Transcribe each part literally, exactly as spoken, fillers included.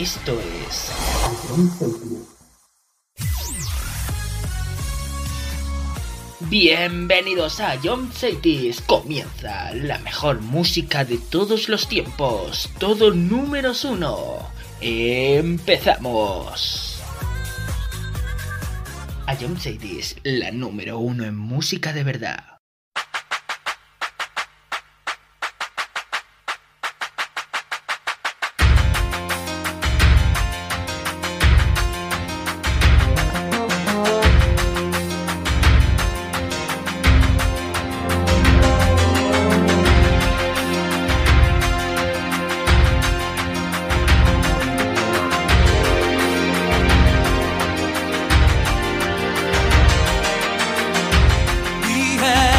Esto es... Bienvenidos a Jump Cities. Comienza la mejor música de todos los tiempos. Todo números uno. Empezamos. A Jump Cities, la número uno en música de verdad. We had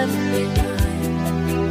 left behind.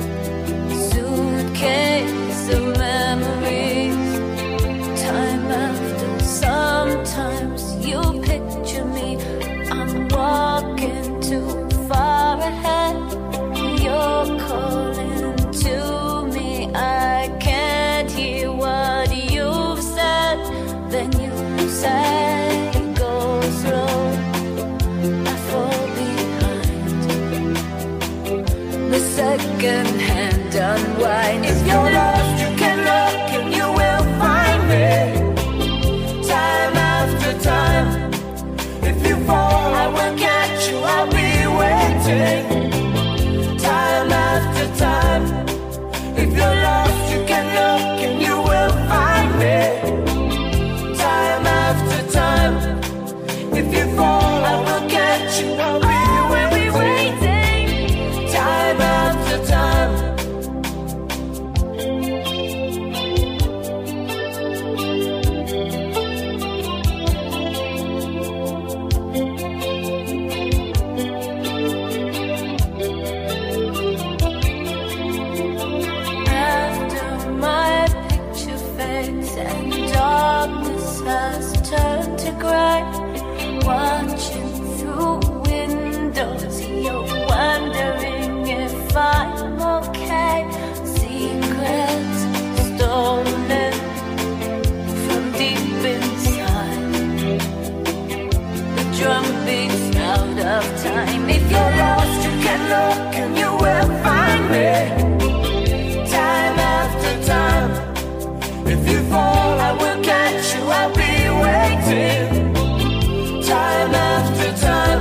Suitcase of memories. Time after, sometimes you picture me. I'm walking too far ahead. You're calling to me. I can't hear what you've said. Then you say, go slow, I fall behind. The second hand unwind. If you're lost, you can look and you will find me. Time after time. If you fall, I will catch you, I'll be waiting. Time after time. If you're lost, you can look and you will find me. Time after time. If you fall, I will catch you, I'll be waiting. Time after time. After my picture fades and darkness has turned to grey, watching through windows, you're wondering if I'm okay. Secrets stolen from deep inside. The drum beats out of time. If you're lost, you can look and you will find me. Time after time. If you fall, I will catch you, I'll be waiting. Time after time.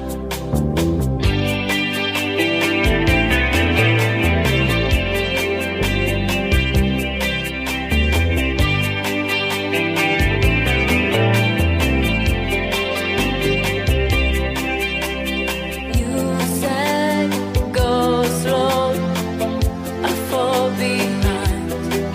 You said, go slow, I fall behind.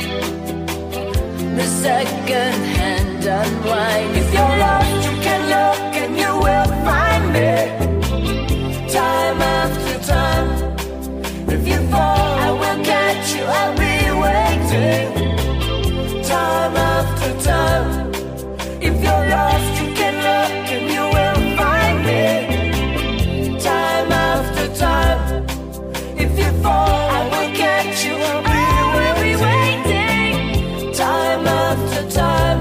The second hand unwind. If you're lost, you can look and you will find me. Time after time. If you fall, I will catch you, I'll be waiting. Time after time. If you're lost, you can look and you will find me. Time after time. If you fall, I will catch you, I'll be waiting. Time after time.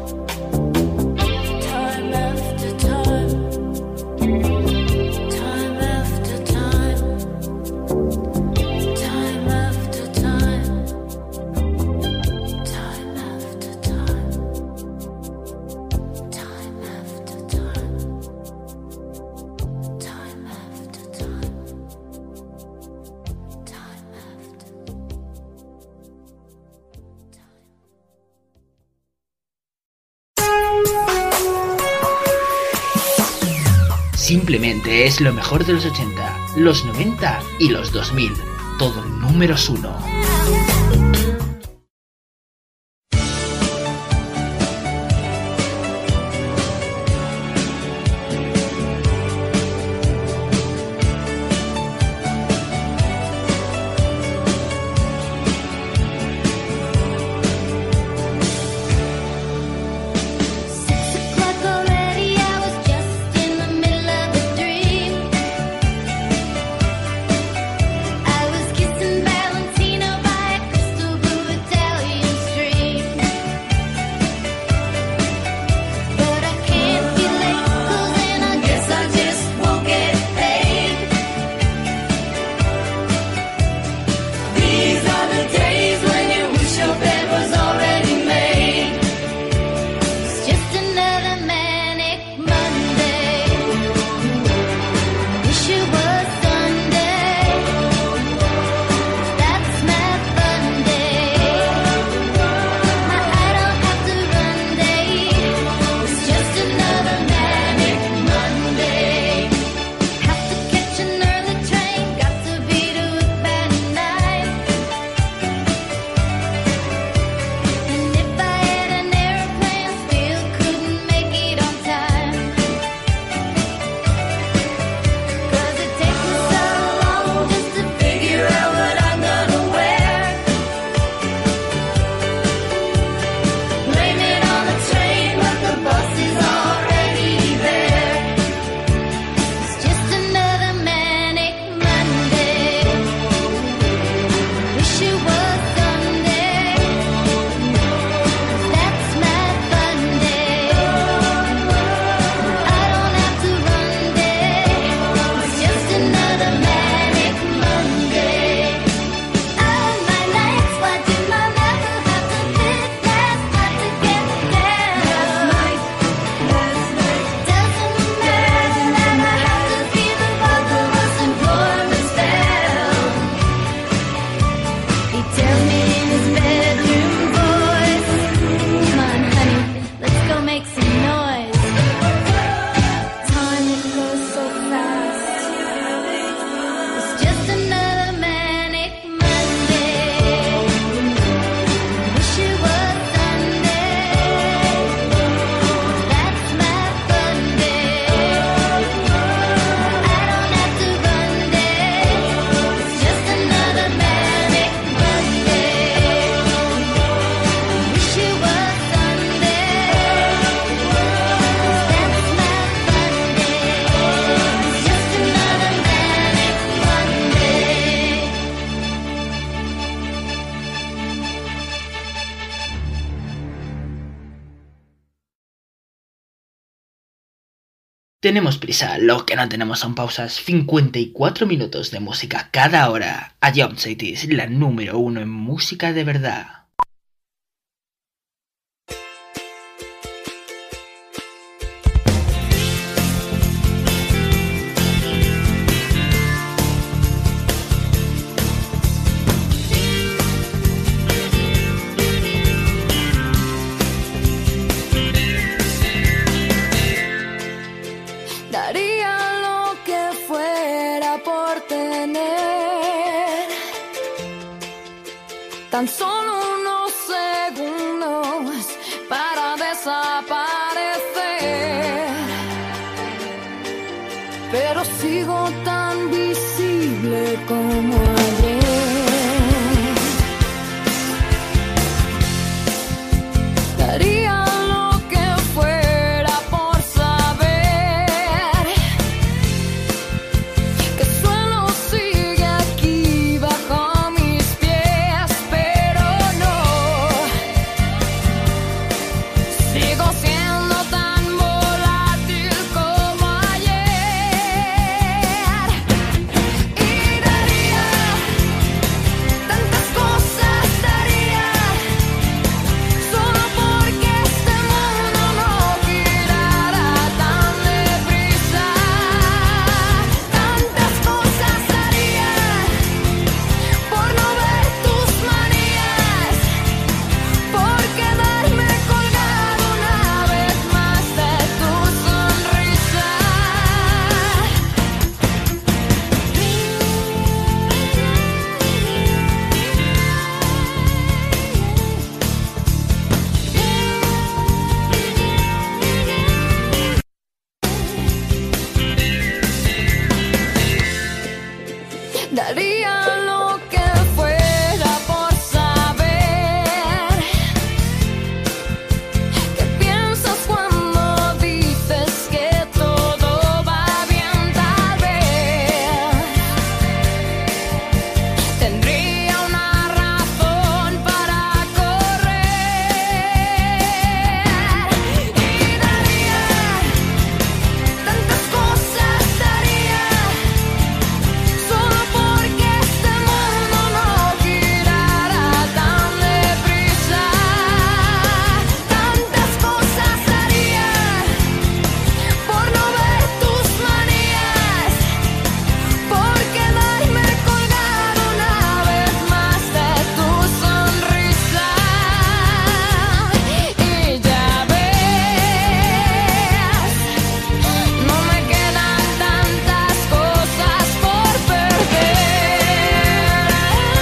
Time after time. Time after time. Time after time. Time after time. Time after time. Time after time. Time after. Simplemente es lo mejor de los ochenta, los noventa y los dos mil. Todo en números uno. I was kissing Valentino by Tenemos prisa, lo que no tenemos son pausas. cincuenta y cuatro minutos de música cada hora. A Jump City es la número uno en música de verdad. Tan solo unos segundos para desaparecer, pero sigo tan visible como ayer. Daría lo que fuera por saber que suelo sigue aquí bajo mis pies. Sigo siendo tan volátil como ayer y daría tantas cosas, daría solo porque este mundo no girara tan deprisa. Tantas cosas daría por no ver tus manías, por quedarme colgado una vez más de tu sonrisa. Daría lo que fuera por saber qué piensas cuando dices que todo va bien. Tal vez tendría una razón para correr y daría tantas cosas, daría solo porque este mundo no girara tan deprisa. Tantas cosas daría por no ver tus manías, por quedarme colgado una vez más de tu sonrisa. Y ya ves, no me quedan tantas cosas por perder.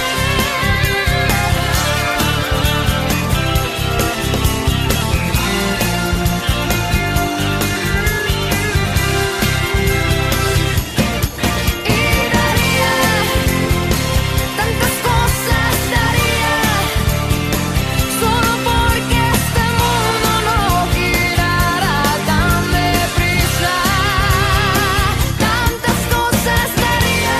Y daría tantas cosas, daría solo porque este mundo no girara tan deprisa. Tantas cosas daría.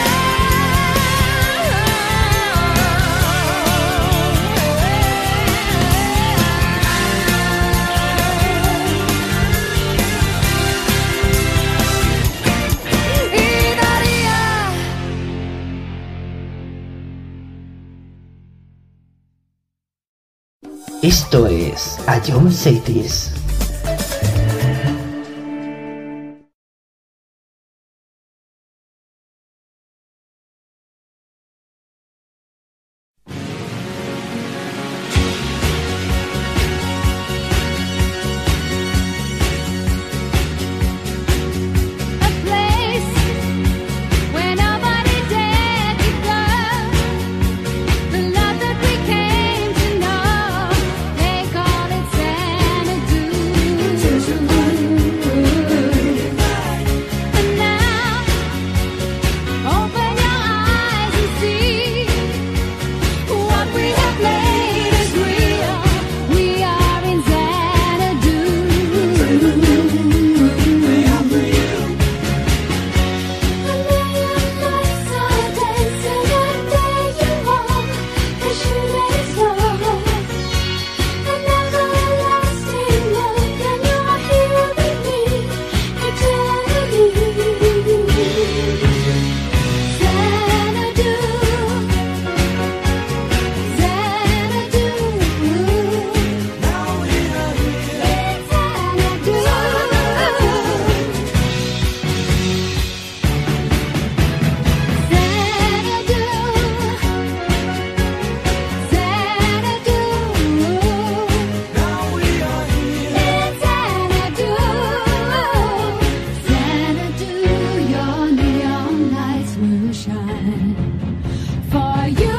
Y daría. Esto es A Jump City. A place where nobody dared to go. The love that we came to know, they call it Xanadu. sunshine for you.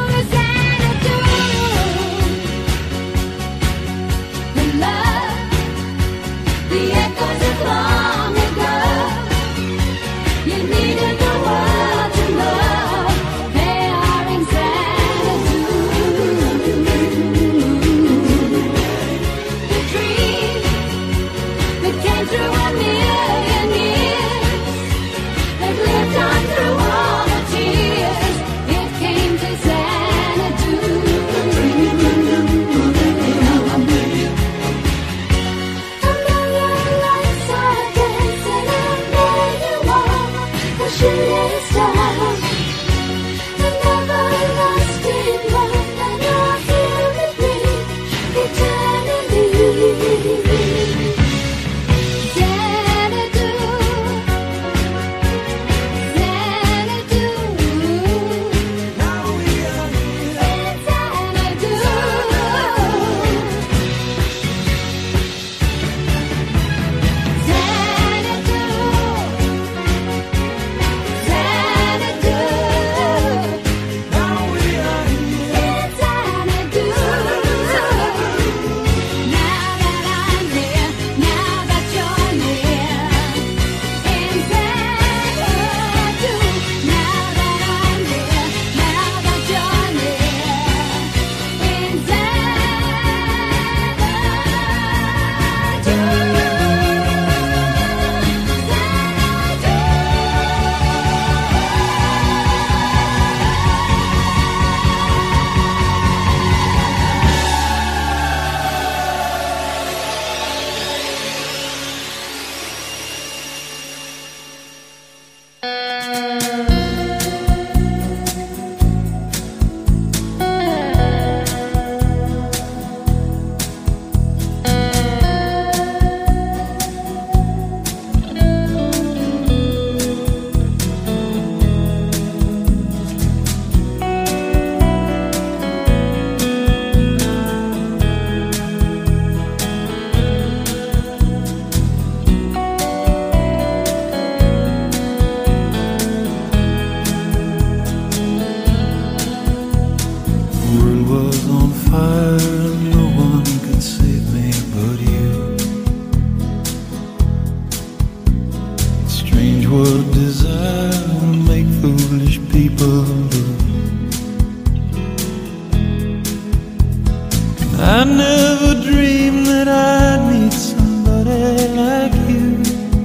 I never dreamed that I'd meet somebody like you,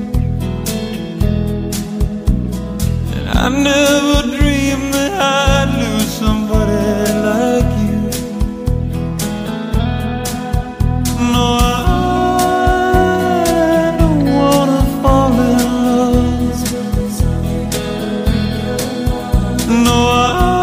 and I never dreamed that I'd lose somebody like you. No, I don't wanna fall in love. No, I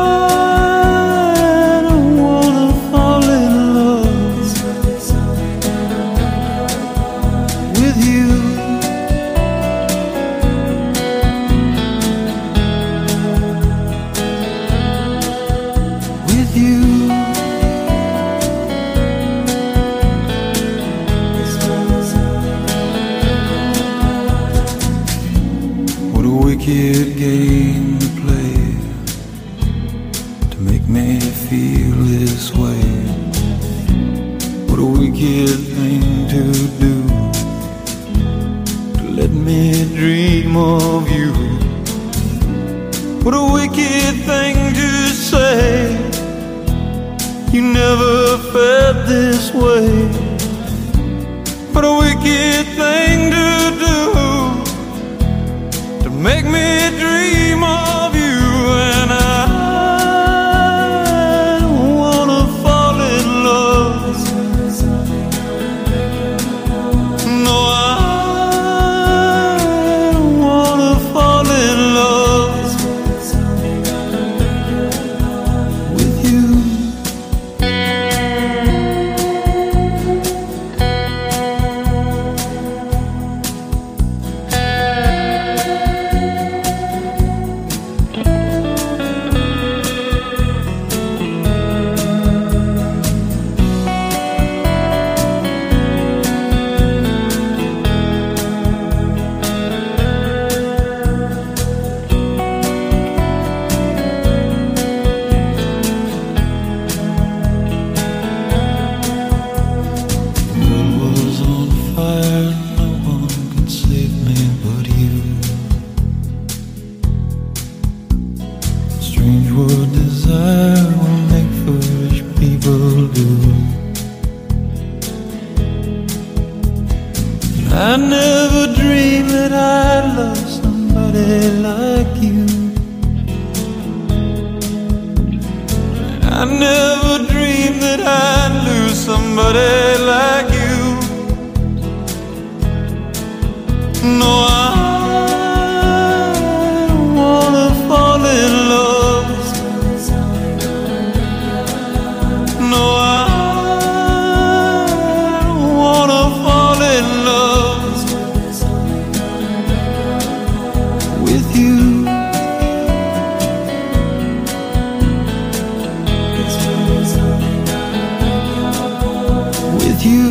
wicked game to play to make me feel this way. What a wicked thing to do, to let me dream of you. What a wicked thing to say, you never felt this way. What a wicked thing to do, make me dream of you. And I don't wanna fall in love. No, I don't wanna fall in love with you. I never dreamed that I'd lose somebody like you. No, I don't wanna fall in love. No, I don't wanna fall in love with you. With you.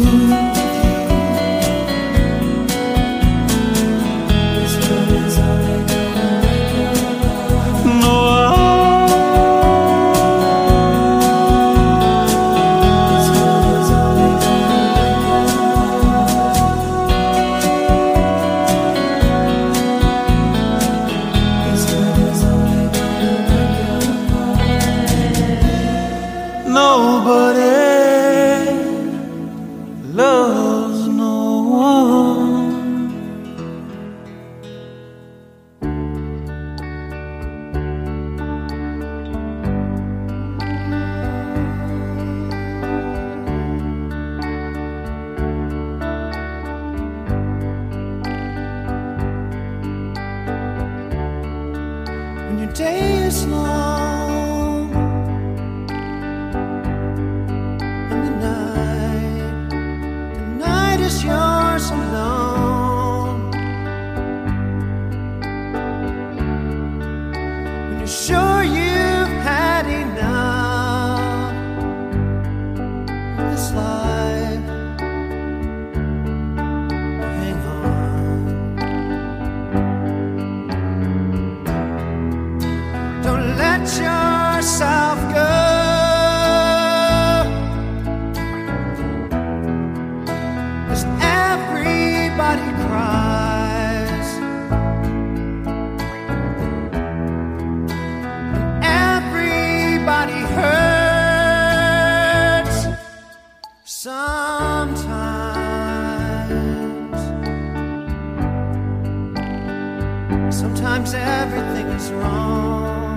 Sometimes everything is wrong.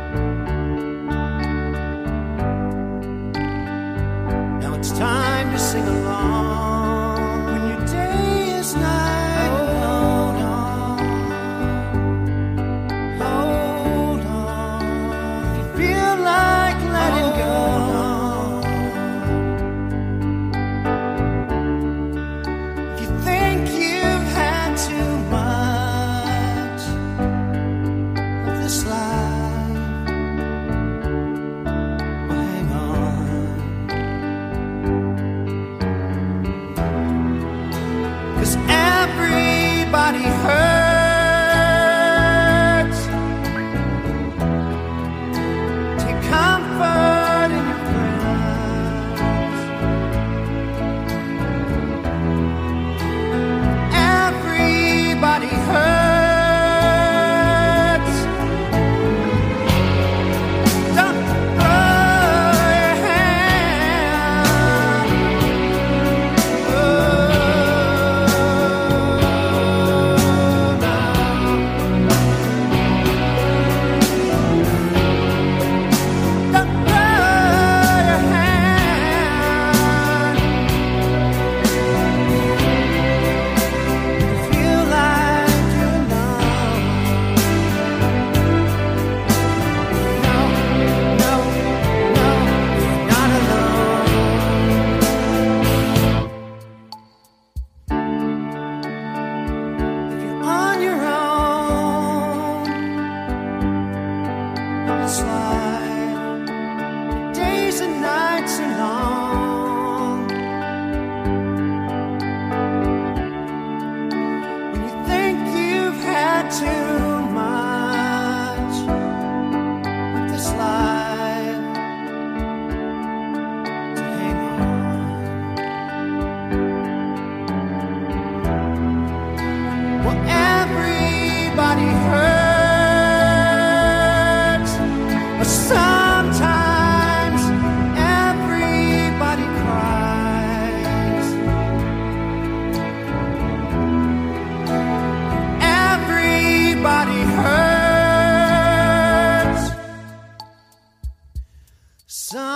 Now it's time to sing along. When your day is night, hold on, hold on. If you feel like letting go, if you think you've had too much of this life, well, hang on. 'Cause everybody hurts. Take comfort in your friends. Everybody hurts. Don't throw your hand. Oh, no. Don't throw your hand. Feel like you're alone. No, no, no, you're not alone. If you're on your own on this life, the days and nights are long. When you think you've had too much of this life, to hang on. Well, everybody hurts, but sometimes everybody cries. Everybody hurts.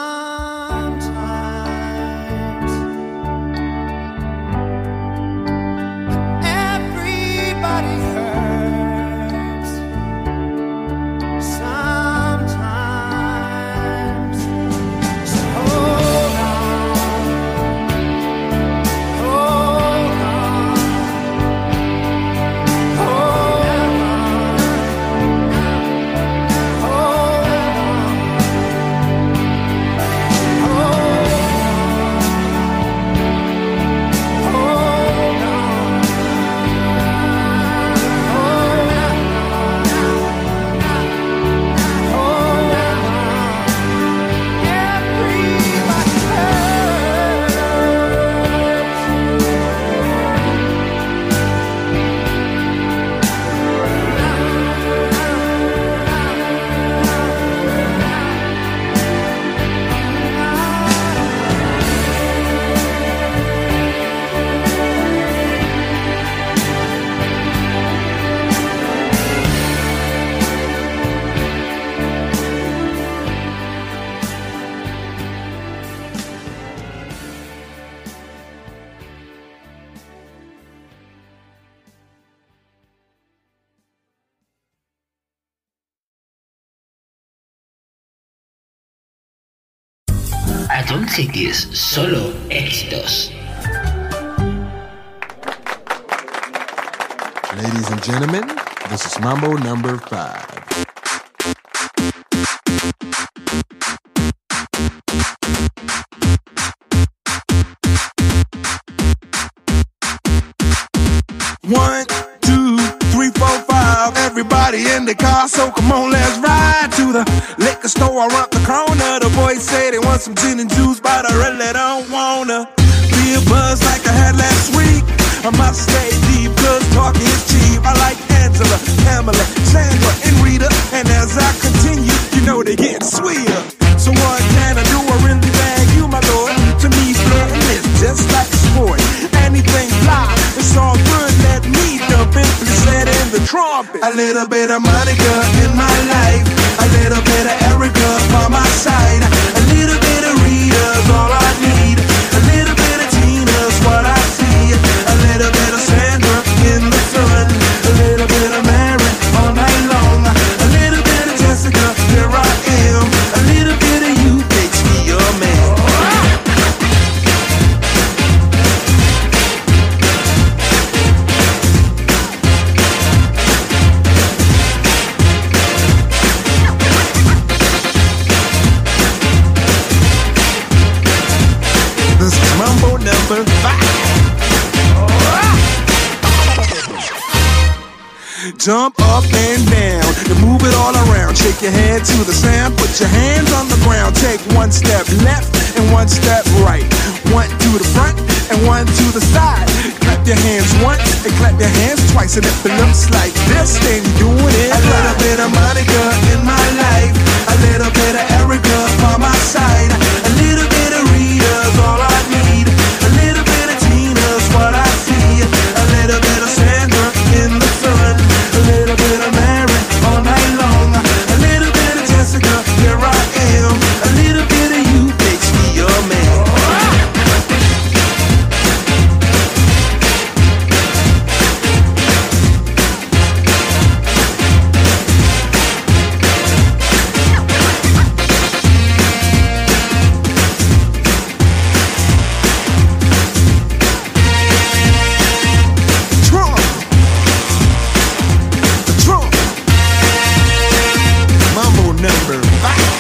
A John Cities, solo éxitos. Ladies and gentlemen, this is Mambo number five. One, two, three, four, five. Everybody in the car, so come on, let's ride to the liquor store around the corner. The boys say they want some gin and juice, but I really don't wanna be a buzz like I had last week. I must stay deep, cause talking is cheap. I like Angela, Pamela, Sandra, and Rita. And as I continue, you know they get sweeter. So what can I do? I really bag you, my lord. To me, flirting is just like a sport. Anything fly, it's all good. Let me dump it, set in the trumpet. A little bit of Monica in my life, a little bit of Erica by my side, a little bit of Rita's all I need, a little bit of Tina's what I see, a little bit of Sandra in the sun, a little bit of Mary all night long, a little bit of Jessica, here I am, a little bit of you makes me your man. This is Mambo number five. Jump up and down and move it all around. Shake your head to the sound. Put your hands on the ground. Take one step left and one step right. One to the front and one to the side. Clap your hands once and clap your hands twice. And if it looks like this, then you're doing it. A little bit of Monica in my life, a little bit of Erica by my side, a little bit of Rita's all I need, a little bit of Tina's what I see, a little bit of Sandra in the sun, a little bit of Mary all night long, a little bit of Jessica, here I am, a little bit of you makes me your man. Trump, the Trump, Mambo number five.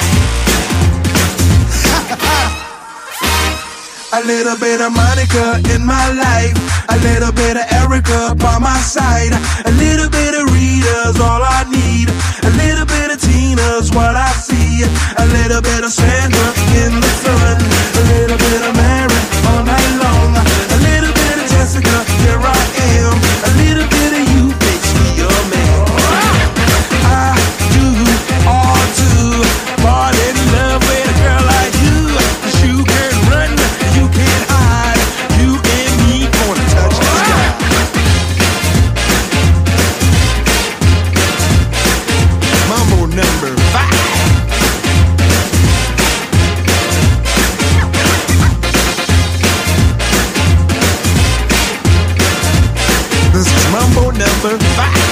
A little bit of Monica in my life, a little bit of Erica by my side, a little bit of Rita's all I need, a little bit of Tina's what I see, a little bit of Sandra in the sun, a little bit of Mary all night long, a little bit of Jessica, here I am, a little bit of you makes me your man. I do all to fall in love with a girl like you, 'cause you can run, you can't hide, you and me gonna touch the sky. Mambo number five. This is Mambo number five.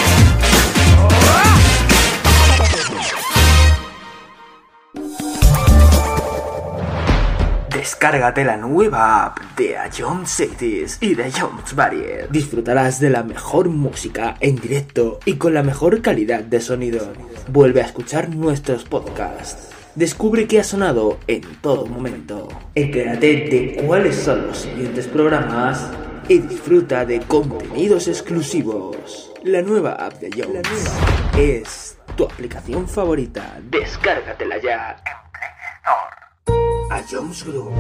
Descárgate la nueva app de A John Cities y de Jones Barrier. Disfrutarás de la mejor música en directo y con la mejor calidad de sonido. Vuelve a escuchar nuestros podcasts. Descubre qué ha sonado en todo momento. Entérate de cuáles son los siguientes programas y disfruta de contenidos exclusivos. La nueva app de Jones es tu aplicación favorita. Descárgatela ya en Play Store. A Jones Group.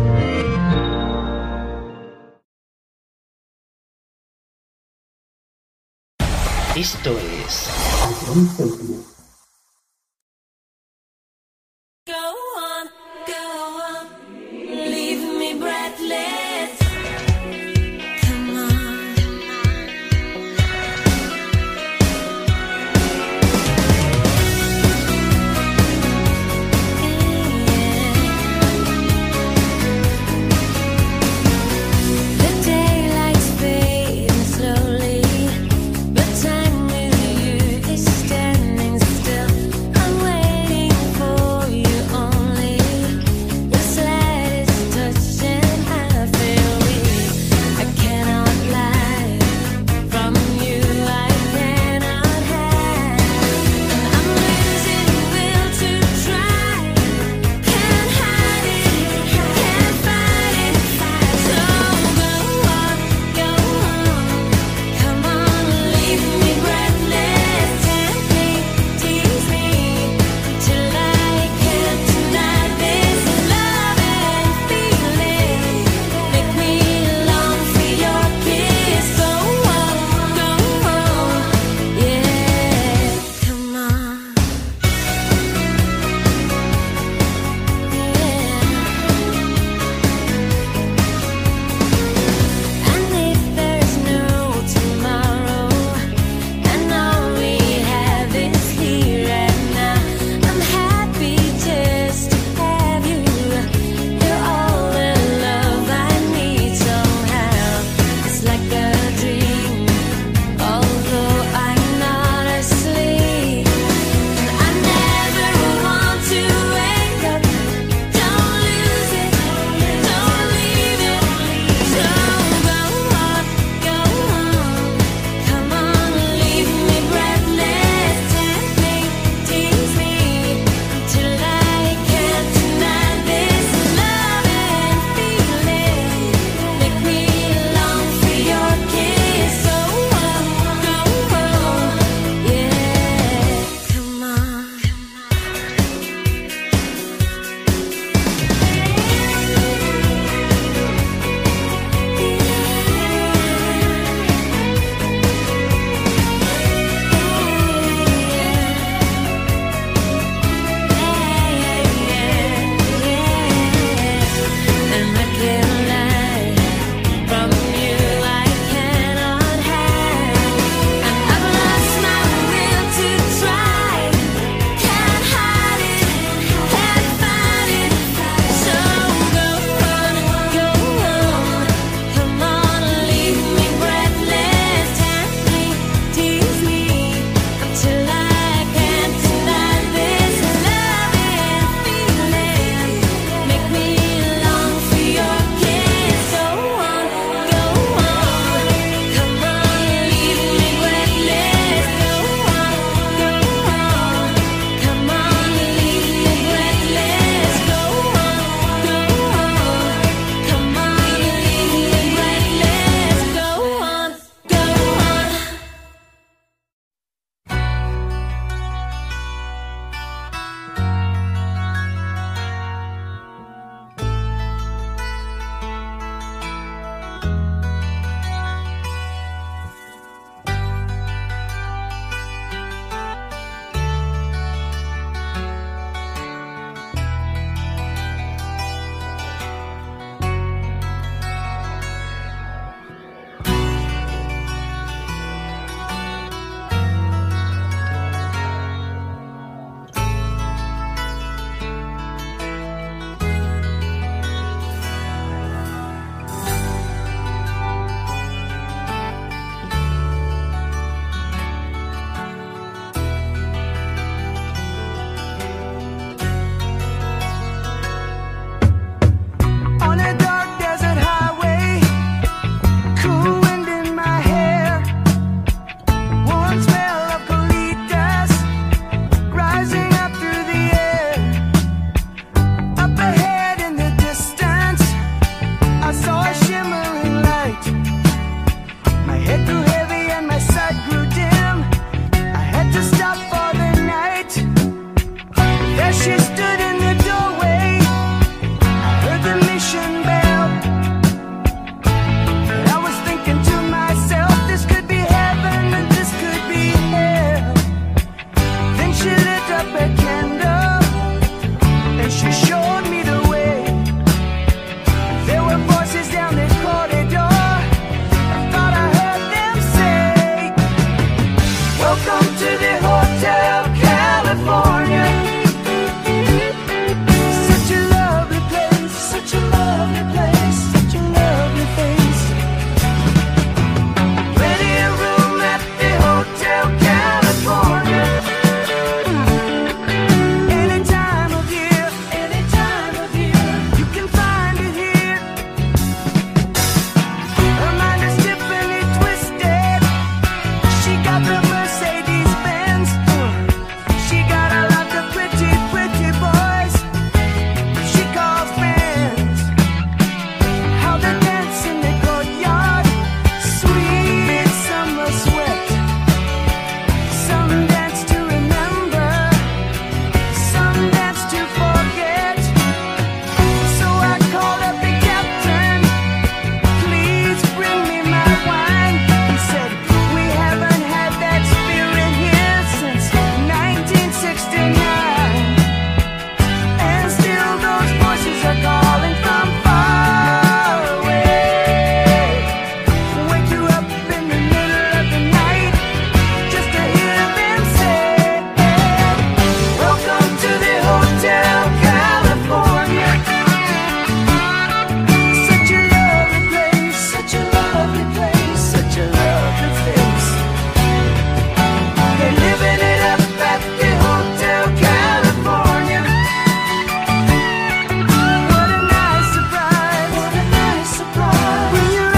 Esto es Go on, go on, leave me breathless. Come on. The daylight's fading slowly, but time with you is standing still. she stood in the doorway, I heard the mission bell. And I was thinking to myself, this could be heaven and this could be hell. Then she lit up a candle and she showed me the way. There were voices down the corridor. I thought I heard them say, welcome to the Hotel California. Such a lovely place, such a lovely place, such a lovely face. Plenty of room at the Hotel California. Any time of year, any time of year, you can find it here. Her mind is Tiffany twisted. She got the Mercedes Benz. She got a lot of pretty, pretty boys she calls friends. How they dance in the courtyard, sweet summer sweat. Some dance to remember, some dance to forget. So I called up the captain, please bring me my wine. He said, we haven't had that spirit here since nineteen sixty-nine. And still those voices are calling from far away. Wake you up in the middle of the night just to hear them say, welcome to the Hotel California. Such a lovely place, such a lovely place, such a lovely face. They're living it up at the Hotel California. What a nice surprise, what a nice surprise. Bring your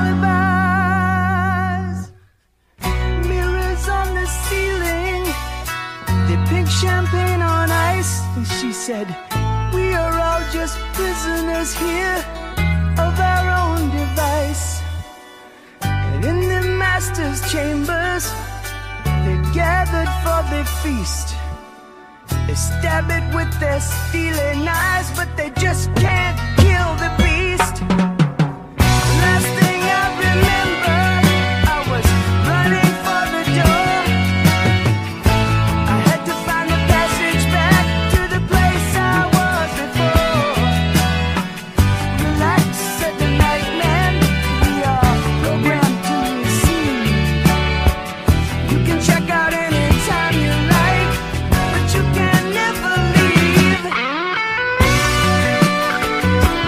alibis. Mirrors on the ceiling, the pink champagne on ice. And she said, we are all just prisoners here of our own device. And in the master's chambers, they gathered for the feast. They stab it with their steely knives, but they just can't kill the beast. Last thing I remember, I was running for the door. I had to find the passage back to the place I was before. Relax, said the night man, we are programmed to receive. You can check out anytime you like, but you can never leave.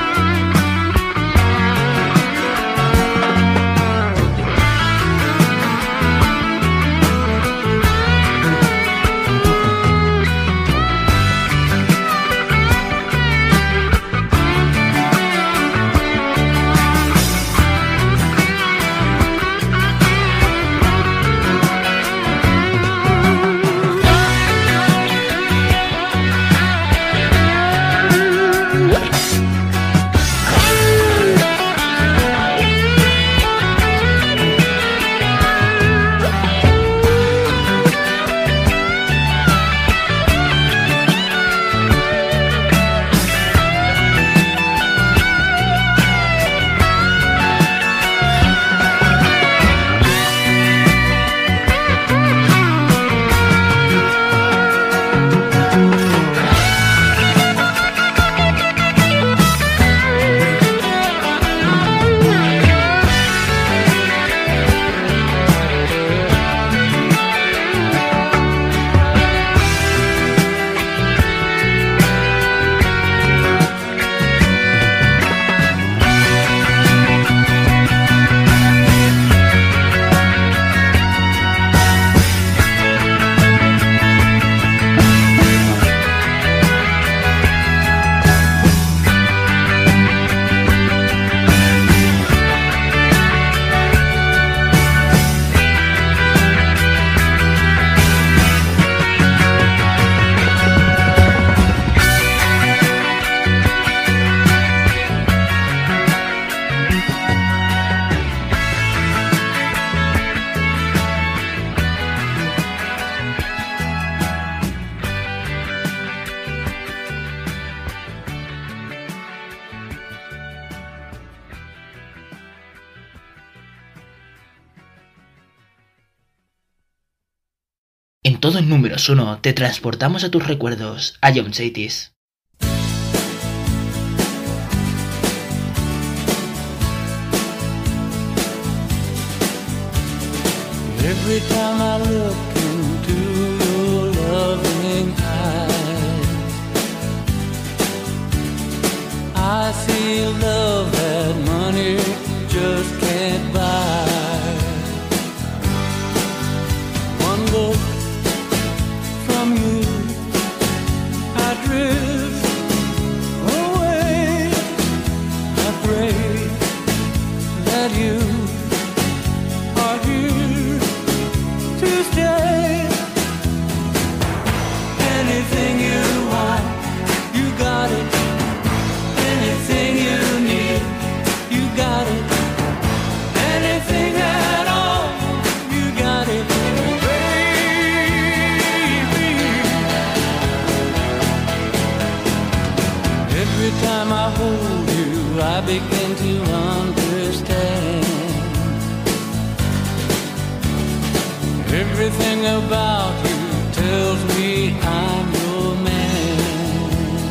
En todo en números uno te transportamos a tus recuerdos, a John Cities. Every time I look into your loving eyes, I see love that money just can't buy. One look from you, I drift away. I pray that you are here to stay. Anything you want, you got it. Anything you need, you got it. Anything at all, you got it, baby. Every time I hold you, I begin to understand. Everything about you tells me I'm your man.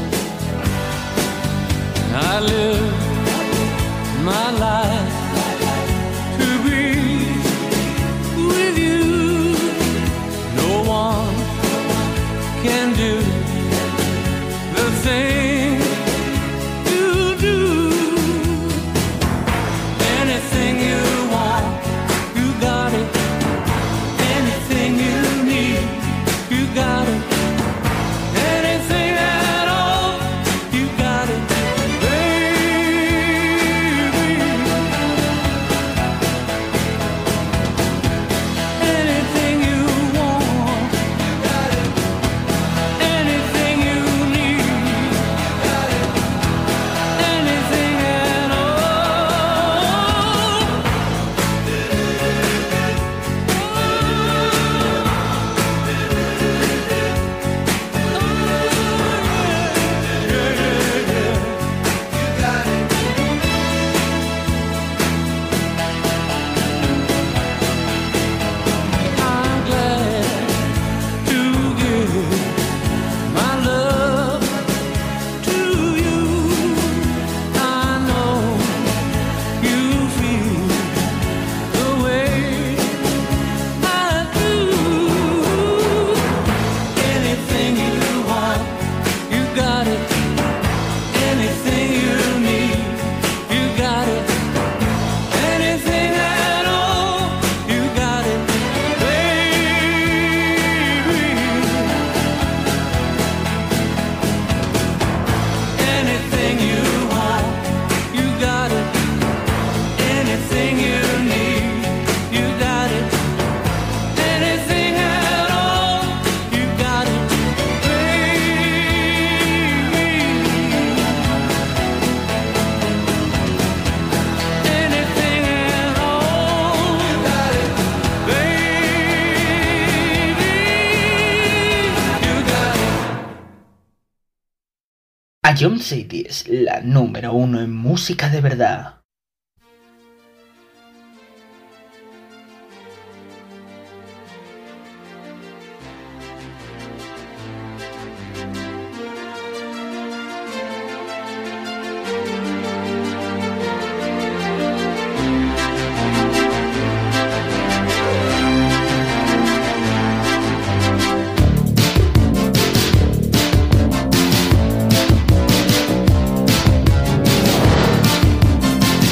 I live my life to be with you. No one can do the thing you do. Anything you want, you got it. Anything you need, you got it. Anything at all, you got it, baby. Anything you want, you got it. Anything you need, you got it. Anything at all. I'm glad to give my love to you. I know you feel the way I do. Anything you want, you got it. Anything you need, you got it. Anything at all, you got it, baby. Anything you want, you got it. Anything you need, you got it. Anything at all, you got it, baby. Anything at all, you got it, baby. You got it. A John Cities, la número uno en música de verdad. Anything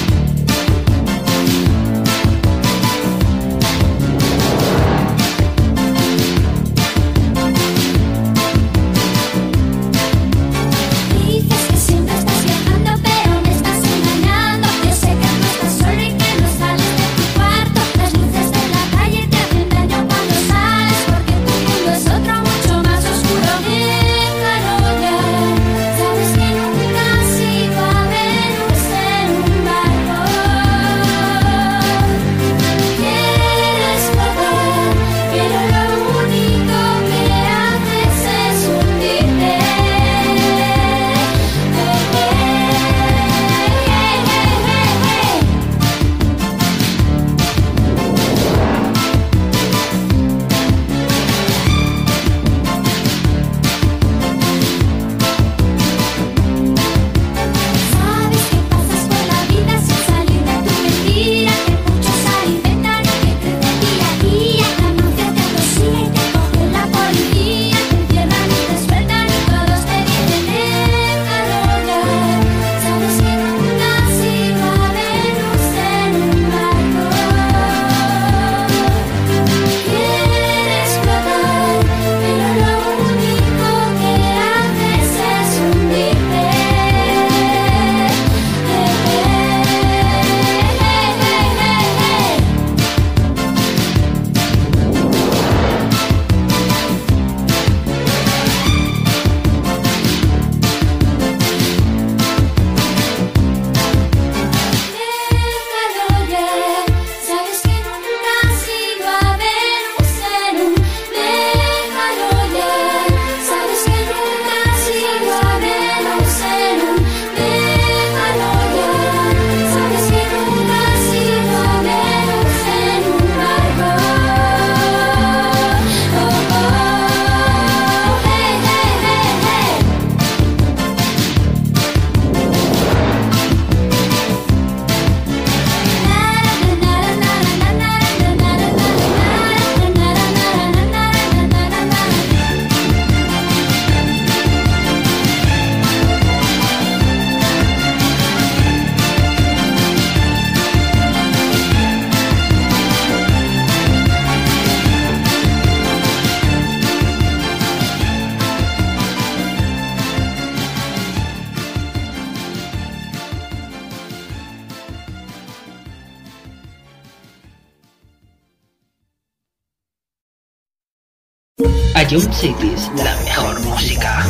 Jump Cities, la mejor música.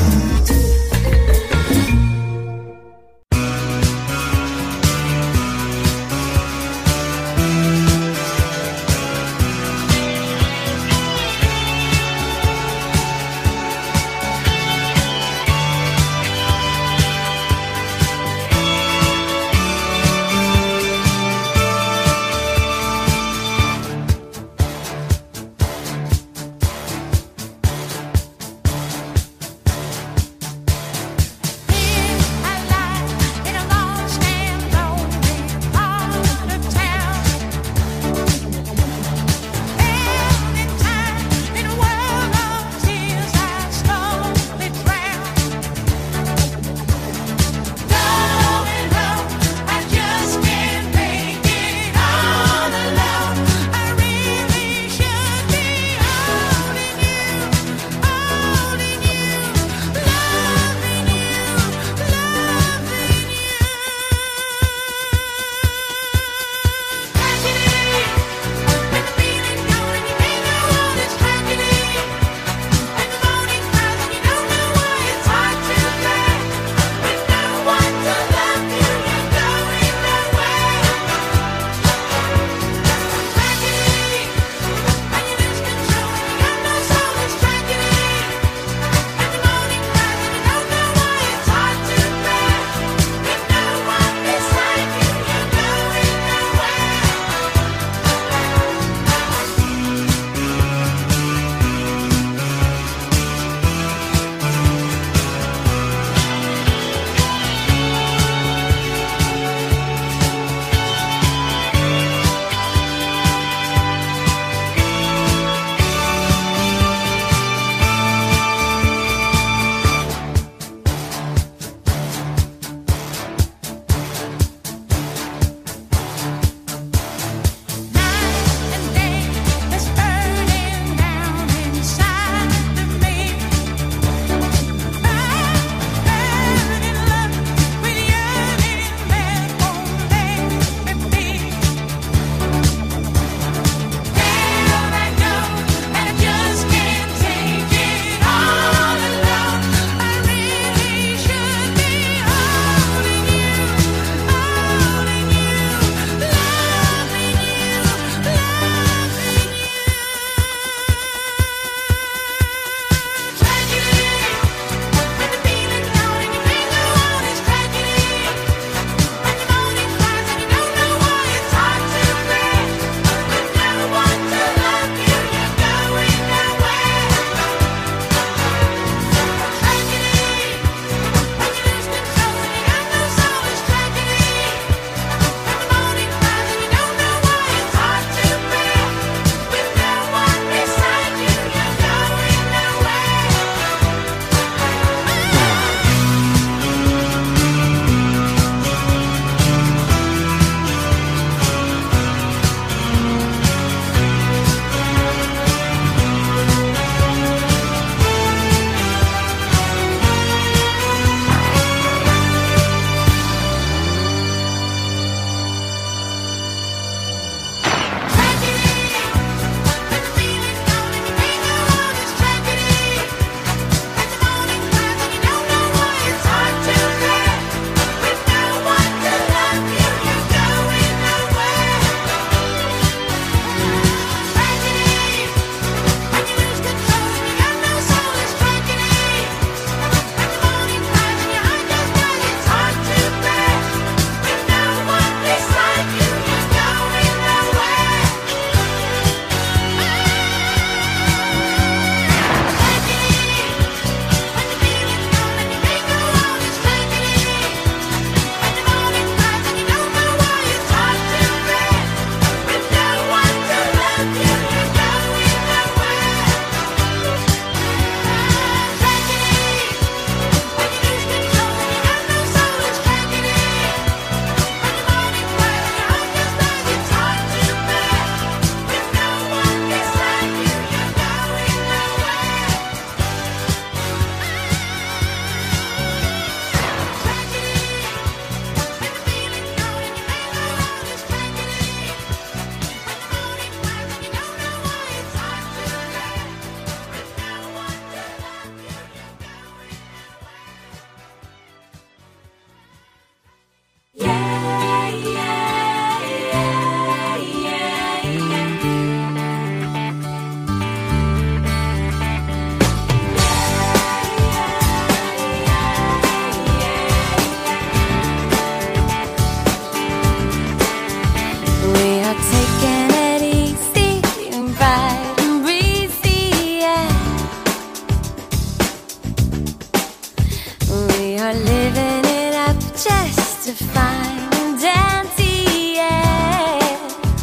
are living it up just to find empty air.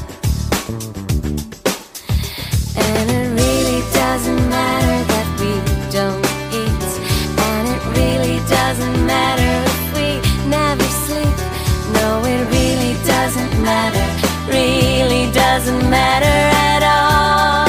And it really doesn't matter that we don't eat, and it really doesn't matter if we never sleep. No, it really doesn't matter, really doesn't matter at all.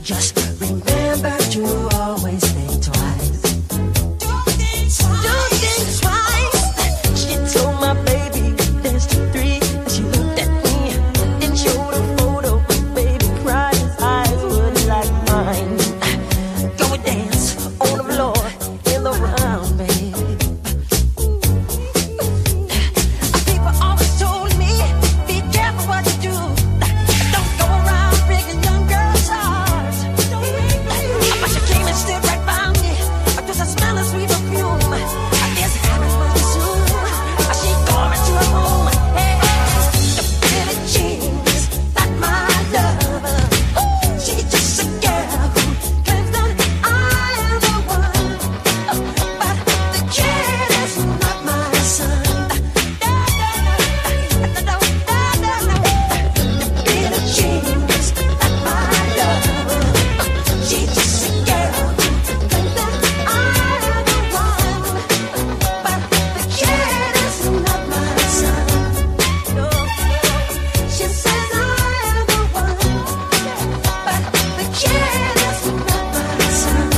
Just remember to always think twice. Don't think twice. Don't think twice. She told my baby there's three. And she looked at me and showed a photo. Baby cried, his eyes were like mine. Go and dance on the floor in the round, baby. People always told me, be careful what you do. Don't go around breaking young girls' hearts. But she came and stood right by me. Just a smell of sweet perfume. I guess it happens much too soon. She called me to her room. Hey, the Billie Jean's not my lover. She's just a girl who claims that I am the one. But the kid is not my son. The Billie Jean's not my lover. She's just a girl who claims that I am the one. But the kid is not my son. No, she says I am the one. But the kid is not my son.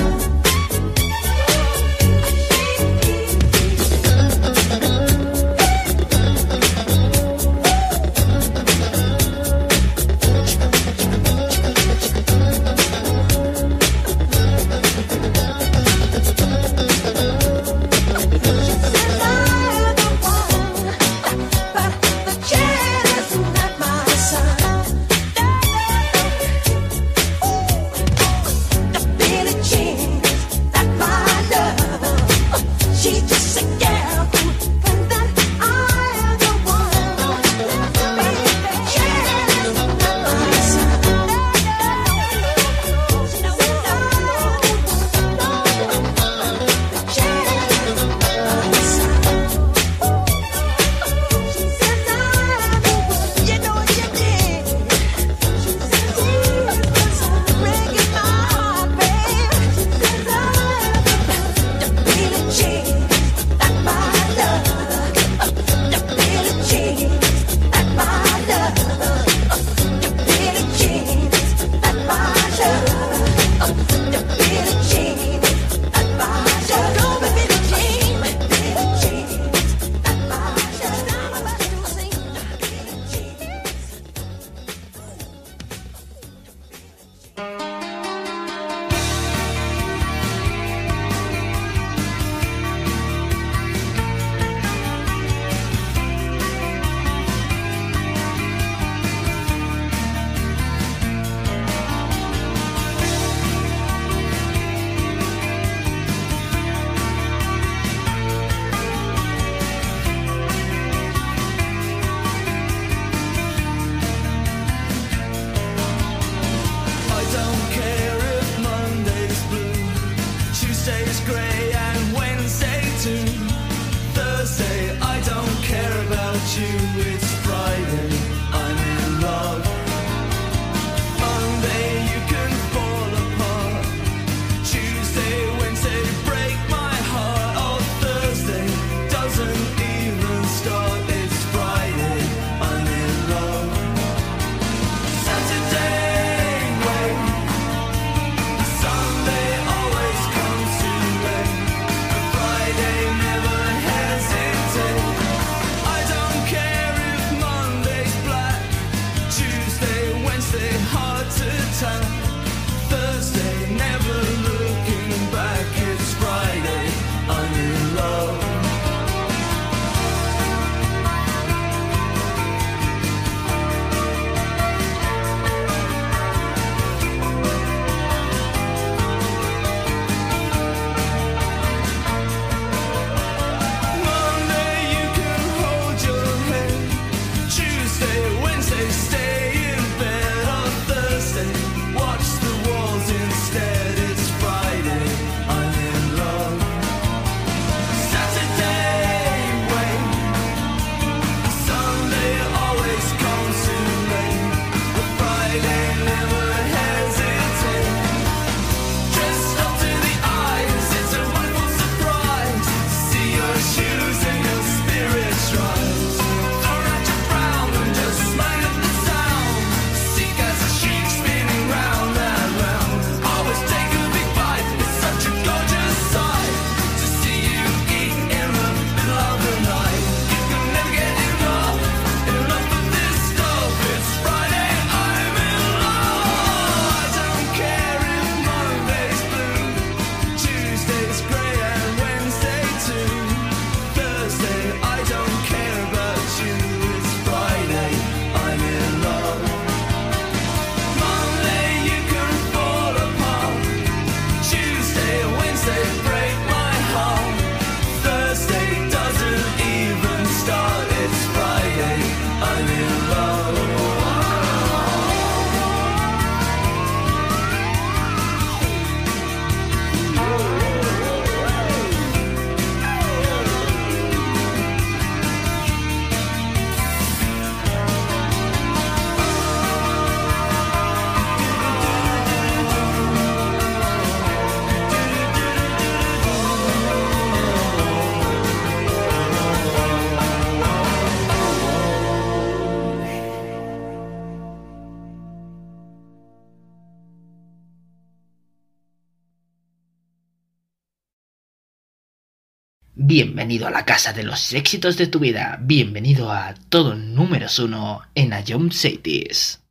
Bienvenido a la casa de los éxitos de tu vida. Bienvenido a todo números uno en A Jump Cities.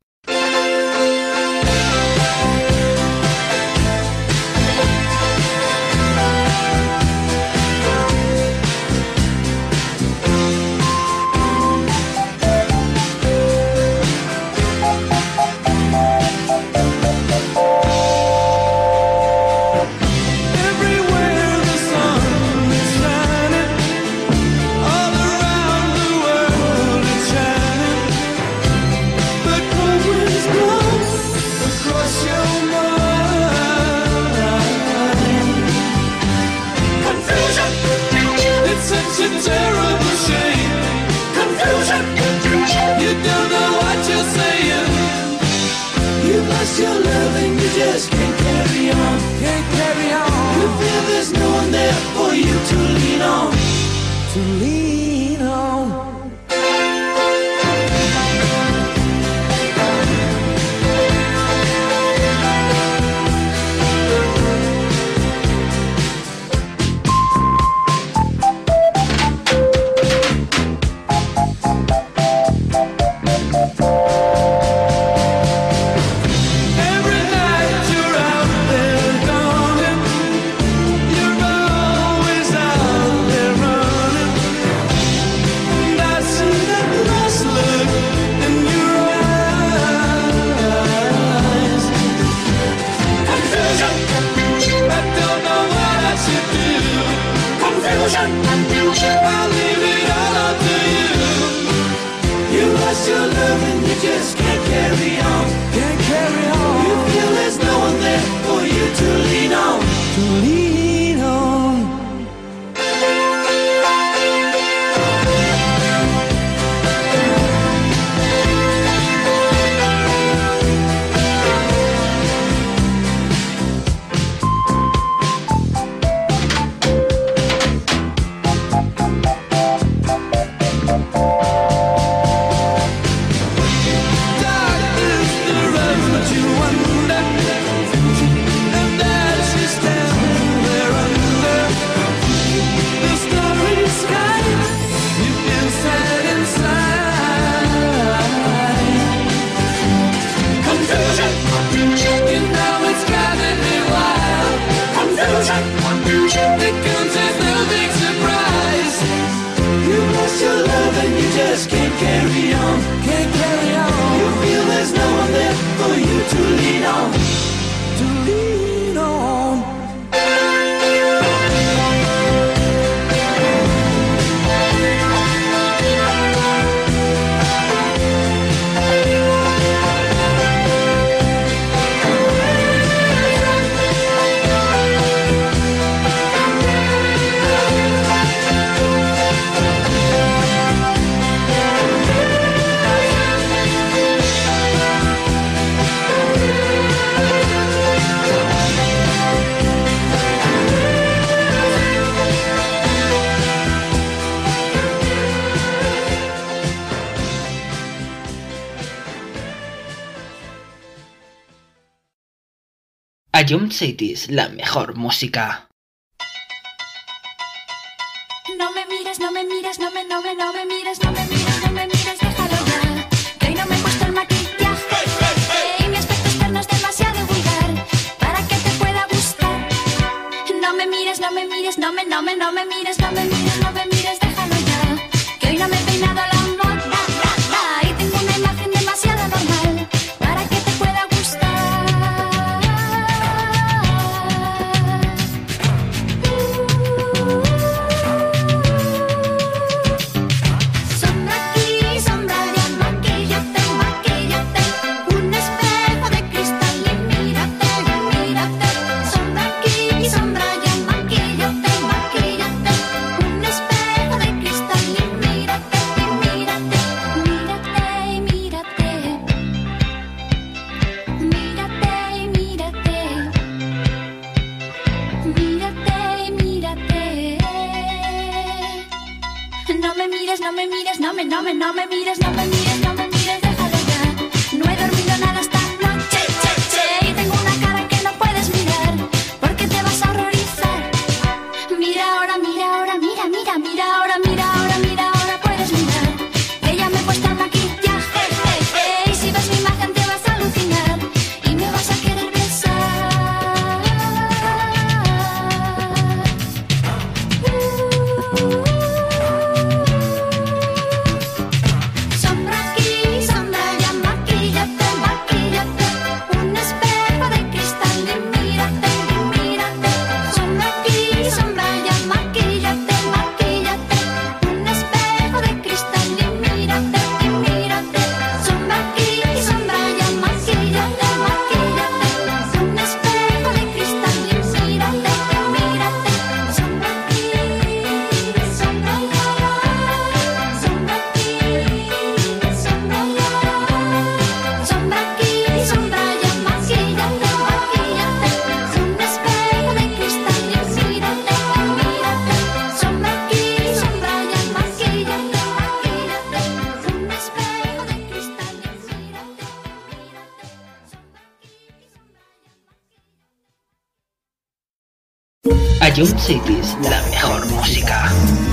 Your love and you just can't carry on, can't carry on. You feel there's no one there for you to lean on, to lean on. I'll leave it all up to you. You lost your love and you just can't carry on, can't carry on. You feel there's no one there for you to lean on, to lean on. Just can't carry on, can't carry on. You feel there's no one there for you to lean on, to lean on. A Jump Cities, la mejor música. No me mires, no me mires, no me, no me, no me mires, no me mires, no me mires, déjalo ya. Que hoy no me he puesto el maquillaje y mi aspecto externo es demasiado vulgar para que te pueda gustar. No me mires, no me mires, no me, no me, no me mires, no me mires, no me mires, déjalo ya. Que hoy no me he peinado a la moda y tengo una imagen demasiado normal para que te pueda gustar. Sombra aquí, sombra allá, maquíllate, maquíllate. Un espejo de cristal y mírate, mírate. Sombra aquí, sombra allá, maquíllate, maquíllate. Un espejo de cristal y mírate, mírate. Mírate y mírate. Mírate y mírate. Mírate y mírate. No me mires, no me mires, no me, no me, no me mires, no me mires, no me mires, déjalo ya. No he dormido nada esta noche, che, che, y tengo una cara que no puedes mirar, porque te vas a horrorizar. Mira ahora, mira ahora, mira, Ayun Cities, la mejor música.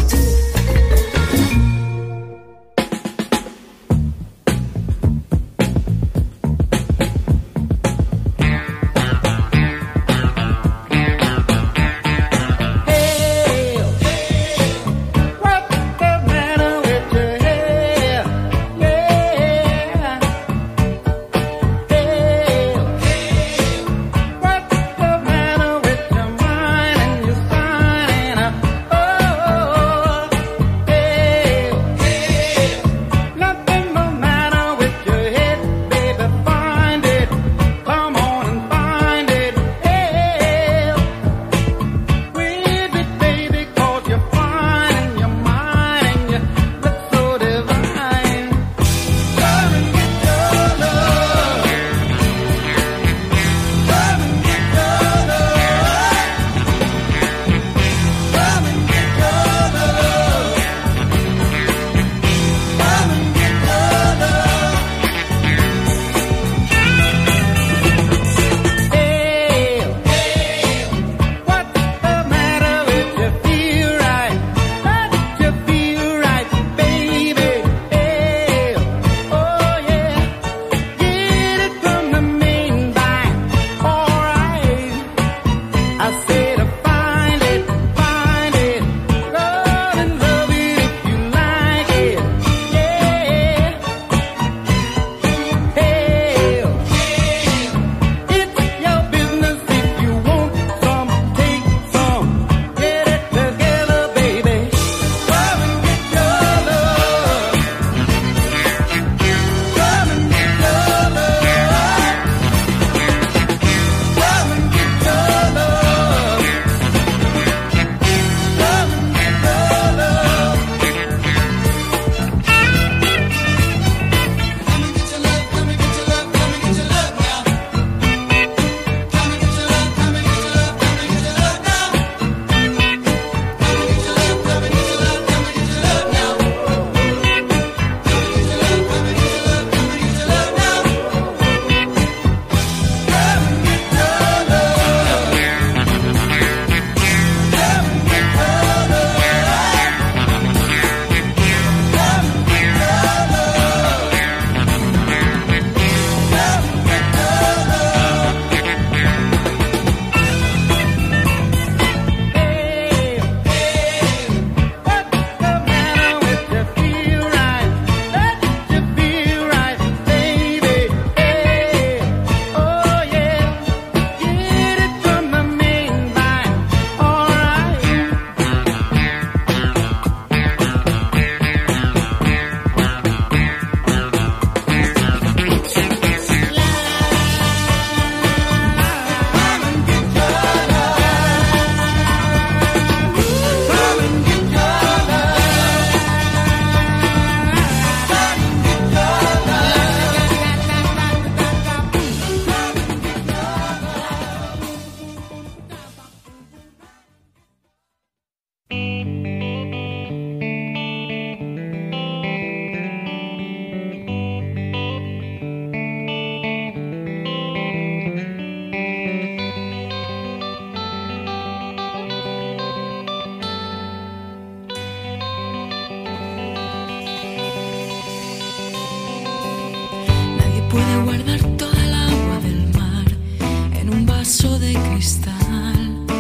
Puede guardar toda el agua del mar en un vaso de cristal.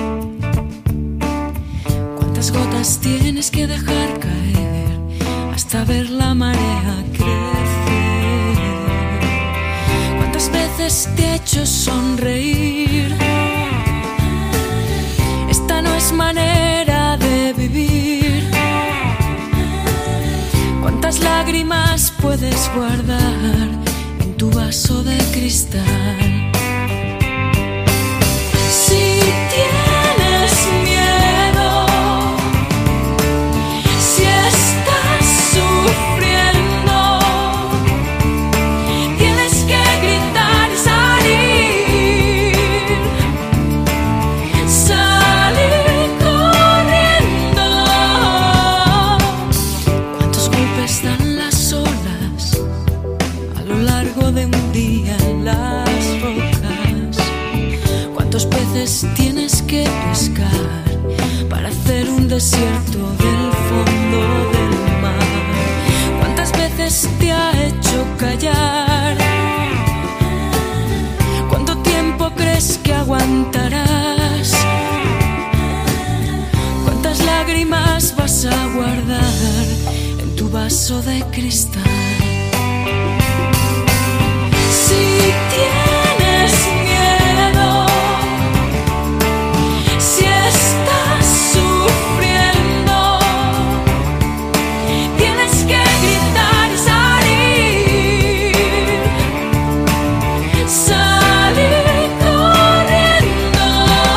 ¿Cuántas gotas tienes que dejar caer hasta ver la marea crecer? ¿Cuántas veces te he hecho sonreír? Esta no es manera de vivir. ¿Cuántas lágrimas puedes guardar tu vaso de cristal? Si tienes miedo, si estás sufriendo, tienes que gritar y salir, salir corriendo. ¿Cuántos golpes dan las olas a lo largo de un día en las rocas? veces tienes que pescar para hacer un desierto del fondo del mar? ¿Cuántas veces te ha hecho callar? ¿Cuánto tiempo crees que aguantarás? ¿Cuántas lágrimas vas a guardar en tu vaso de cristal? Si tienes miedo, si estás sufriendo, tienes que gritar y salir, salir corriendo.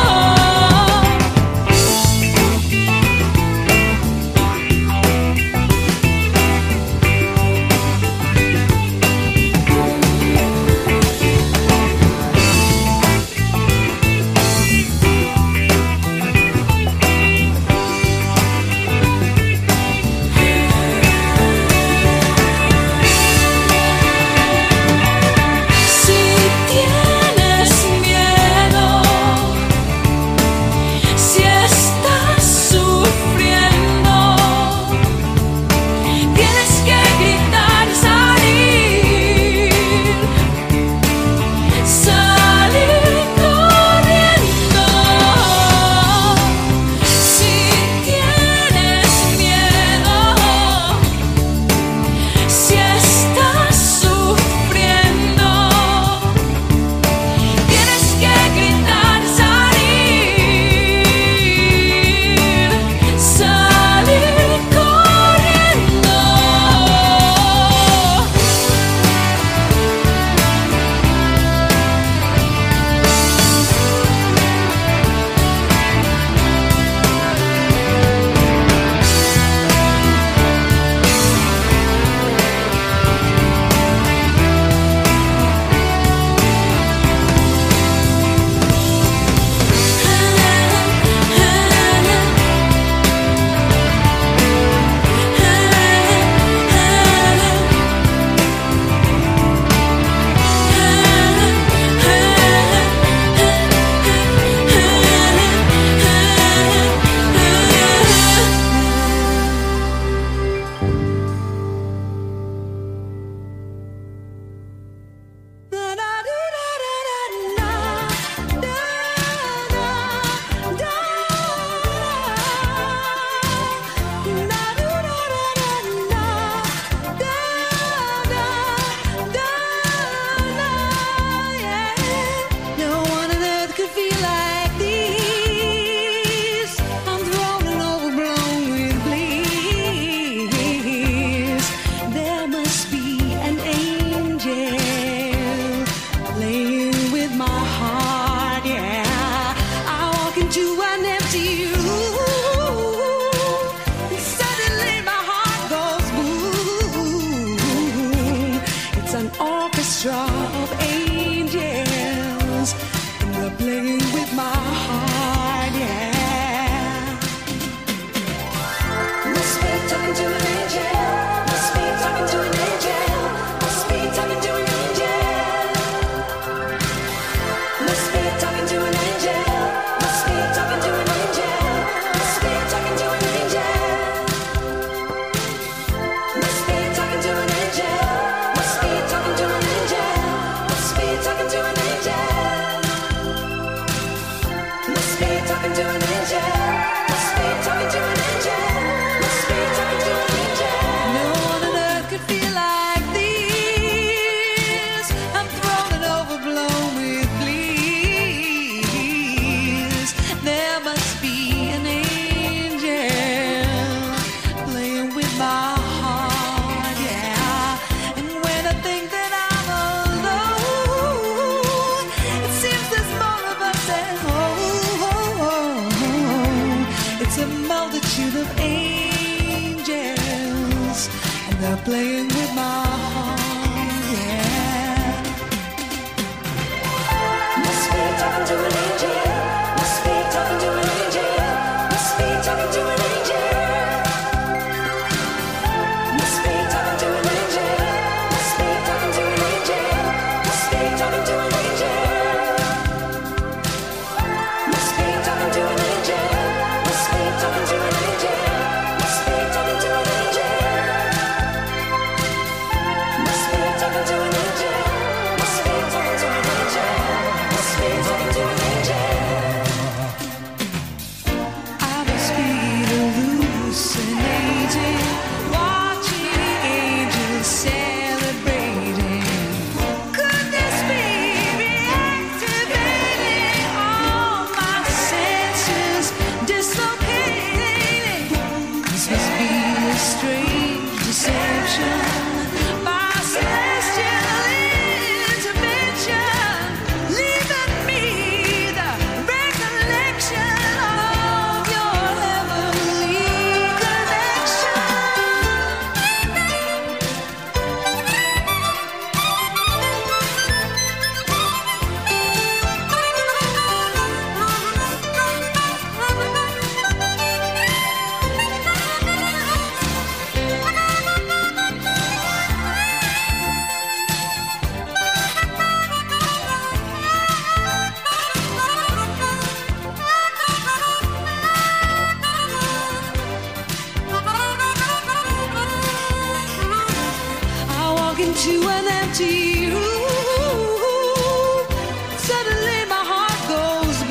Playing with my heart, yeah. Must be talking to an angel. Must be talking to an angel. Must be talking to an angel. Must be talking to an angel. Must be talking to an angel. Must be talking to an angel. to you. Suddenly my heart goes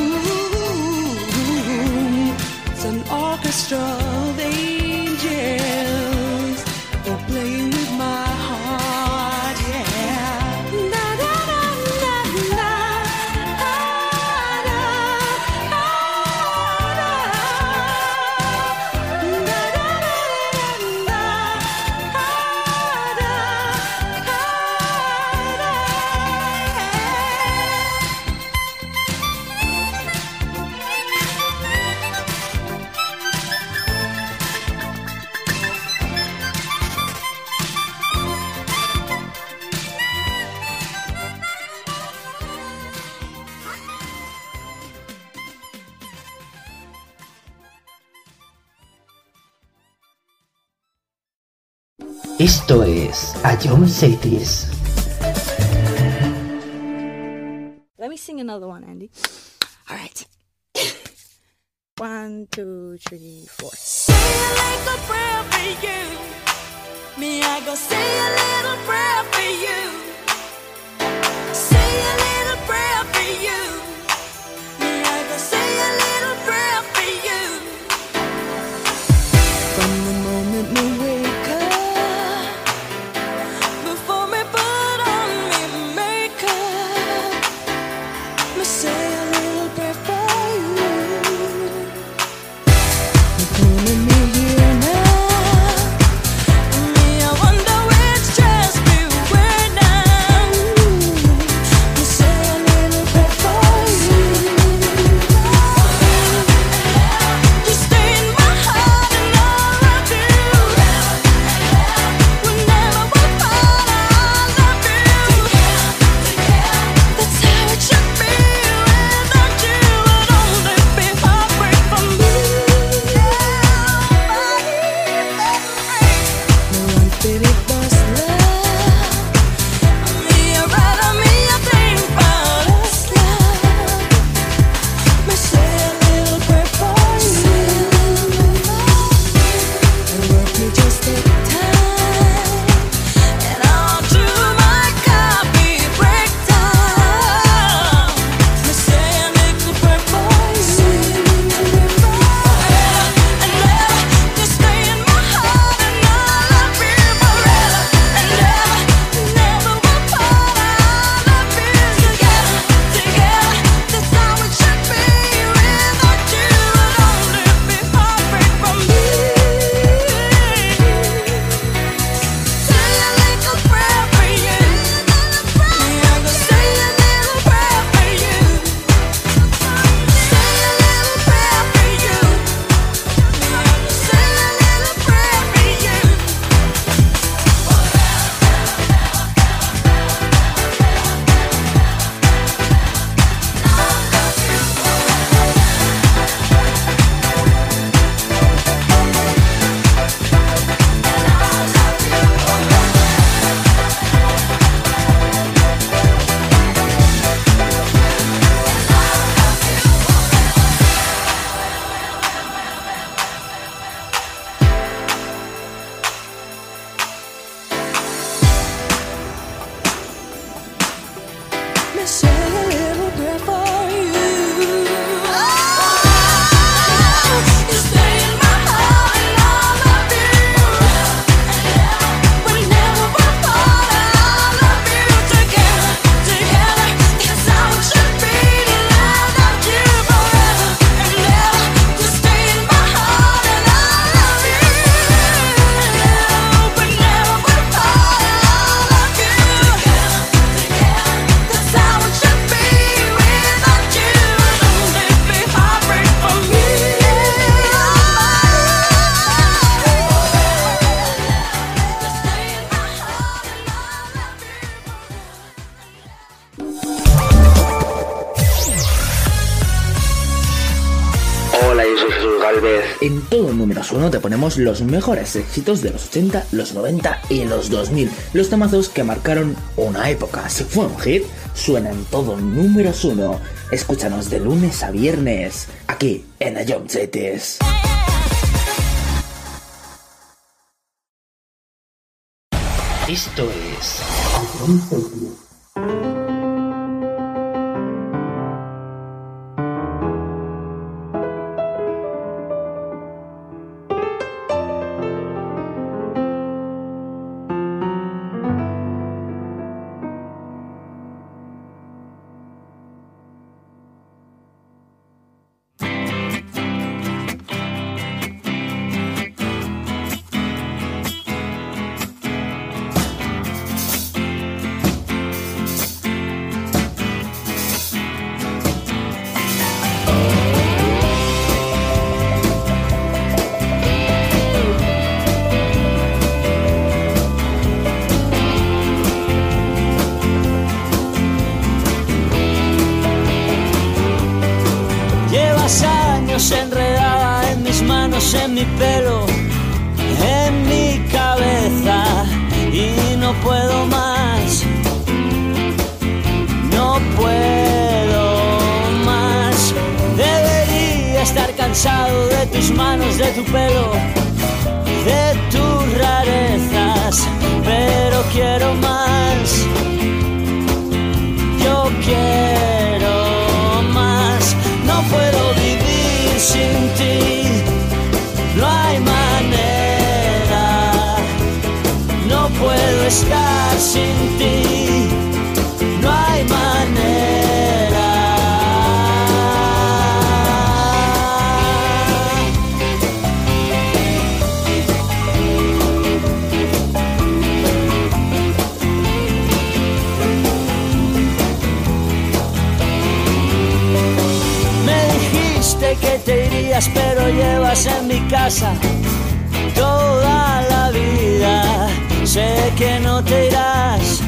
boom. It's an orchestra of angels. They're playing with my heart, yeah. Na na na na na. Ah, na, ah, na. Na na na na na. Ah, na, ah, na. Esto es Ion Cities. Let me sing another one, Andy. All right. One, two, three, four. Say a little prayer for you. Me, I go say a little prayer for you. Say a little prayer for you. Me, I go say a little prayer for you. From the moment we wake up, before me put on me makeup, me say a little prayer for you. Pulling me here now. Me, I wonder which dress we wear now. Me say a little prayer for you. You stay in my heart and all I do. Whenever we're apart, I love you. That's how it should be. Without you, I'd only be heartbreak from you. No unfitted boss love. Me a rider, me a think about us love. Me say a little prayer for you. And work me just take time. And I'll do my copy breakdown. Me say a little prayer for you. And never to stay in my heart and I love you forever and ever. Never will part. I love you together, together. That's how it should be. Without you, I'd only be heartbreak from you. Say a little prayer for you. Me, I go say a little prayer for you. Say a little prayer for you. Me, I go say a little prayer for you. Me say a little prayer for you. You stay in my heart and I love you. Whenever we're apart, I love you together, together. That's how it should be. To love you forever and ever. To stay in my heart and I love you. Whenever we're apart, I love you together, together. That's how it should be. Without you, I'd only be heartbreak from you. To stay in my heart and I love you. Hola, yo soy Jesús Galvez. En todo número uno te ponemos los mejores éxitos de los ochenta, los noventa y los dos mil. Los temazos que marcaron una época. Si fue un hit, suena en todo número uno. Escúchanos de lunes a viernes, aquí en Ion Cities. Esto es... Enredada en mis manos, en mi pelo, en mi cabeza, y no puedo más, no puedo más. Debería estar cansado de tus manos, de tu pelo, de tus rarezas, pero quiero más, yo quiero más. No puedo vivir sin ti, no hay manera, no puedo estar sin ti, no hay manera. Que te irías, pero llevas en mi casa toda la vida. Sé que no te irás,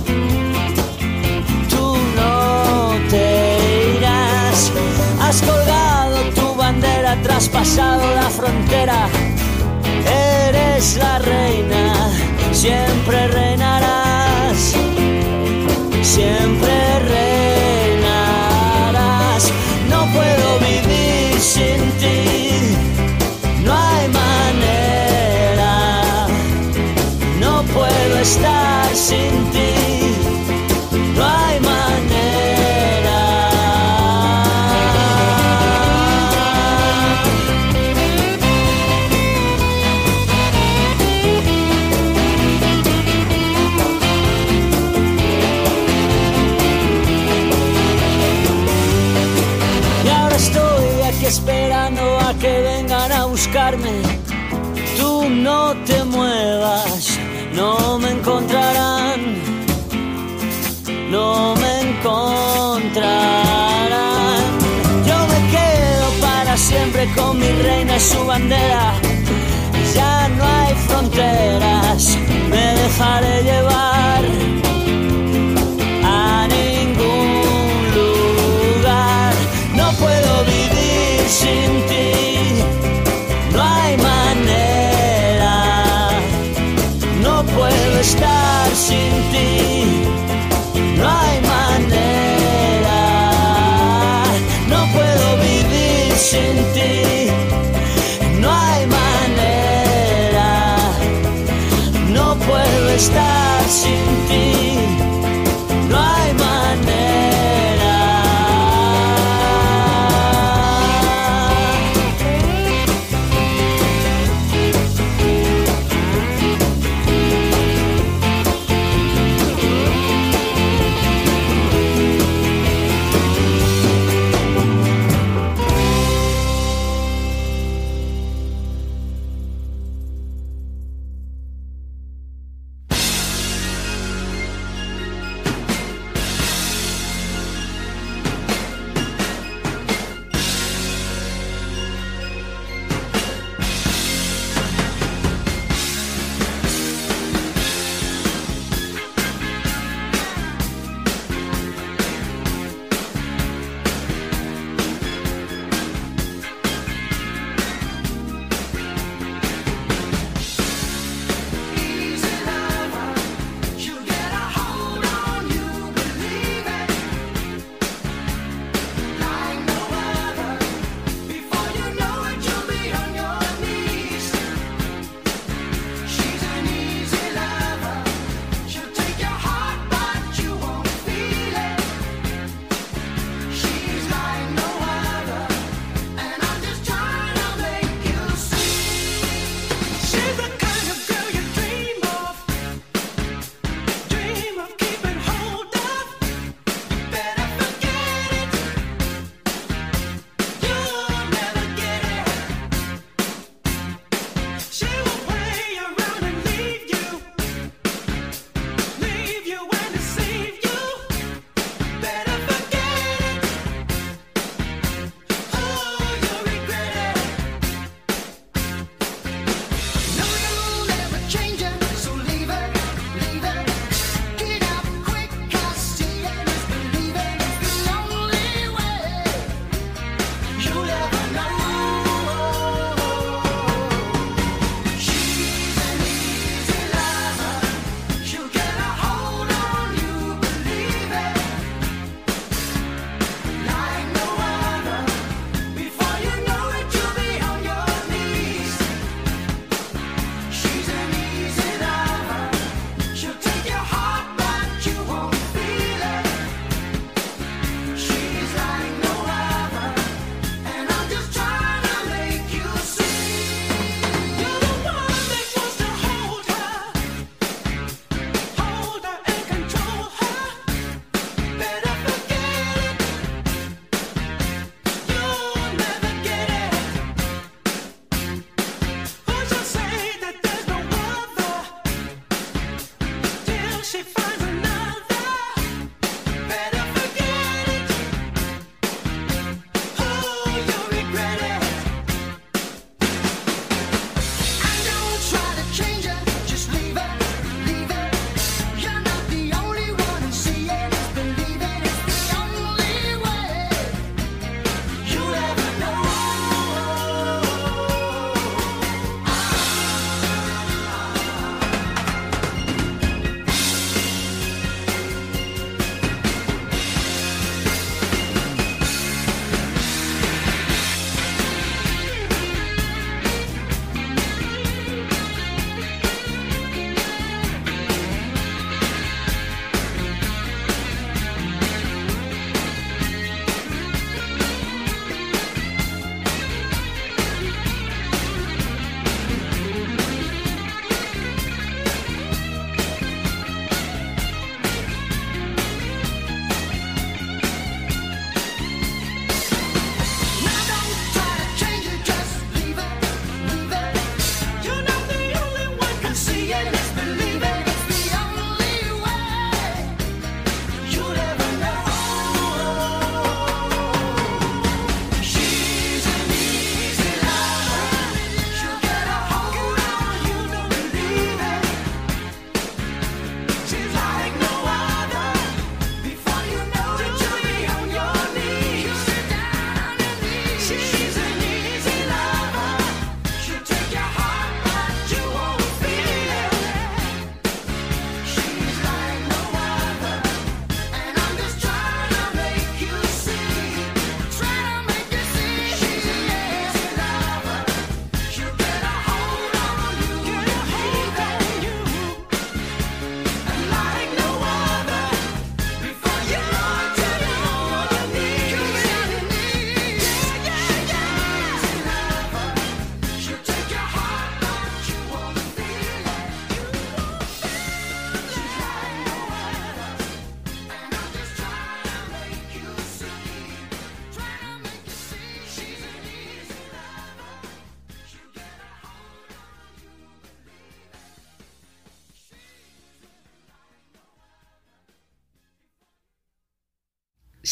tú no te irás. Has colgado tu bandera, traspasado la frontera. Eres la reina, siempre reinarás, siempre reinarás. No puedo vivir sin ti, no hay manera, no puedo estar sin ti, no hay manera. Y ahora estoy aquí esperando a que vengan a buscarme. Tú no te muevas, no me encontrarán, no me encontrarán. Yo me quedo para siempre con mi reina y su bandera. Ya no hay fronteras, me dejaré llevar a ningún lugar. No puedo vivir sin ti, no hay manera, no puedo estar sin ti, no hay manera, no puedo vivir sin ti, no hay manera, no puedo estar sin ti, no hay manera.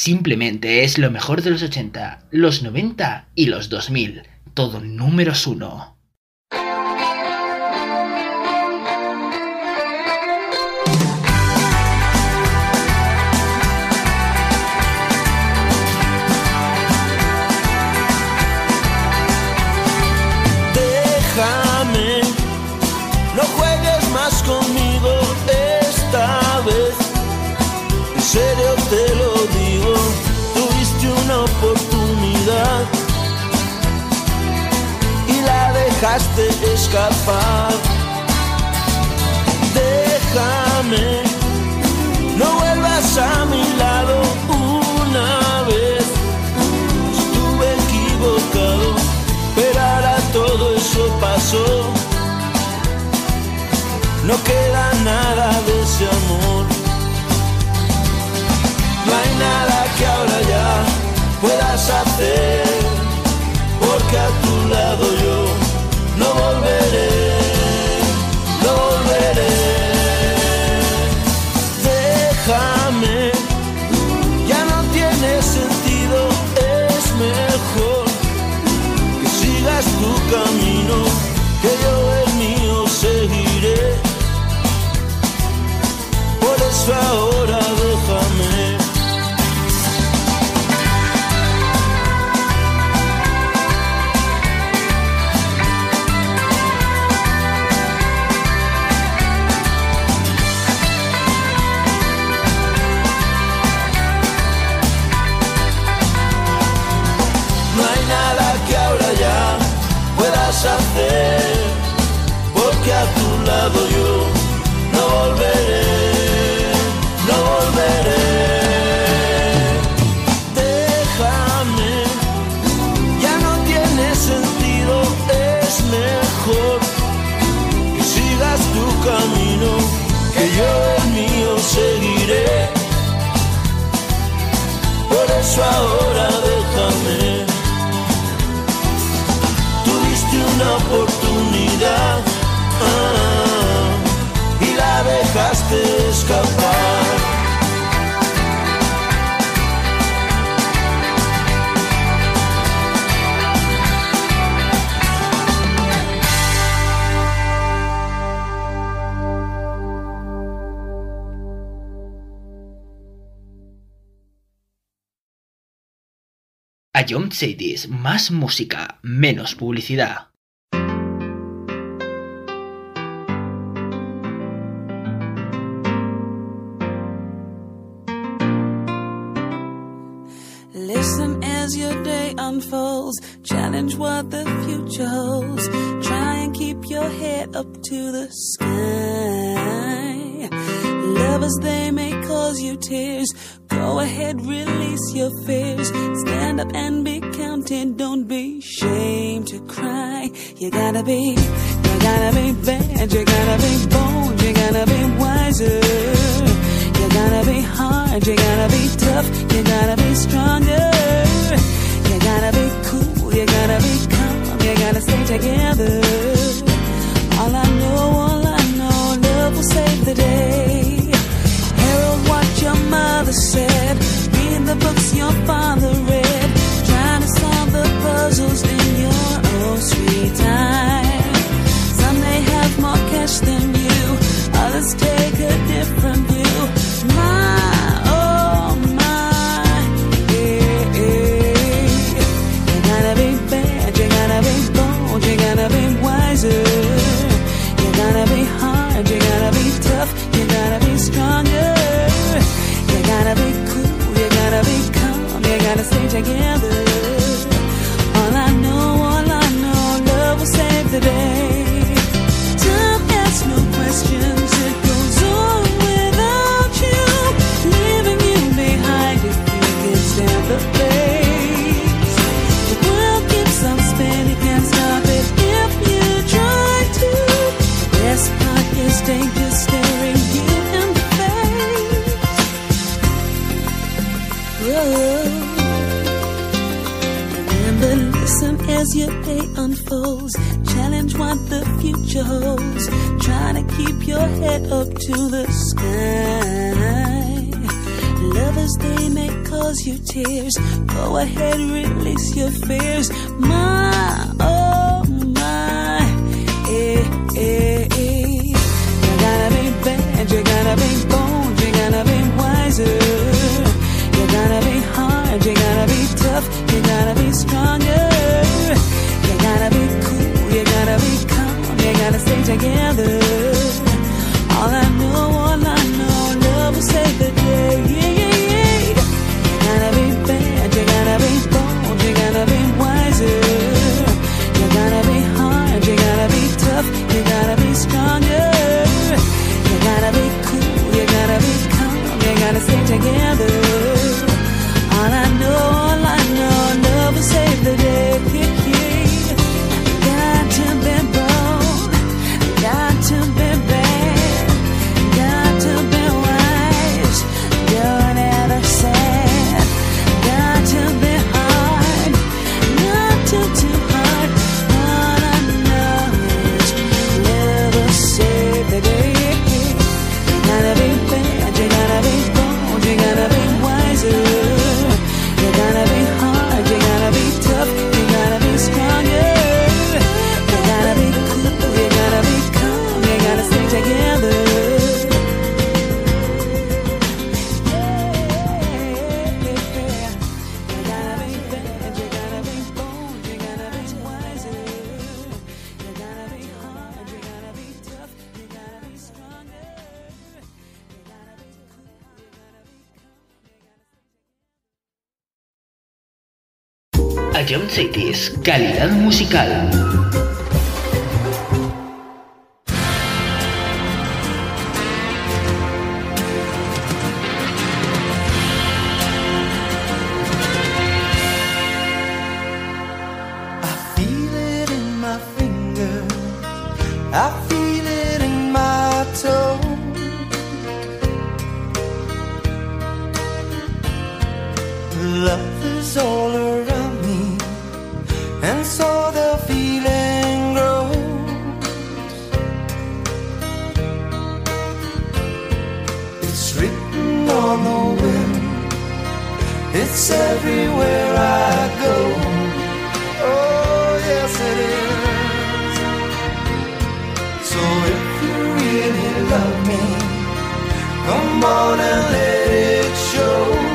Simplemente es lo mejor de los ochenta, los noventa y los dos mil. Todo números uno. Déjame, no juegues más conmigo esta vez. En serio te lo digo, tuviste una oportunidad y la dejaste escapar. Déjame, no vuelvas a mi lado una vez. Estuve equivocado, pero ahora todo eso pasó. No queda nada de ese amor. No hay nada que ahora ya puedas hacer, porque a tu lado yo no volveré, no volveré. Déjame, ya no tiene sentido, es mejor que sigas tu camino, que yo el mío seguiré. Por eso ahora déjame. Hacer, porque a tu lado yo no volveré, no volveré. Déjame, ya no tiene sentido, es mejor que sigas tu camino, que yo el mío seguiré. Por eso ahora déjame. Una oportunidad ah, y la dejaste escapar. A John Sadis, más música, menos publicidad. Listen as your day unfolds, challenge what the future holds, try and keep your head up to the sky. Lovers, they may cause you tears, go ahead, release your fears, stand up and be counted, don't be ashamed to cry. You gotta be, you gotta be bad, you gotta be bold, you gotta be wiser. You gotta be hard, you gotta be tough, you gotta be stronger. You gotta be cool, you gotta be calm, you gotta stay together. All I know, all I know, love will save the day. Herald what your mother said, read the books your father read, trying to solve the puzzles in your own sweet time. Some may have more cash than you, others take a different view. My, oh my, yeah, yeah. You gotta be bad, you gotta be bold, you gotta be wiser. You gotta be hard, you gotta be tough, you gotta be stronger. You gotta be cool, you gotta be calm, you gotta stay together. All I know, all I know, love will save the day. Time asks no questions, it goes on without you, leaving you behind if you can stand the pace. The world keeps on spinning, can't stop it if you try to. The best part is danger staring you in the face. Whoa. Remember, listen as your day unfolds, challenge what the future holds, try to keep your head up to the sky. Lovers, they may cause you tears. Go ahead, release your fears. My, oh my, eh, eh, eh. You gotta be bad, you gotta be bold, you gotta be wiser. You gotta be hard, you gotta be tough, you gotta be stronger. You gotta be cool, you gotta be calm, you gotta stay together. All I know, all I know, love will save the day. Yeah, yeah, yeah. You gotta be bad, you gotta be bold, you gotta be wiser. You gotta be hard, you gotta be tough, you gotta be stronger. You gotta be cool, you gotta be calm, you gotta stay together. All I know, all I know, love will save the day. Yeah, yeah. Got to be bold, got to be bad, got to be wise, don't ever sad. Got to be hard, not too too hard. All I know is love will save the day. You gotta be bad, you gotta be bold, you gotta be wiser. You gotta be hard, you gotta be tough, you gotta be stronger. You gotta be cool, you gotta be calm, you gotta stay together. You gotta be bad, you gotta be bold, you gotta be wiser. You gotta be hard, you gotta be tough, you gotta be stronger. You gotta be cool, you gotta be calm, you gotta Ion Cities, calidad musical. I feel it in my finger, I feel it in my toe. Love is all around me, and so the feeling grows. It's written on the wind, it's everywhere I go. Oh, yes it is. So if you really love me, come on and let it show.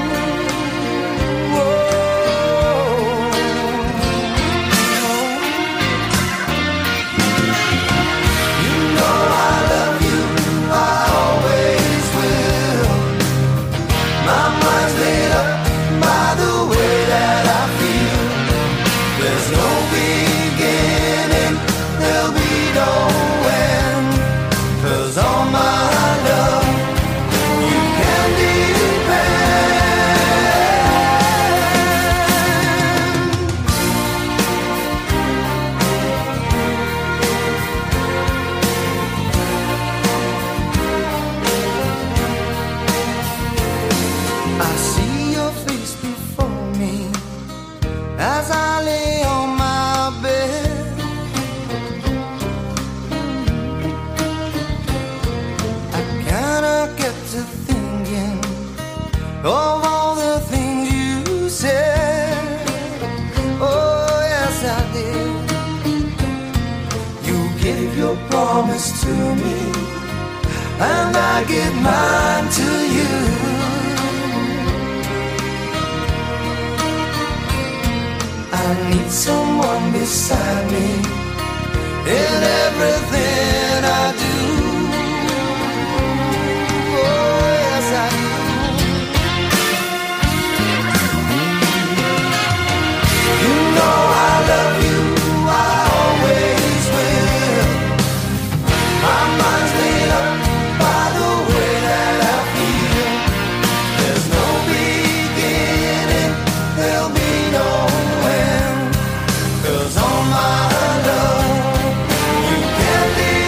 Of all the things you said, oh yes I did. You gave your promise to me, and I give mine to you. I need someone beside me in everything I do. Oh yes I do. I love you, I always will. My mind's made up by the way that I feel. There's no beginning, there'll be no end. 'Cause all my love, you can't leave.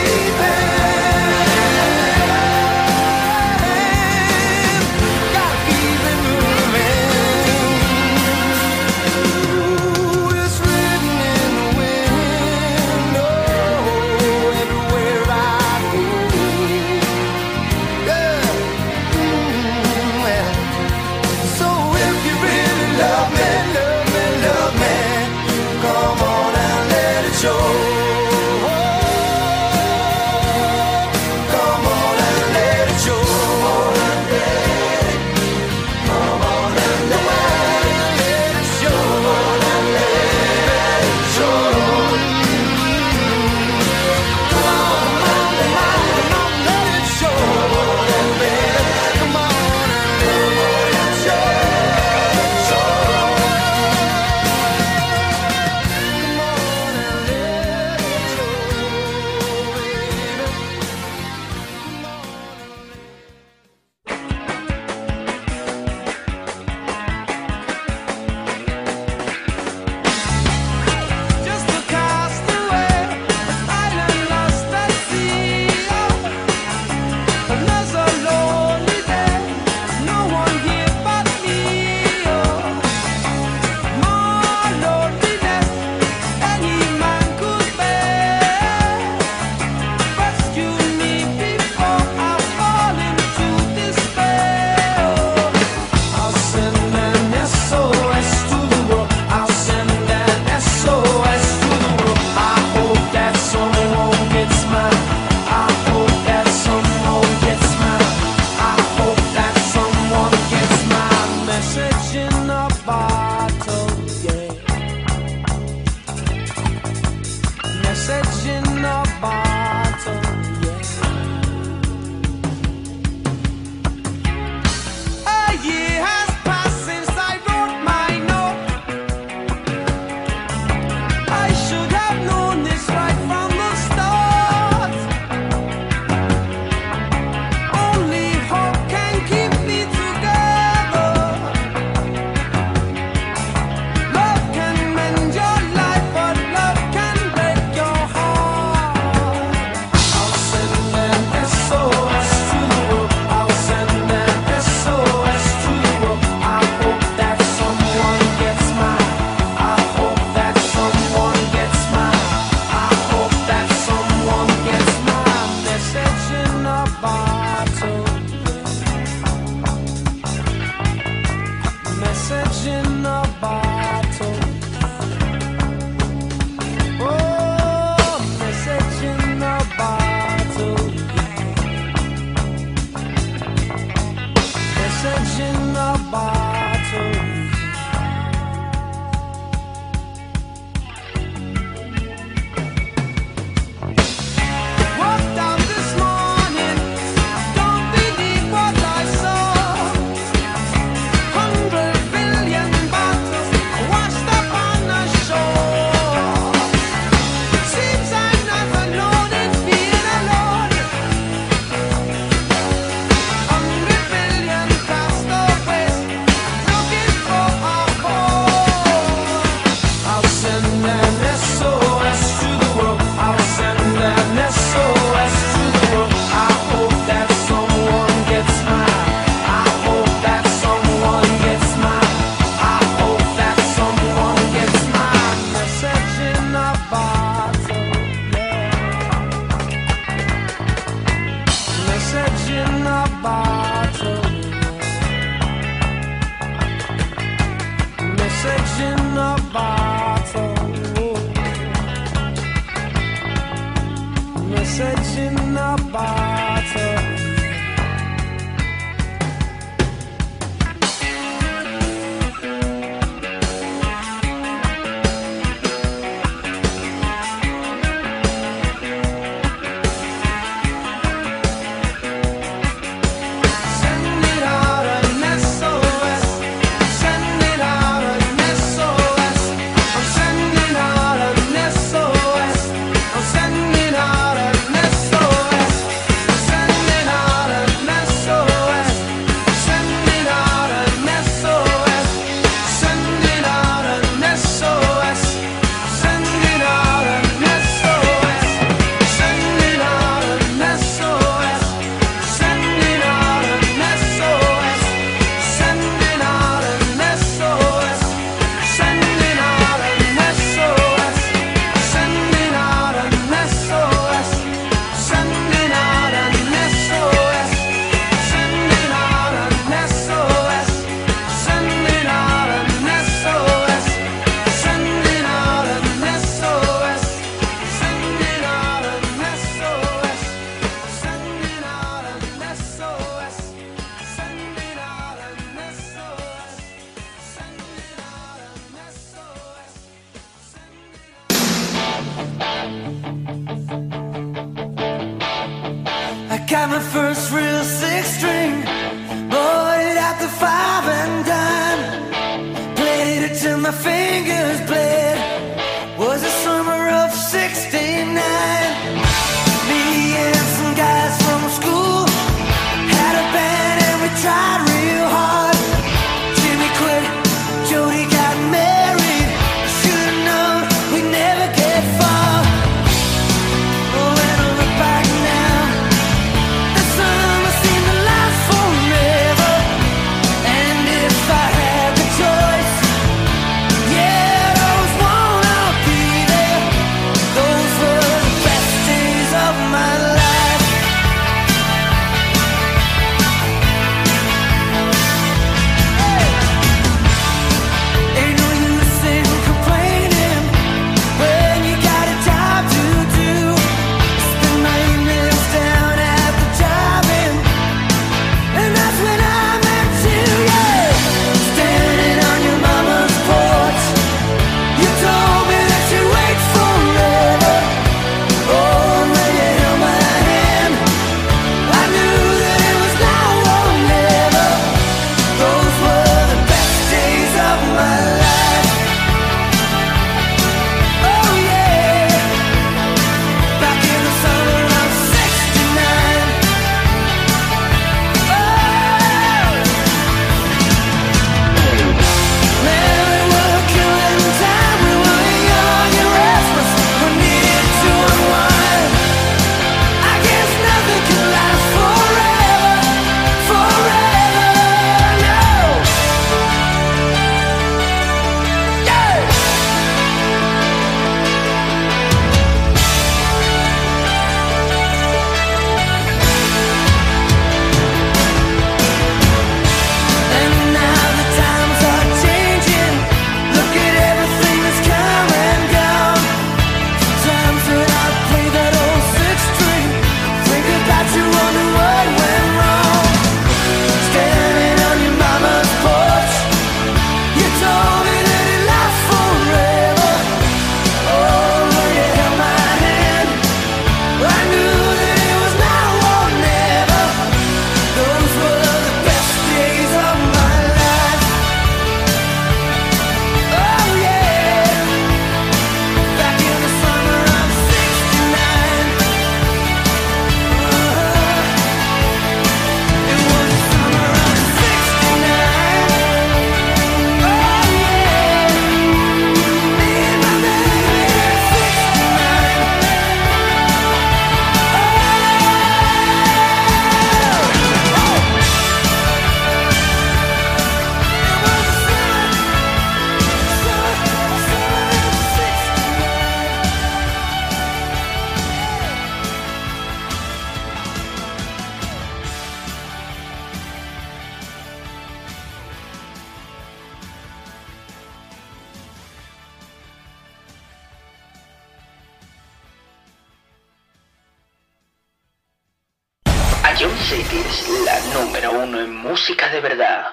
Ion City es la número uno en música de verdad.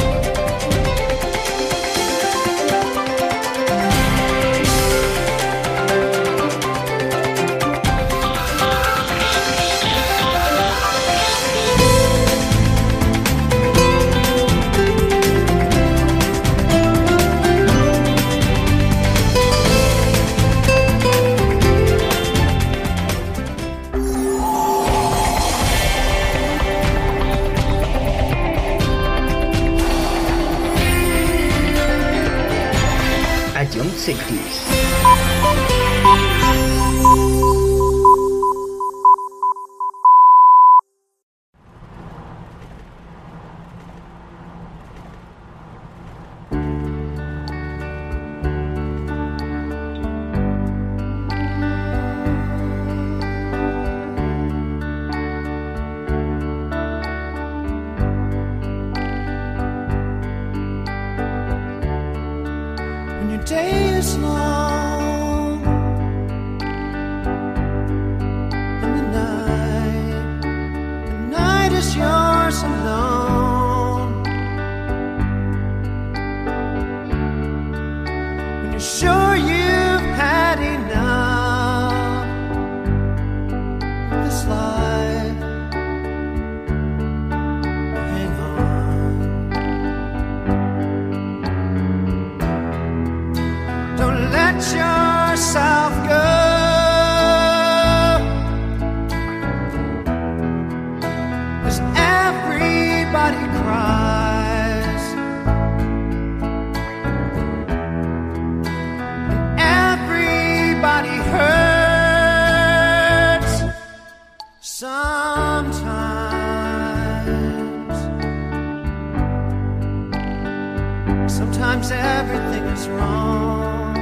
Ion City. Day is long and the night, the night is yours alone. When you're sure you've had enough of this life, hang on. Don't let yourself go, 'cause everybody cries and everybody hurts sometimes. Sometimes everything is wrong.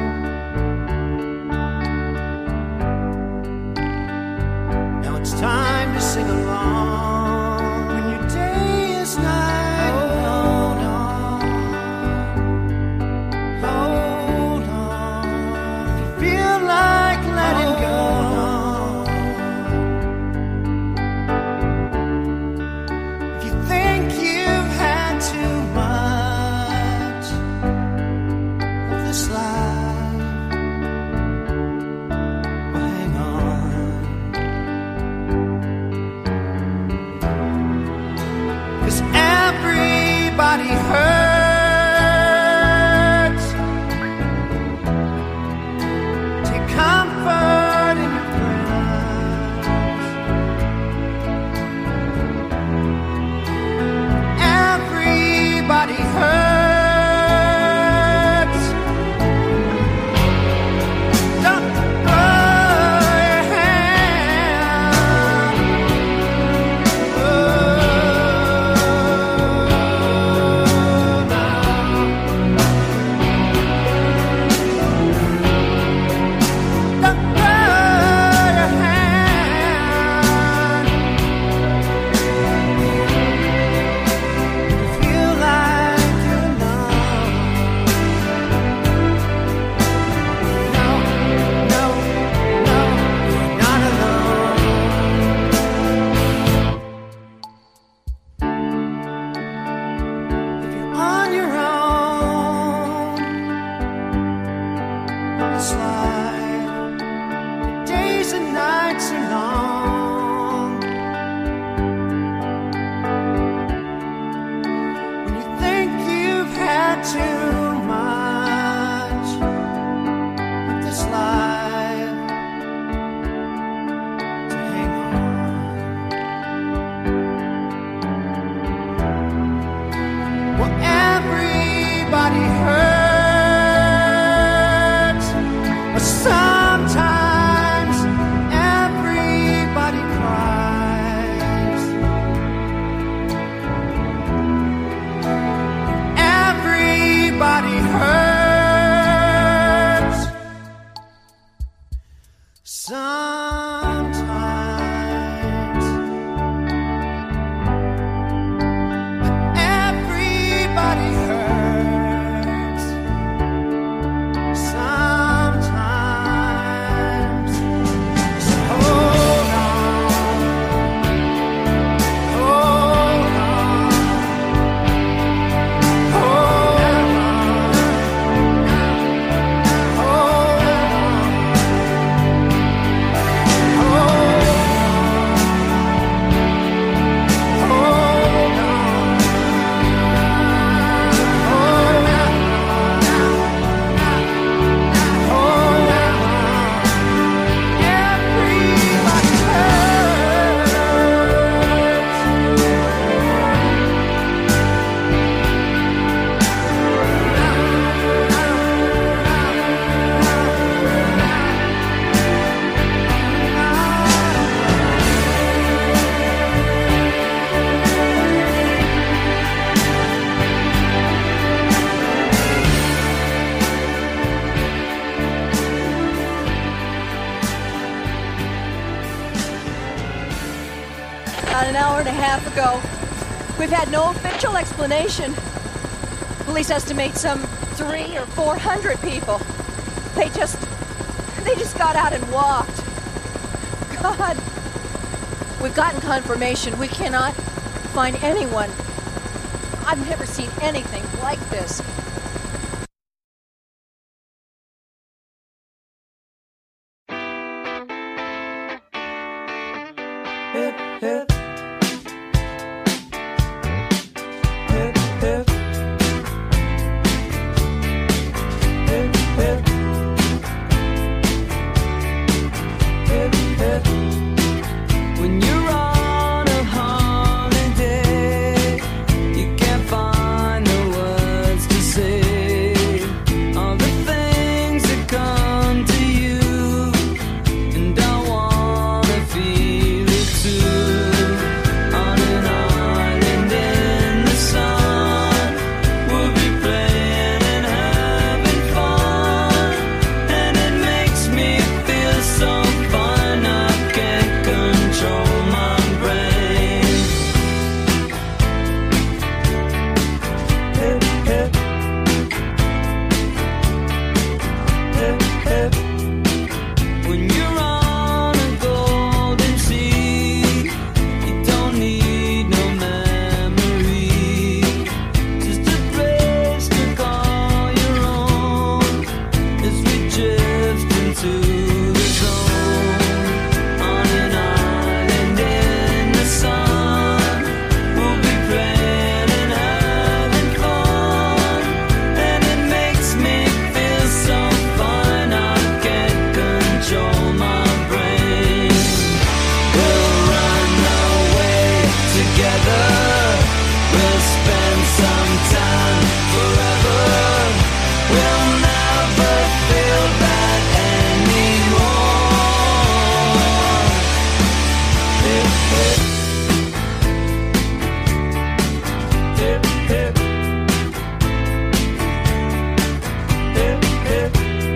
It's time to sing along when your day is night. Hold on, hold on. If you feel like letting go, if you think you've had too much of this life, well, hang on. 'Cause everybody hurts. Take comfort in your friends. Everybody hurts. Don't throw your hand. Oh. Sometimes every about an hour and a half ago. We've had no official explanation. Police estimate some three or four hundred people. They just... they just got out and walked. God. We've gotten confirmation. We cannot find anyone. I've never seen anything like this. Hip, hip. Hip, hip. Hip, hip. Hip, hip. When you're on a holiday, you can't find the words to say all the things that come to you, and I wanna feel it too. On an island in the sun, we'll be playing and having fun, and it makes me feel so fine I can't control my brain. Hip, hip. Hip, hip. When you're on a golden sea, you don't need no memory, just a place to call your own as we drift into the zone. On an island in the sun, we'll be playing and having fun, and it makes me feel so fine I can't control my brain. We'll run away together, we'll spend some time forever, we'll never feel bad anymore. Hip, hip. Hip, hip. Hip, hip.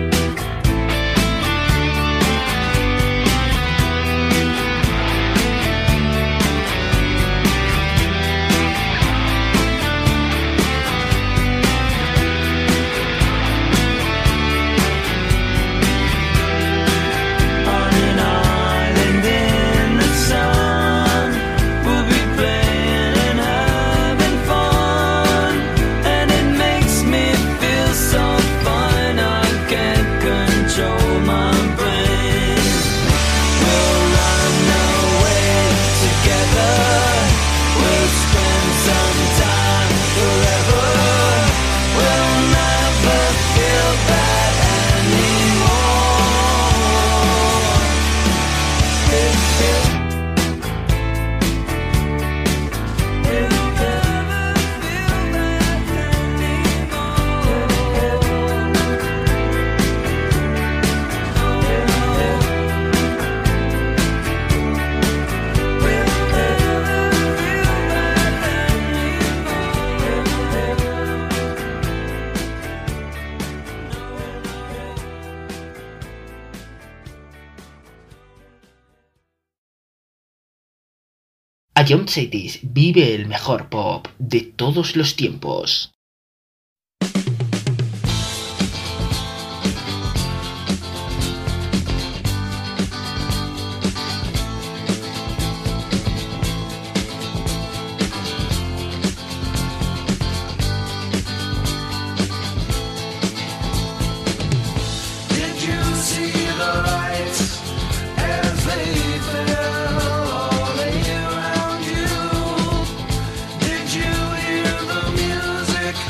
On an island in the sun, we'll be playing and having fun, and it makes me feel so fine I can't control my brain. We'll run away together, we'll spend some time forever, we'll never feel bad anymore. Hip, hip. We'll never feel bad anymore. Hip, hip. We'll never feel bad Ion Cities vive el mejor pop de todos los tiempos. Did you see the lights as they fell all around you? Did you hear the music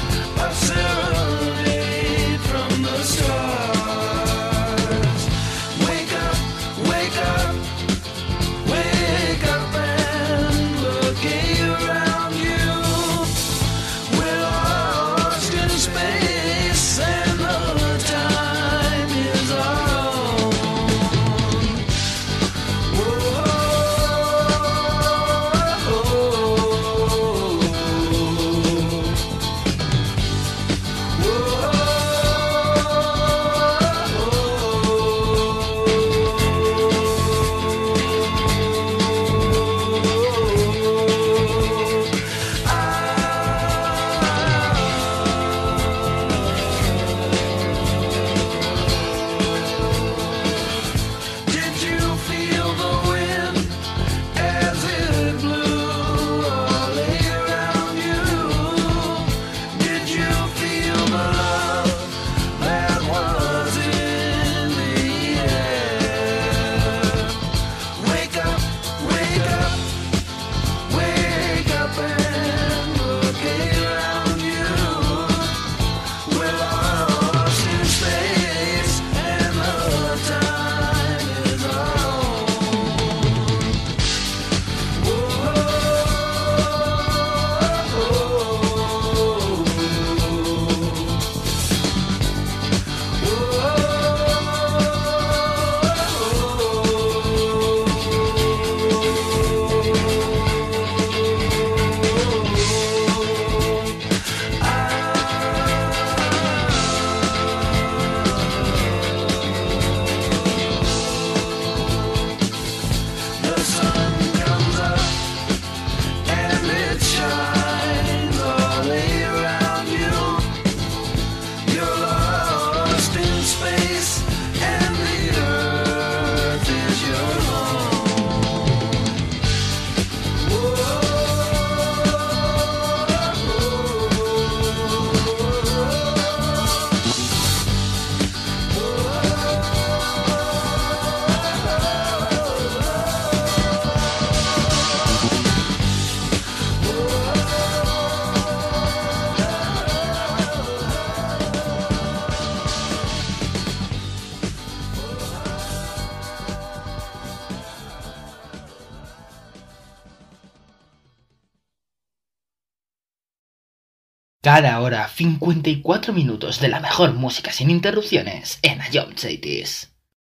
Cada hora, cincuenta y cuatro minutos de la mejor música sin interrupciones en Ion Cities.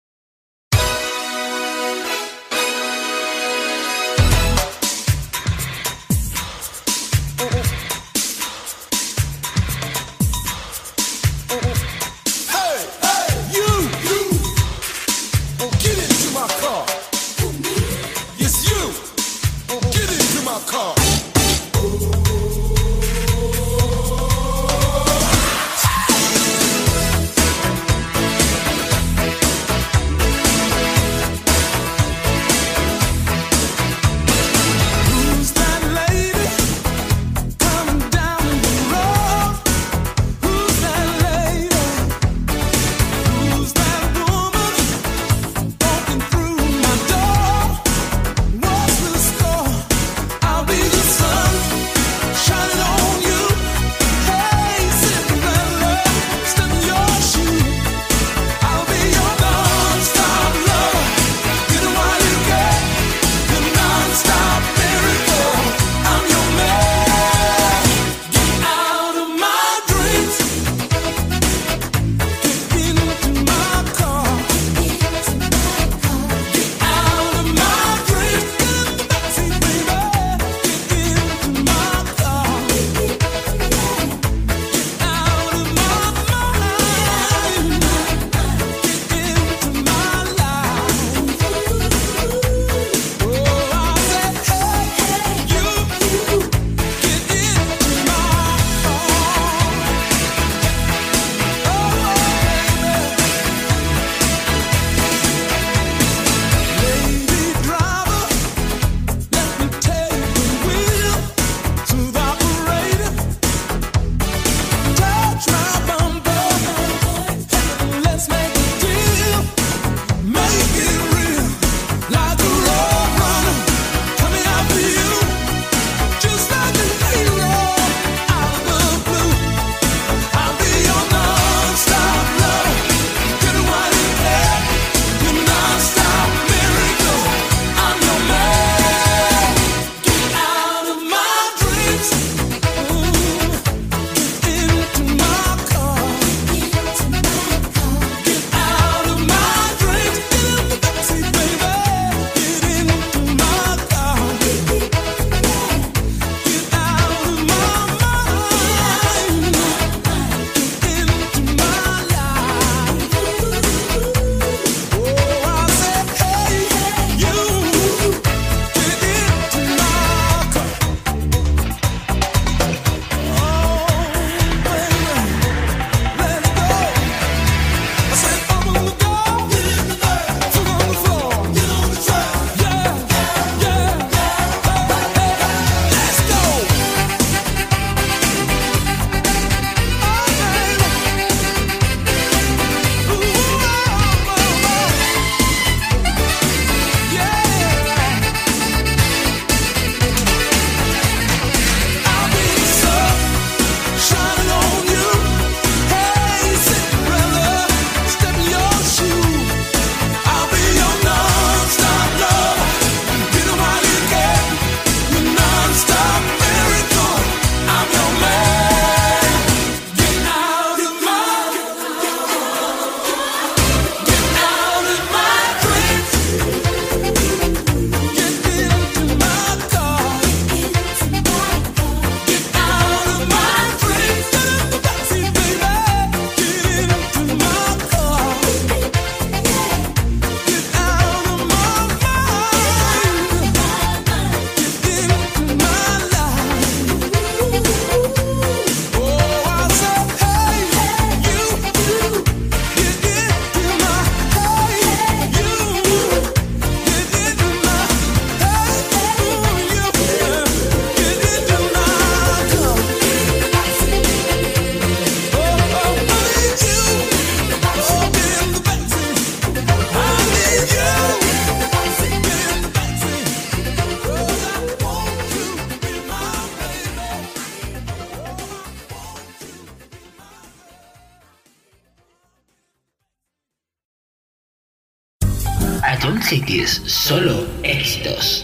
Ion Cities, solo éxitos.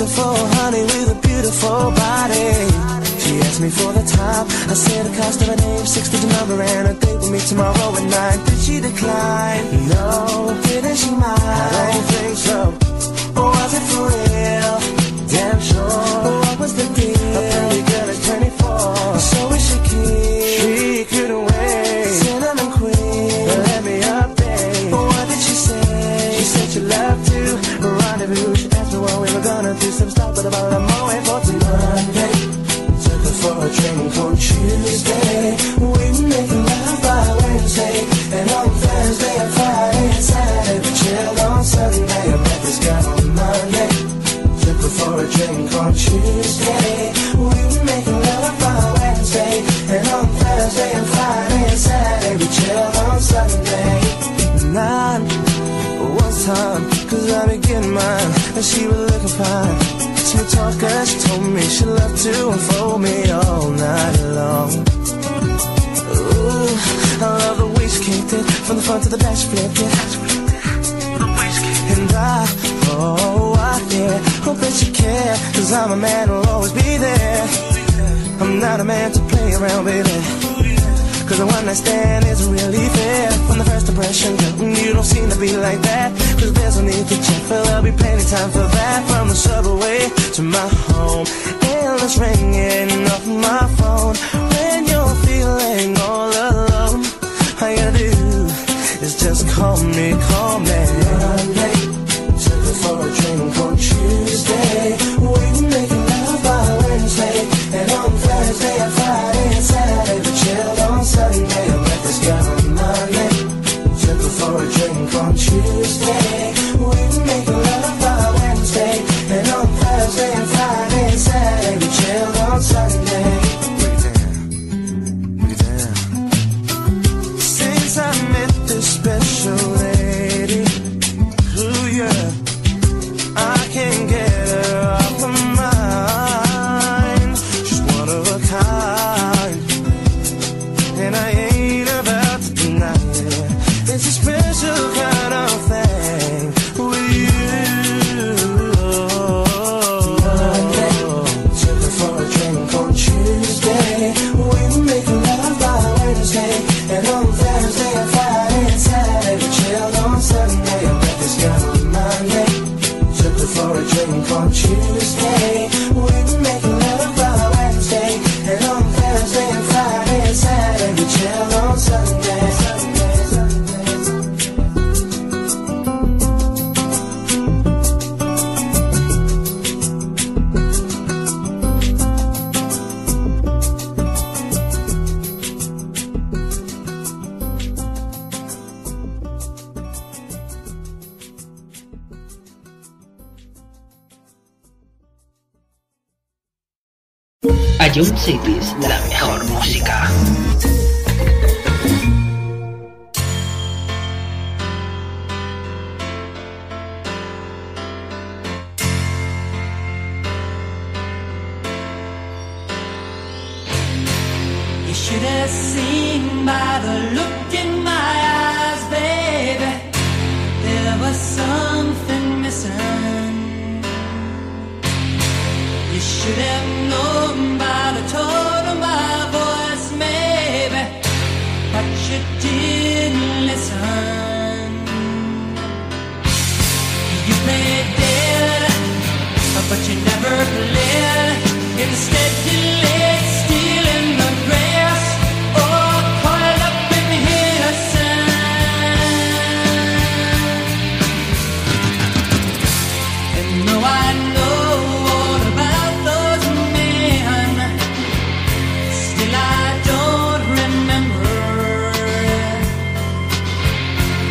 beautiful honey with a beautiful body. She asked me for the time. I said the cost of a name, six-digit number, and a date with me tomorrow at nine. Did she decline? No. Didn't she mind? I don't think so. Or was it for real? Damn sure. What was the deal? A pretty girl is twenty-four. So is she keen? She couldn't wait. Cinnamon queen, let me update. What did she say? She said she loved to rendezvous. She asked me what we were gonna do. Some stuff, but about a more way for Monday. Took her for a drink on Tuesday. We make love by Wednesday. And on Thursday and Friday and Saturday we chilled on Sunday. I met this girl on Monday. Took her for a drink on Tuesday. We make love by Wednesday. And on Thursday and Friday and Saturday we chilled on Sunday. Nine was time, cause I be getting mine. And she was looking fine. Smooth talker, she told me she loved to unfold me all night long. Ooh, I love the way she kicked it. From the front to the back she flipped it. And I, oh, I, yeah, hope that you care. Cause I'm a man who'll always be there. I'm not a man to play around, baby. Cause the one night stand isn't really fair. From the first impression, girl, you don't seem to be like that. Cause there's no need to check, but there'll be plenty time for that. From the subway to my home, endless ringing off my phone. When you're feeling all alone, all you gotta do is just call me, call me. Monday, took her for a drink on Tuesday. We making love by Wednesday. And on Thursday and Friday and Saturday we chilled on Sunday. I met this girl on Monday. Took her for a drink on Tuesday. We making love by Wednesday. And on Thursday and Friday and Saturday we chilled on Sunday. Break it down, break it down. Since I met this special lady, ooh yeah, I can't get her off my mind. She's one of a kind, and I ain't about to deny it. It's a special kind of thing with you. Monday, took her for a drink on Tuesday. We make love by Wednesday. And on Thursday and Friday and Saturday we chilled on Sunday. I met this girl on Monday. Took her for a drink on Tuesday. We make love by Wednesday. And on Thursday and Friday and Saturday we chilled on Sunday. Sunday, Sunday, Ion Cities, la mejor música. You should have seen by the look in my eyes, baby, there was something missing. You should have known by the tone of my voice, maybe, but you didn't listen. You played dead, but you never played. Instead you lay still in the grass, or coiled up in here sand. And though I know all about those men, still I don't remember.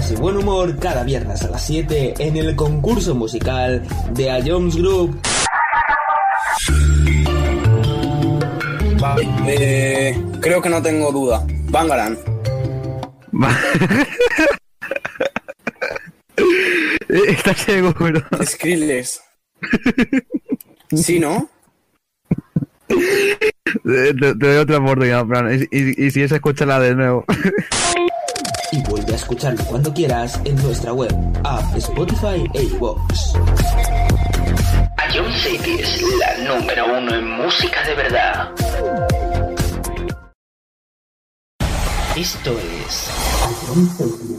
risas y buen humor cada viernes a las siete en el concurso musical de A Jones Group. Vale, eh, creo que no tengo duda. Bangaran. ¿Estás seguro? Skrillex. ¿Sí, no? Te, te doy otra oportunidad, Fran. Y, y, y si es, escúchala de nuevo. Y vuelve a escucharlo cuando quieras en nuestra web, app, Spotify e iVoox. Ion City es la número uno en música de verdad. Esto es Ion City.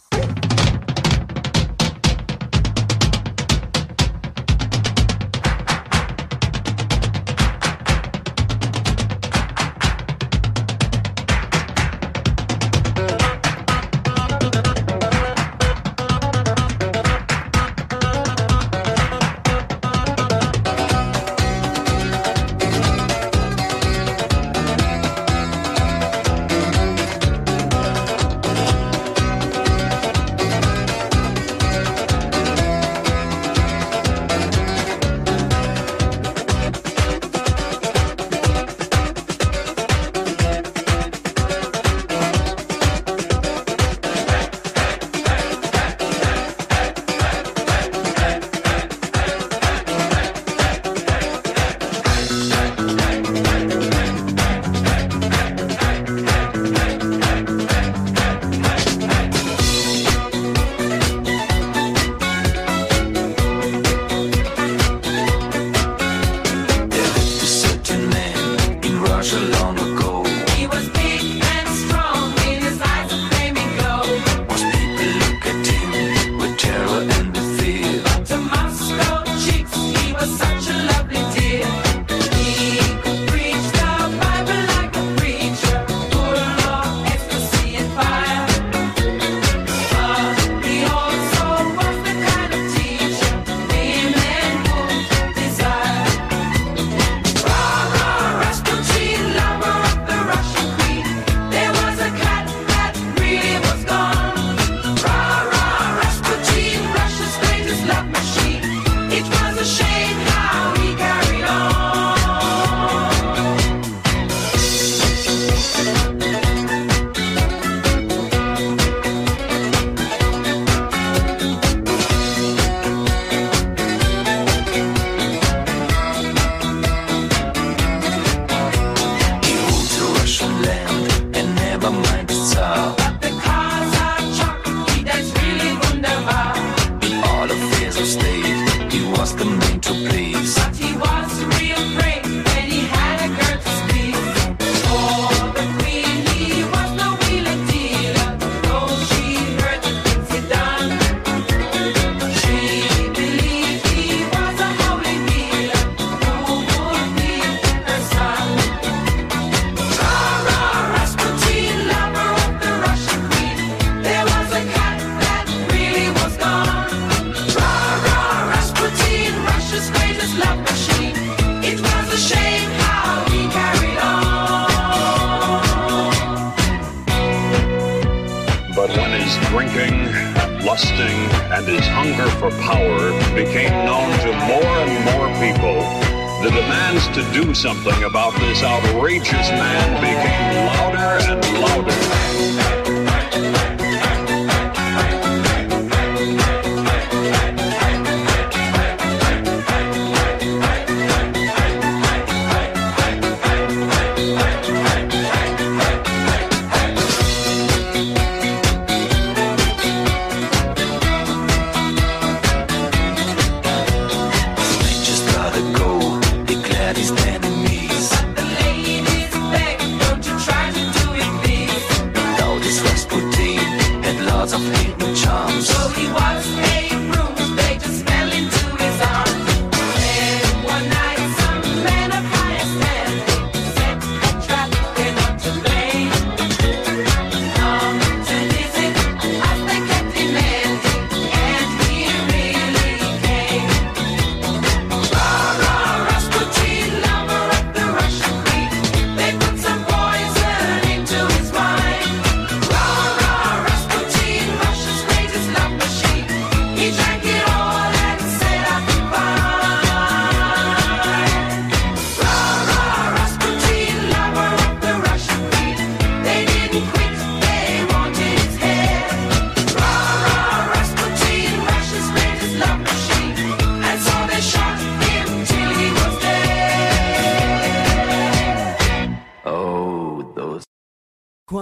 Something about this outrageous man became louder and louder.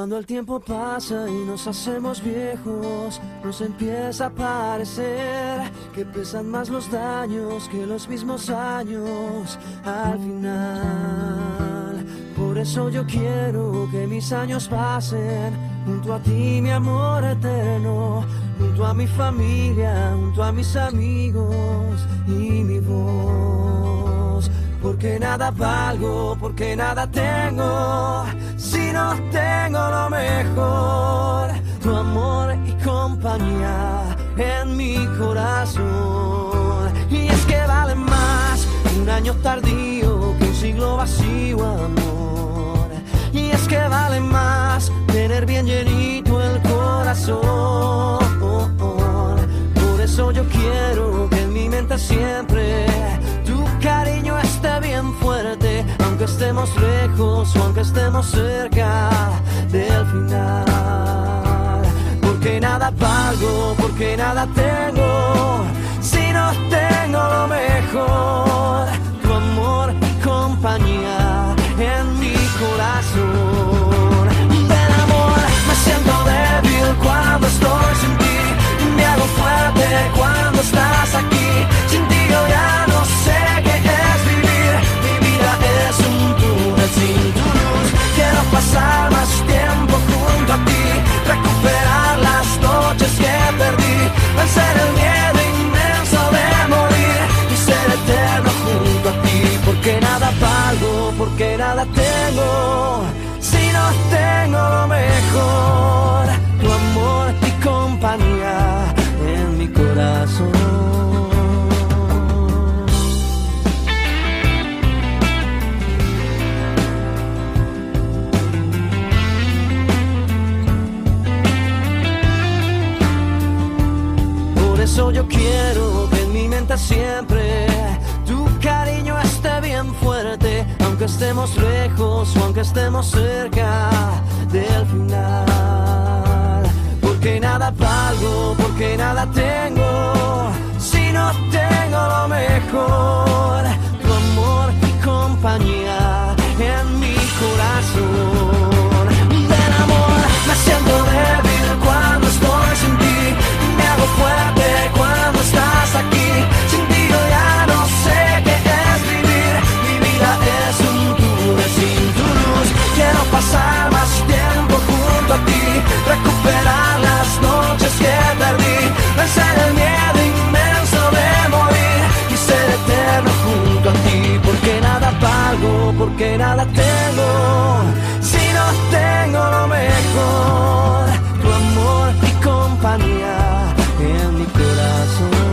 Cuando el tiempo pasa y nos hacemos viejos, nos empieza a parecer que pesan más los daños que los mismos años al final. Por eso yo quiero que mis años pasen junto a ti, mi amor eterno, junto a mi familia, junto a mis amigos y mi voz. Porque nada valgo, porque nada tengo, si no tengo lo mejor, tu amor y compañía en mi corazón. Y es que vale más un año tardío que un siglo vacío, amor. Y es que vale más tener bien llenito el corazón. Por eso yo quiero que en mi mente siempre tu cariño esté bien fuerte, aunque estemos lejos o aunque estemos cerca del final. Porque nada valgo, porque nada tengo, si no tengo lo mejor, tu amor y compañía en mi corazón. Del amor me siento débil cuando estoy sin ti, me hago fuerte cuando estás aquí. Sin ti yo ya no sé qué es vivir, mi vida es un túnel sin tu luz. Quiero pasar más tiempo junto a ti, recuperar las noches que perdí, vencer el miedo inmenso de morir y ser eterno junto a ti. Porque nada valgo, porque nada tengo, si no tengo lo mejor, tu amor y compañía en mi corazón. Por eso yo quiero que en mi mente siempre tu cariño esté bien fuerte, aunque estemos lejos o aunque estemos cerca del final. Porque nada valgo, porque nada tengo, si no tengo lo mejor, tu amor y compañía en mi corazón. Del amor me siento débil cuando estoy sin ti, me hago fuerte cuando estás aquí. Sin ti yo ya no sé qué es vivir, mi vida es un túnel sin tu luz. Quiero pasar más tiempo junto a ti, recuperar las noches que perdí, vencer el miedo inmenso de morir y ser eterno junto a ti. Porque nada valgo, porque nada tengo, si no tengo lo mejor, tu amor y compañía en mi corazón.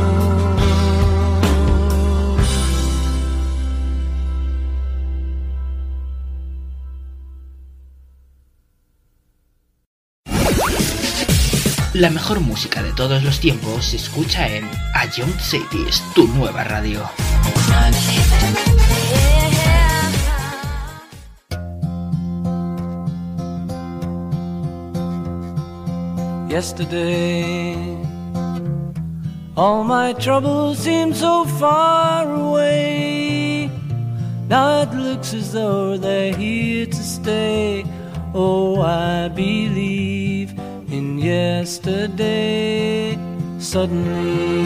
La mejor música de todos los tiempos se escucha en A Young Cities, tu nueva radio. Yesterday, all my troubles seem so far away. Now it looks as though they're here to stay. Oh, I believe in yesterday. Suddenly,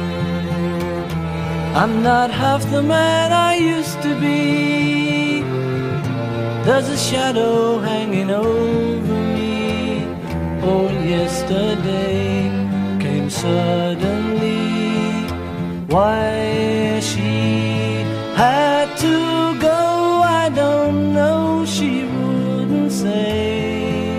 I'm not half the man I used to be. There's a shadow hanging over me. Oh, yesterday came suddenly. Why she had to go, I don't know, she wouldn't say.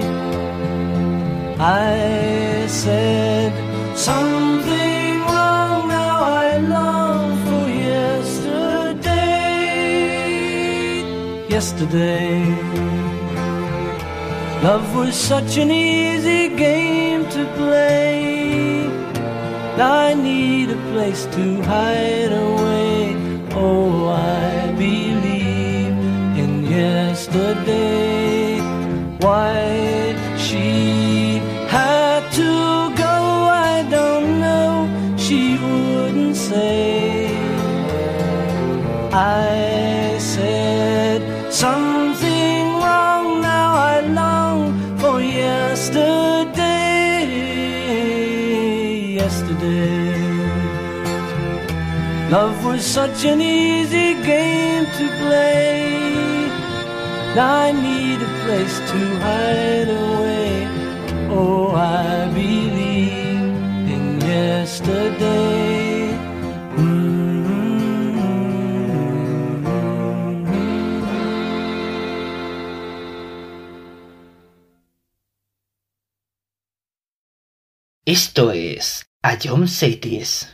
I said something wrong, now I long for yesterday. Yesterday, love was such an easy game to play. Now I need a place to hide away. Oh, I believe in yesterday. Why she had to go, I don't know, she wouldn't say. I said something wrong, now I long for yesterday. Love was such an easy game to play. Now I need a place to hide away. Oh, I believe in yesterday. Mm-hmm. Esto es A John Cities.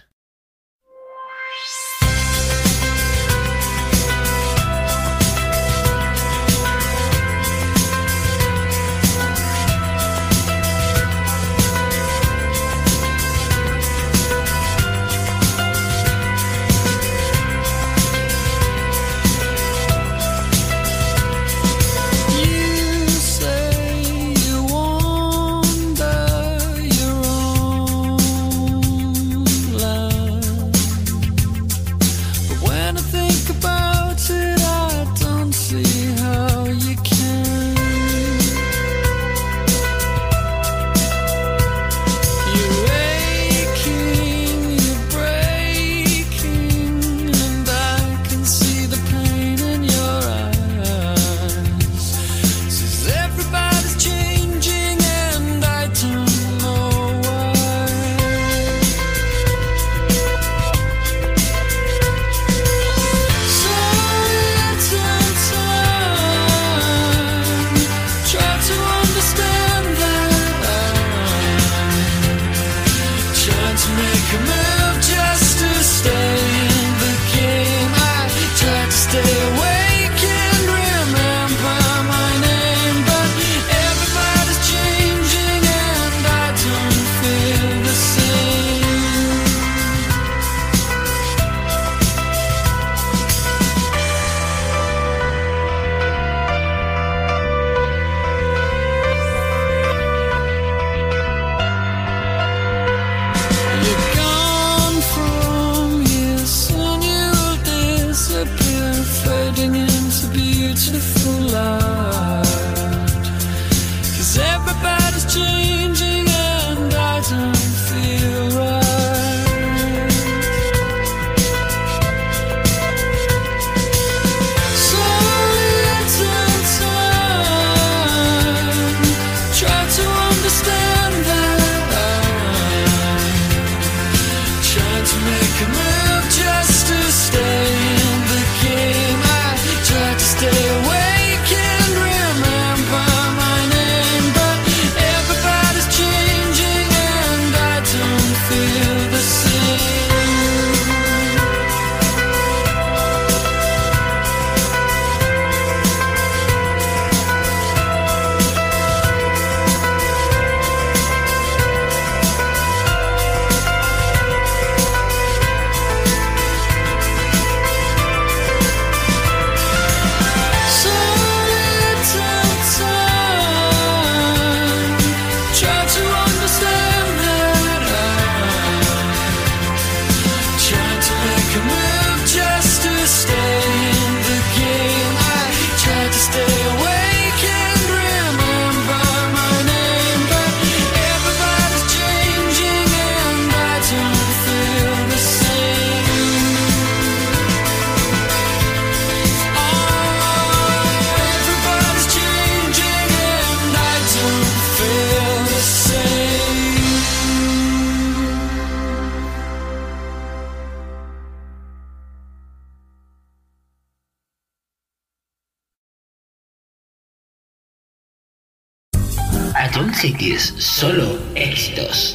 A John Cities, solo éxitos.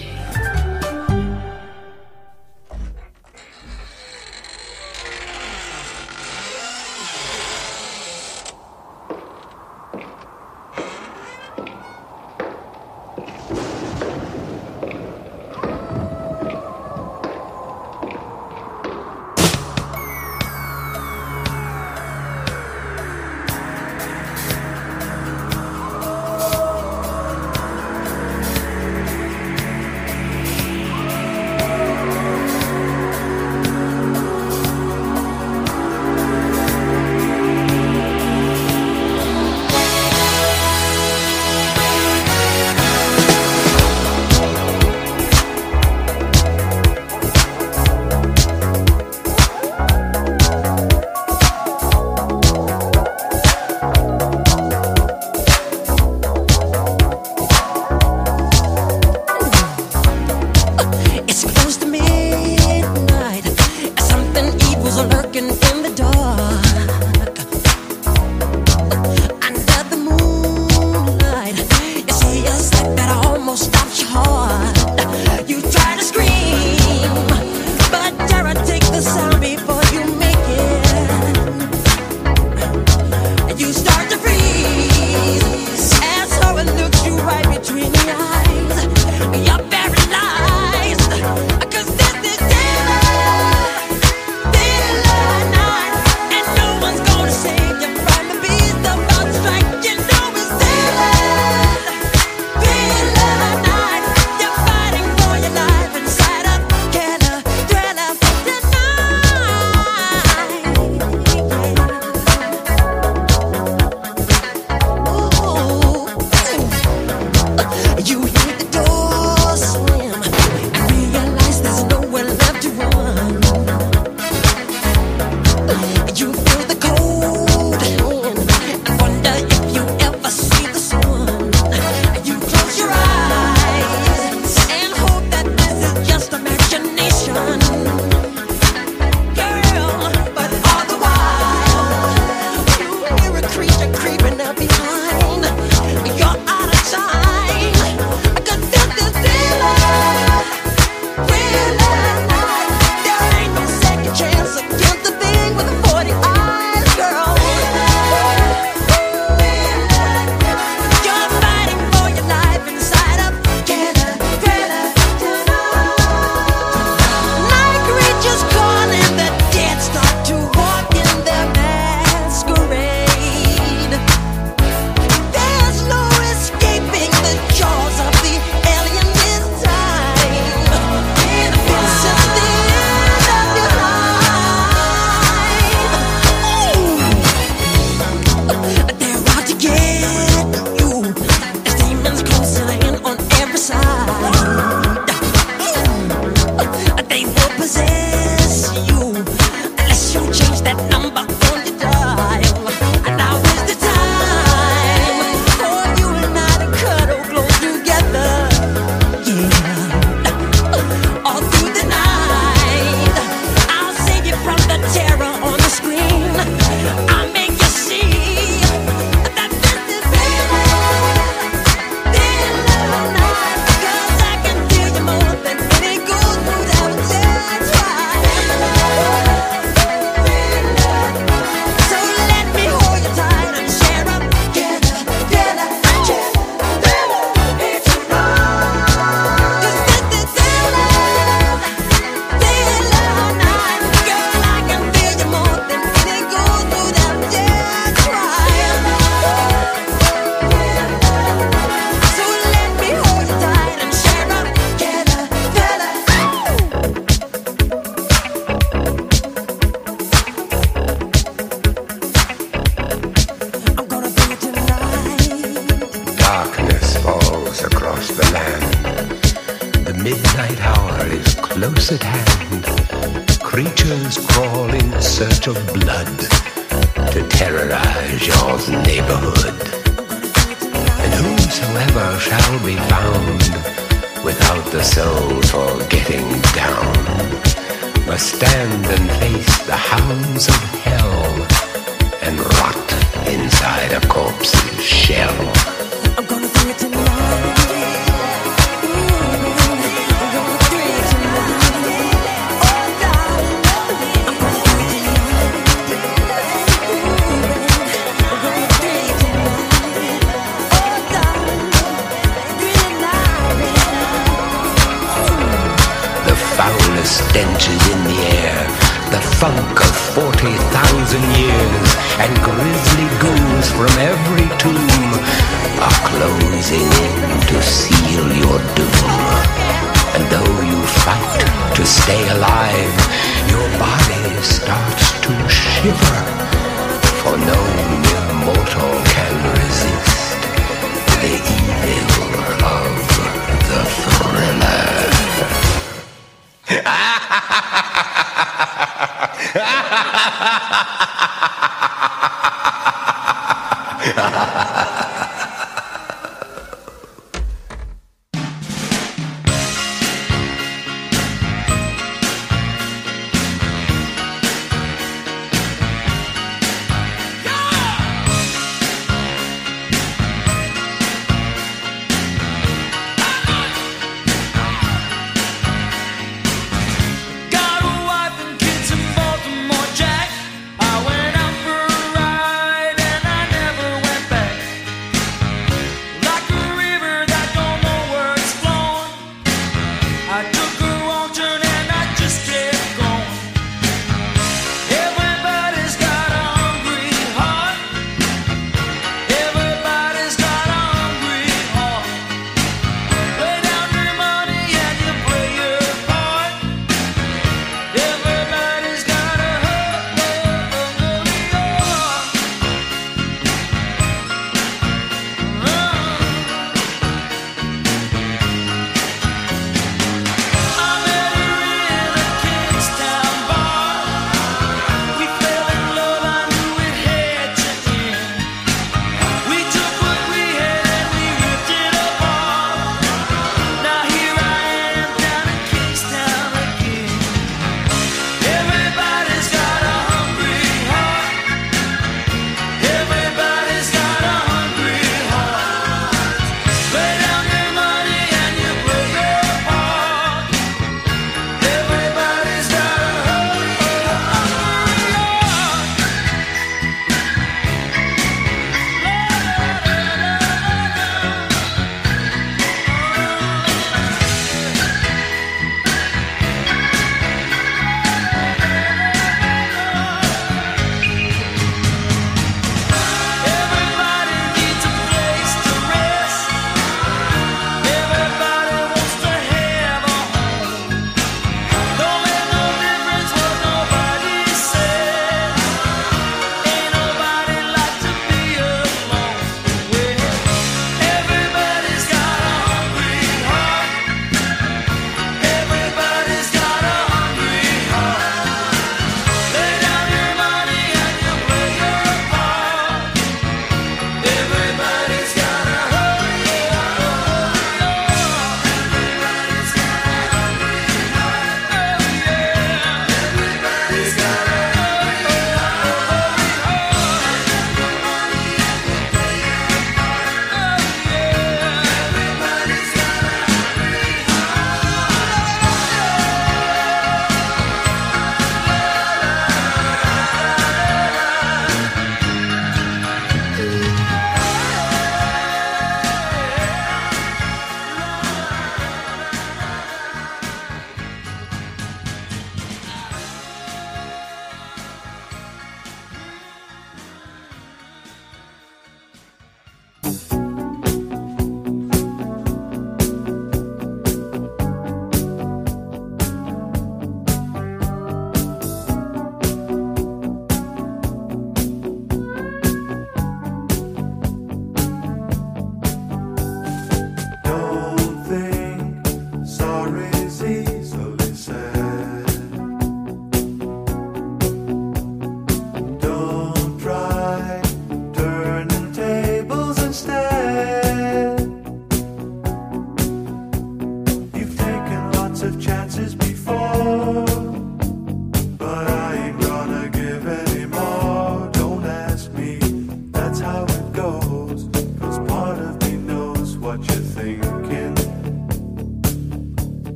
close at hand, creatures crawl in search of blood to terrorize your neighborhood. And whosoever shall be found without the soul for getting down must stand and face the hounds of hell and rot inside a corpse's shell. I'm gonna bring it tonight. Stench is in the air, the funk of forty thousand years, and grisly ghouls from every tomb are closing in to seal your doom. And though you fight to stay alive, your body starts to shiver, for no mere mortal can resist the evil of the thriller. Back.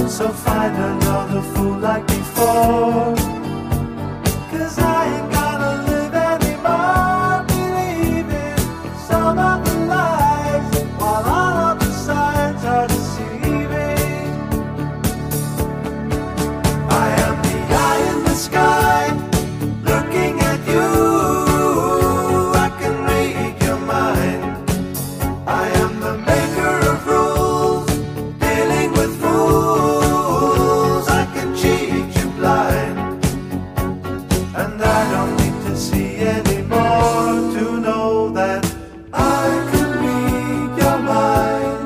So find another fool like before, 'cause I ain't gonna live anymore believing some of the lies, while all of the signs are deceiving. I am the eye in the sky, looking at you. I can read your mind. I am the maker of rules, dealing with fools. I can cheat you blind, and I don't need to see anymore to know that I can read your mind.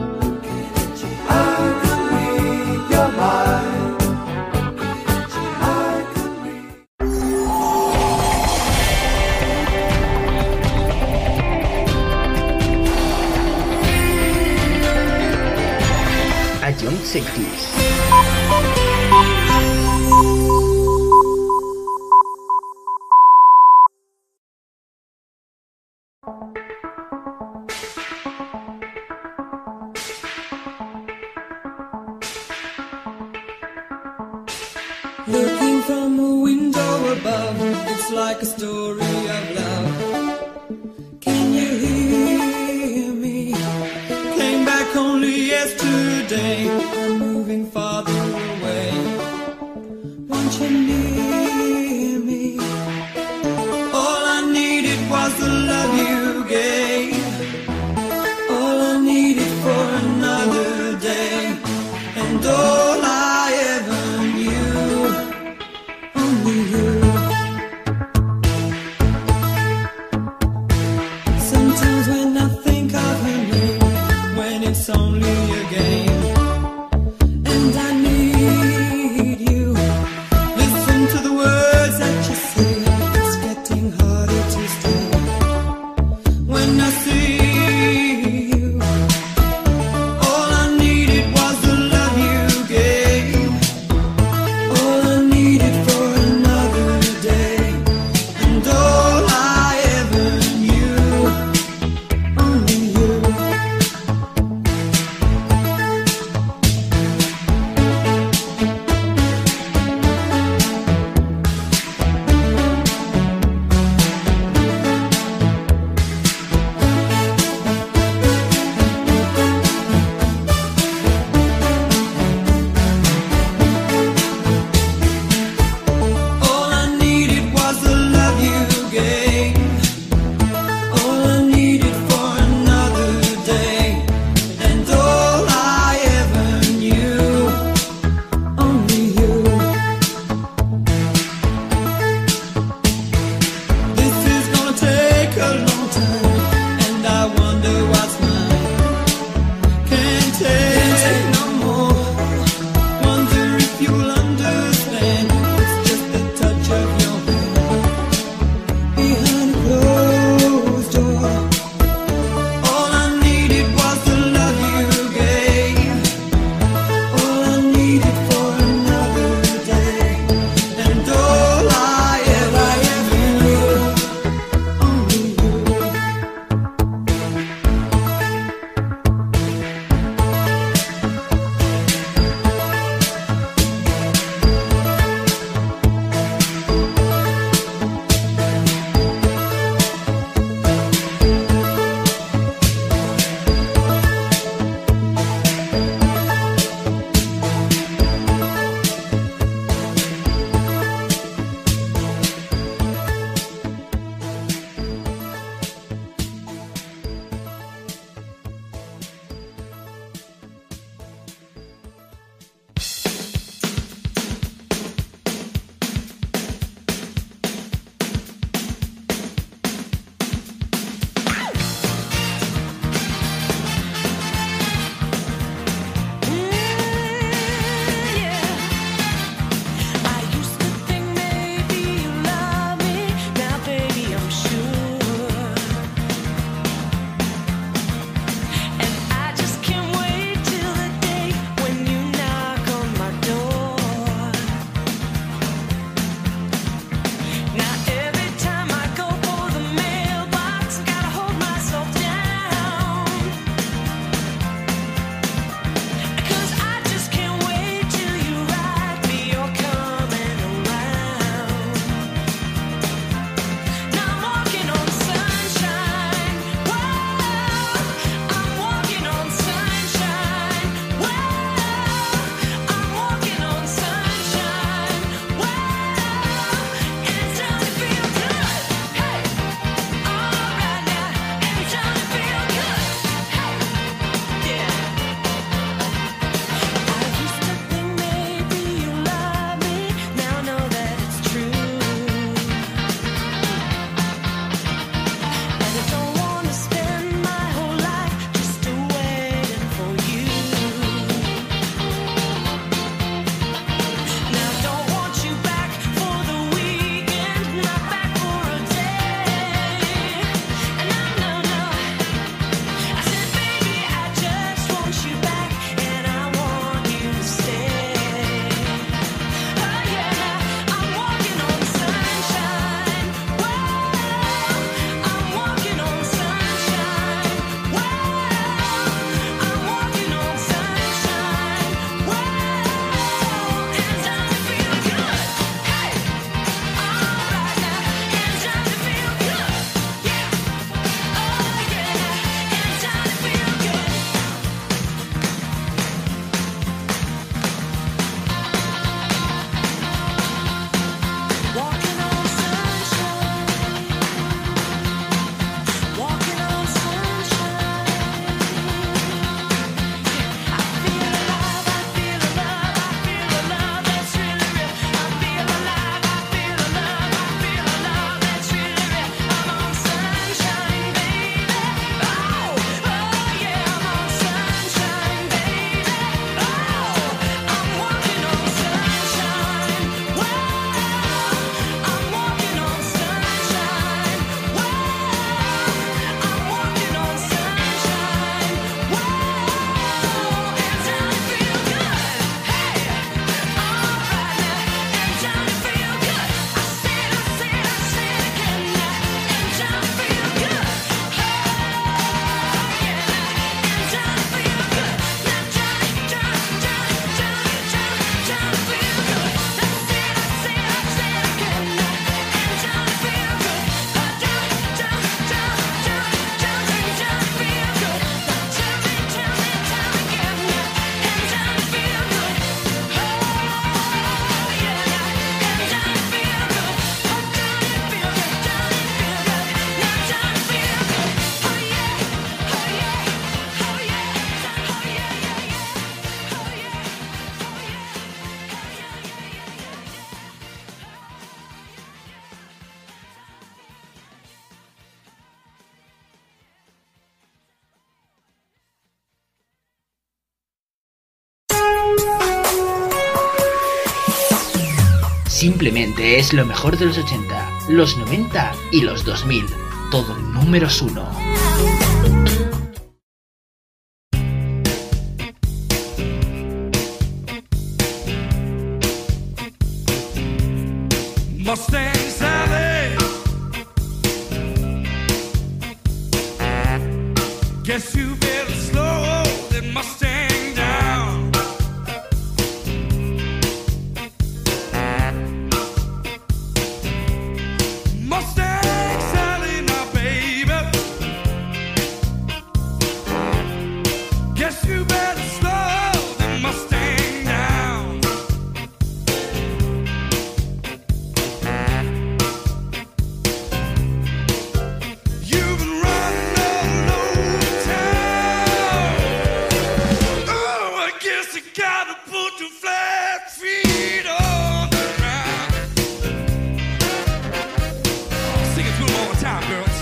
I can read your mind. I can read. Adjunct Sectors. Looking from a window above, it's like a story of love. Can you hear me? Came back only yesterday. I'm moving farther away. Want you near me? All I needed was the love you gave. All I needed for another day, and all I ever knew, only you. Sometimes when I think of her name, when it's only a game, and I Simplemente es lo mejor de los ochenta, los noventa y los dos mil. Todo números uno. Mustang Sally, guess you better slow that Mustang down. Mustang Sally, now baby, guess you better slow that Mustang down. You've been running all over town. Oh, I guess I gotta put your flat feet on the ground. Sing it to them all the time, girls.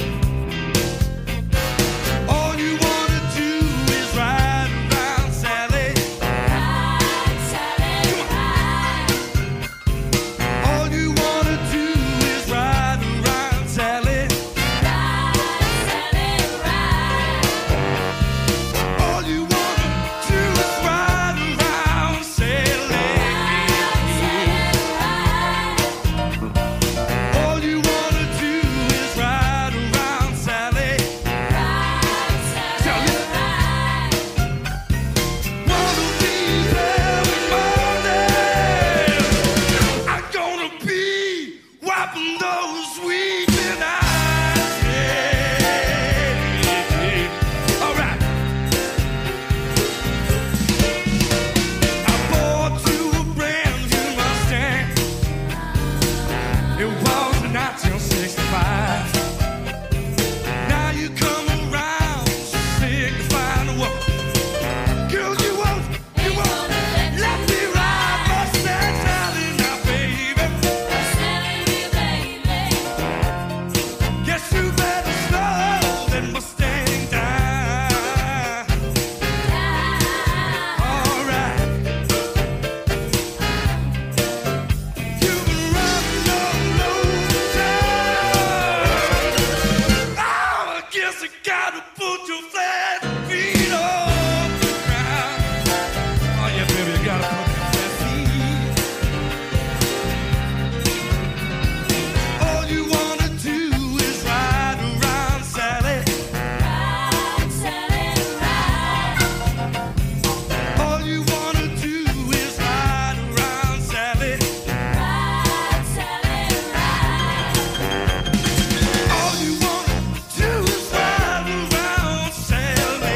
All you wanna do is ride around, Sally. Ride, Sally, ride. All you wanna do is ride around, Sally. Ride, Sally, ride. All you wanna do is ride around, Sally. All you wanna do is ride around, Sally. Sally. One of these every morning, I'm gonna be wiping those weeping eyes. Yeah. All right. I bought you a brand new Mustang. It was in nineteen sixty-five. Now you come around signifying what? Girl, you won't, you won't let me ride Mustang Sally now, baby. Guess you better slow that Mustang down. All right. You've been running all over town. Oh, I guess I gotta put your flat feet on the ground. Oh yeah, baby, you gotta put your flat feet. All you wanna do is ride around, Sally. All you wanna do is ride around, Sally. All you wanna do is ride around, Sally.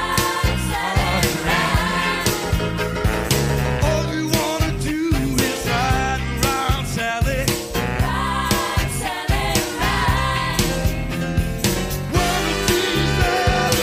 All you wanna do is ride around, Sally. One of these early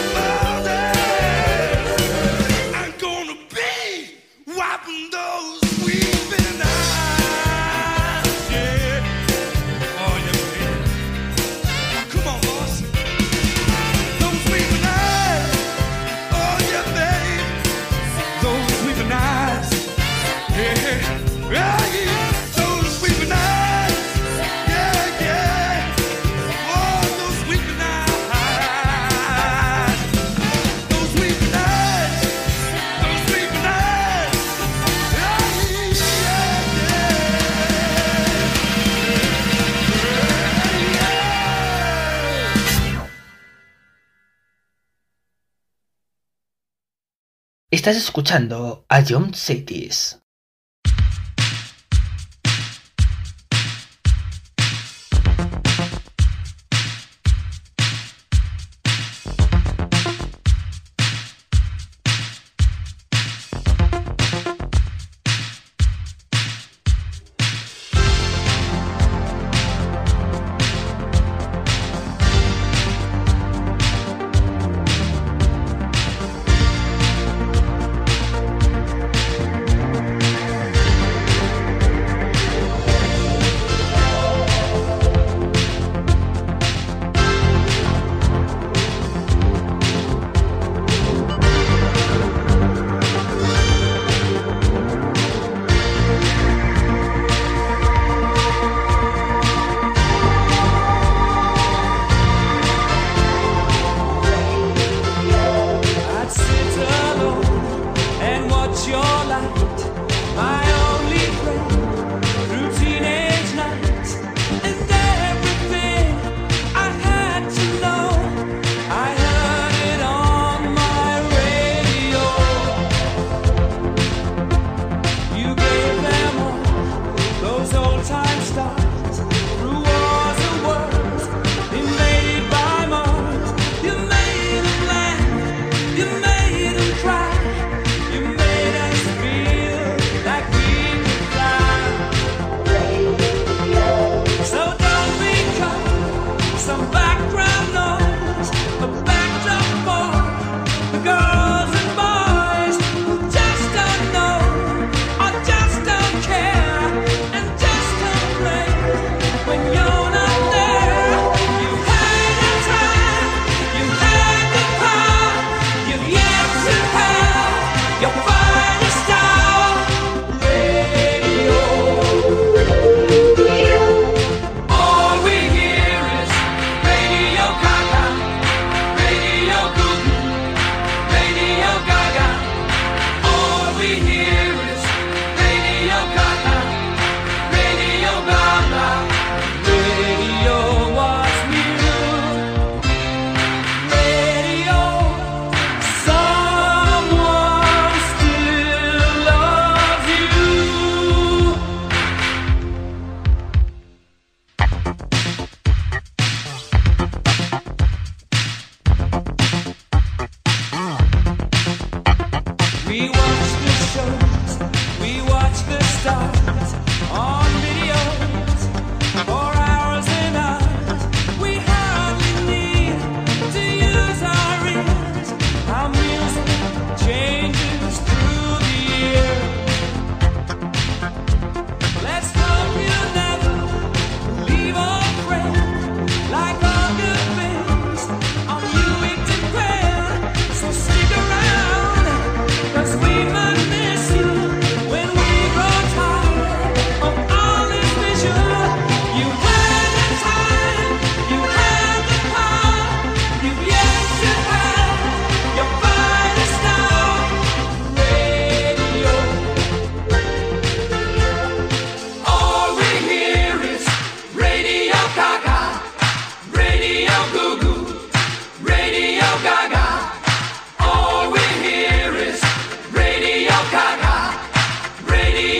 mornings, I'm gonna be wiping those weeping eyes. Yeah. Oh yeah, baby. Come on, boss. Those weeping eyes. Oh yeah, baby. Those weeping eyes. Yeah. Yeah, yeah. Those weeping eyes. Yeah, yeah. Oh, those weeping eyes. Those weeping eyes. Those weeping eyes. Yeah, yeah, yeah. Estás escuchando a John Cities. yeah.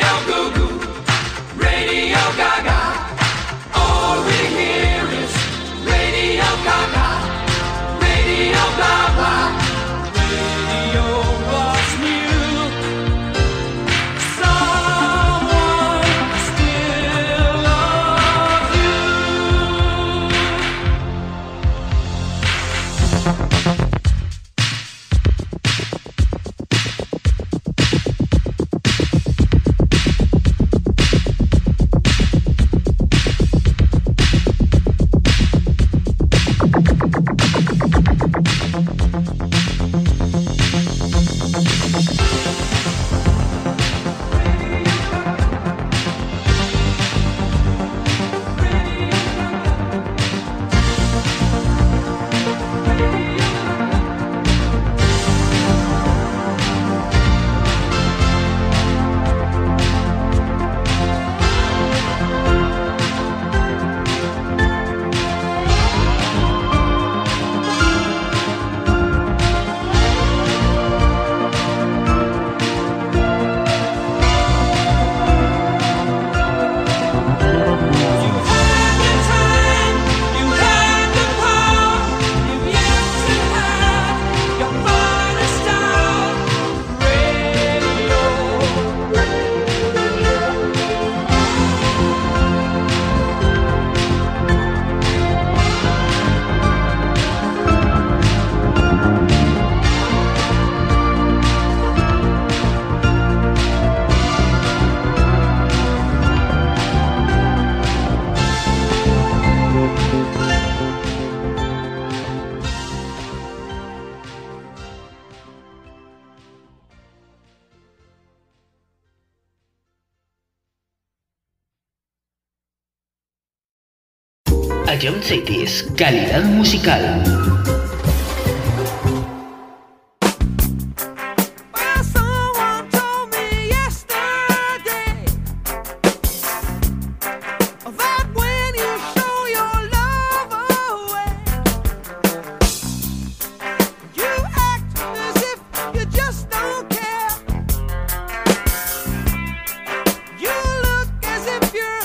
Ion Cities, calidad musical.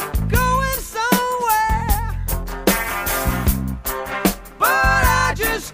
Just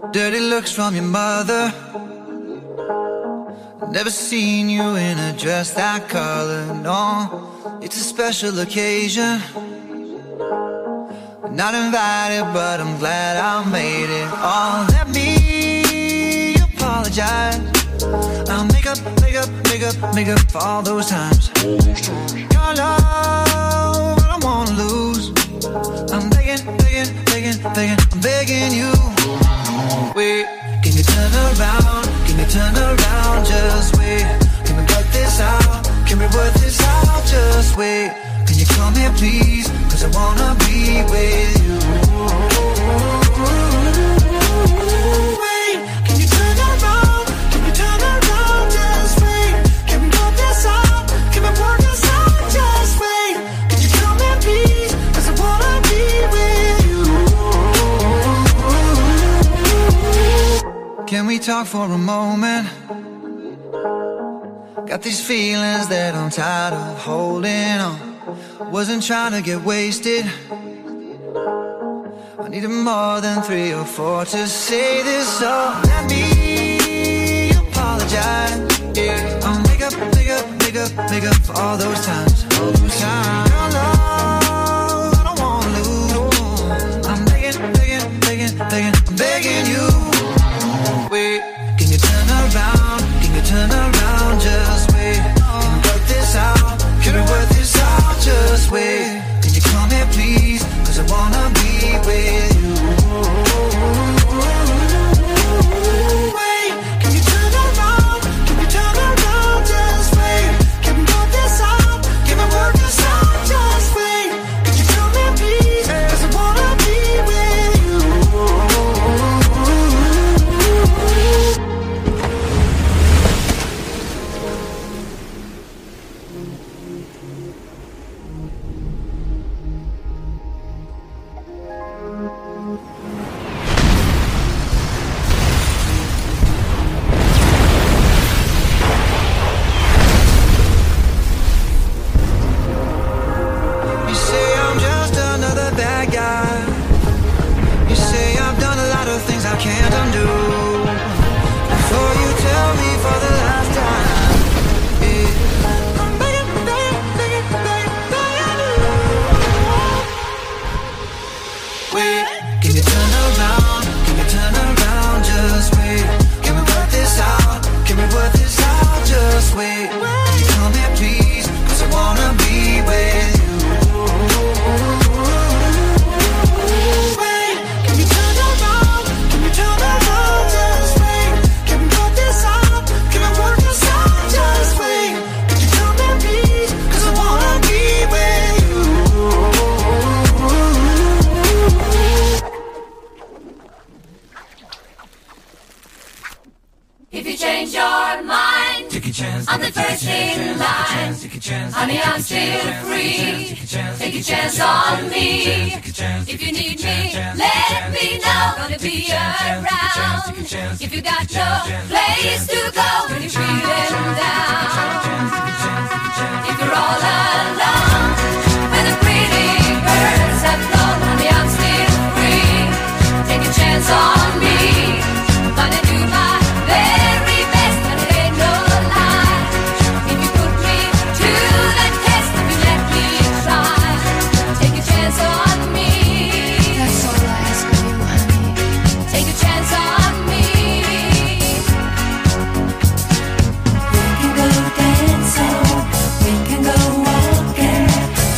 Dirty looks from your mother. Never seen you in a dress that color, no. It's a special occasion. Not invited, but I'm glad I made it. Oh, let me apologize. I'll make up, make up, make up, make up for all those times. Your love, I don't wanna lose. I'm begging, begging, begging, begging, I'm begging you. Wait, can you turn around? Can you turn around? Just wait. Can we work this out? Can we work this out? Just wait. Can you come here, please? Cause I wanna be with you. Wait, can you turn around? Can you turn around? Just wait. Can we work this out? Can we work this out? Just wait. Can you come here, please? Cause I wanna be with you. Can we talk for a moment? Got these feelings that I'm tired of holding on. Wasn't trying to get wasted. I needed more than three or four to say this, so let me apologize. Yeah, I'll make up, make up, make up, make up for all those times. All those times. Your love, I don't wanna lose. I'm begging, begging, begging, begging, I'm begging you. Wait, can you turn around? Can you turn around? Just wait. Can we work this out? Can we work this out? Just wait. Can you come here, please? Cause I wanna be with you. Wait, can you turn around? Can you turn around? Just wait. Can we work this out? Can we work this out? Just wait. Can you come here, please? Cause I wanna be with you. You say I'm just another bad guy. You say I've done a lot of things I can't undo. Before you tell me for the last time, yeah. I'm begging, begging, begging, begging, begging you. Wait, can you turn around? Can you turn around? Just wait. Can we work this out? Can we work this out? Just wait. Can you come here, please? Cause I wanna be with you. Wait, can you turn around? Can you turn around? Just wait. Can we work this out? Can we work this out? Just wait. Can you come here, please? Cause I wanna be with you. If you change your mind, Take a chance, I'm the first in line. take a chance, Honey, I'm still free. Take a chance on me. If you need me, let me know. Gonna be around. If you got no place to go, when you're feeling down. If you're all alone, when the pretty birds have flown, honey, I'm still free. Take a chance on me. Gonna do my very best, and it ain't no lie. If you put me to the test, if you let me try, take a chance on me. That's all I ask of you, honey. Take a chance on me. We can go dancing, we can go walking,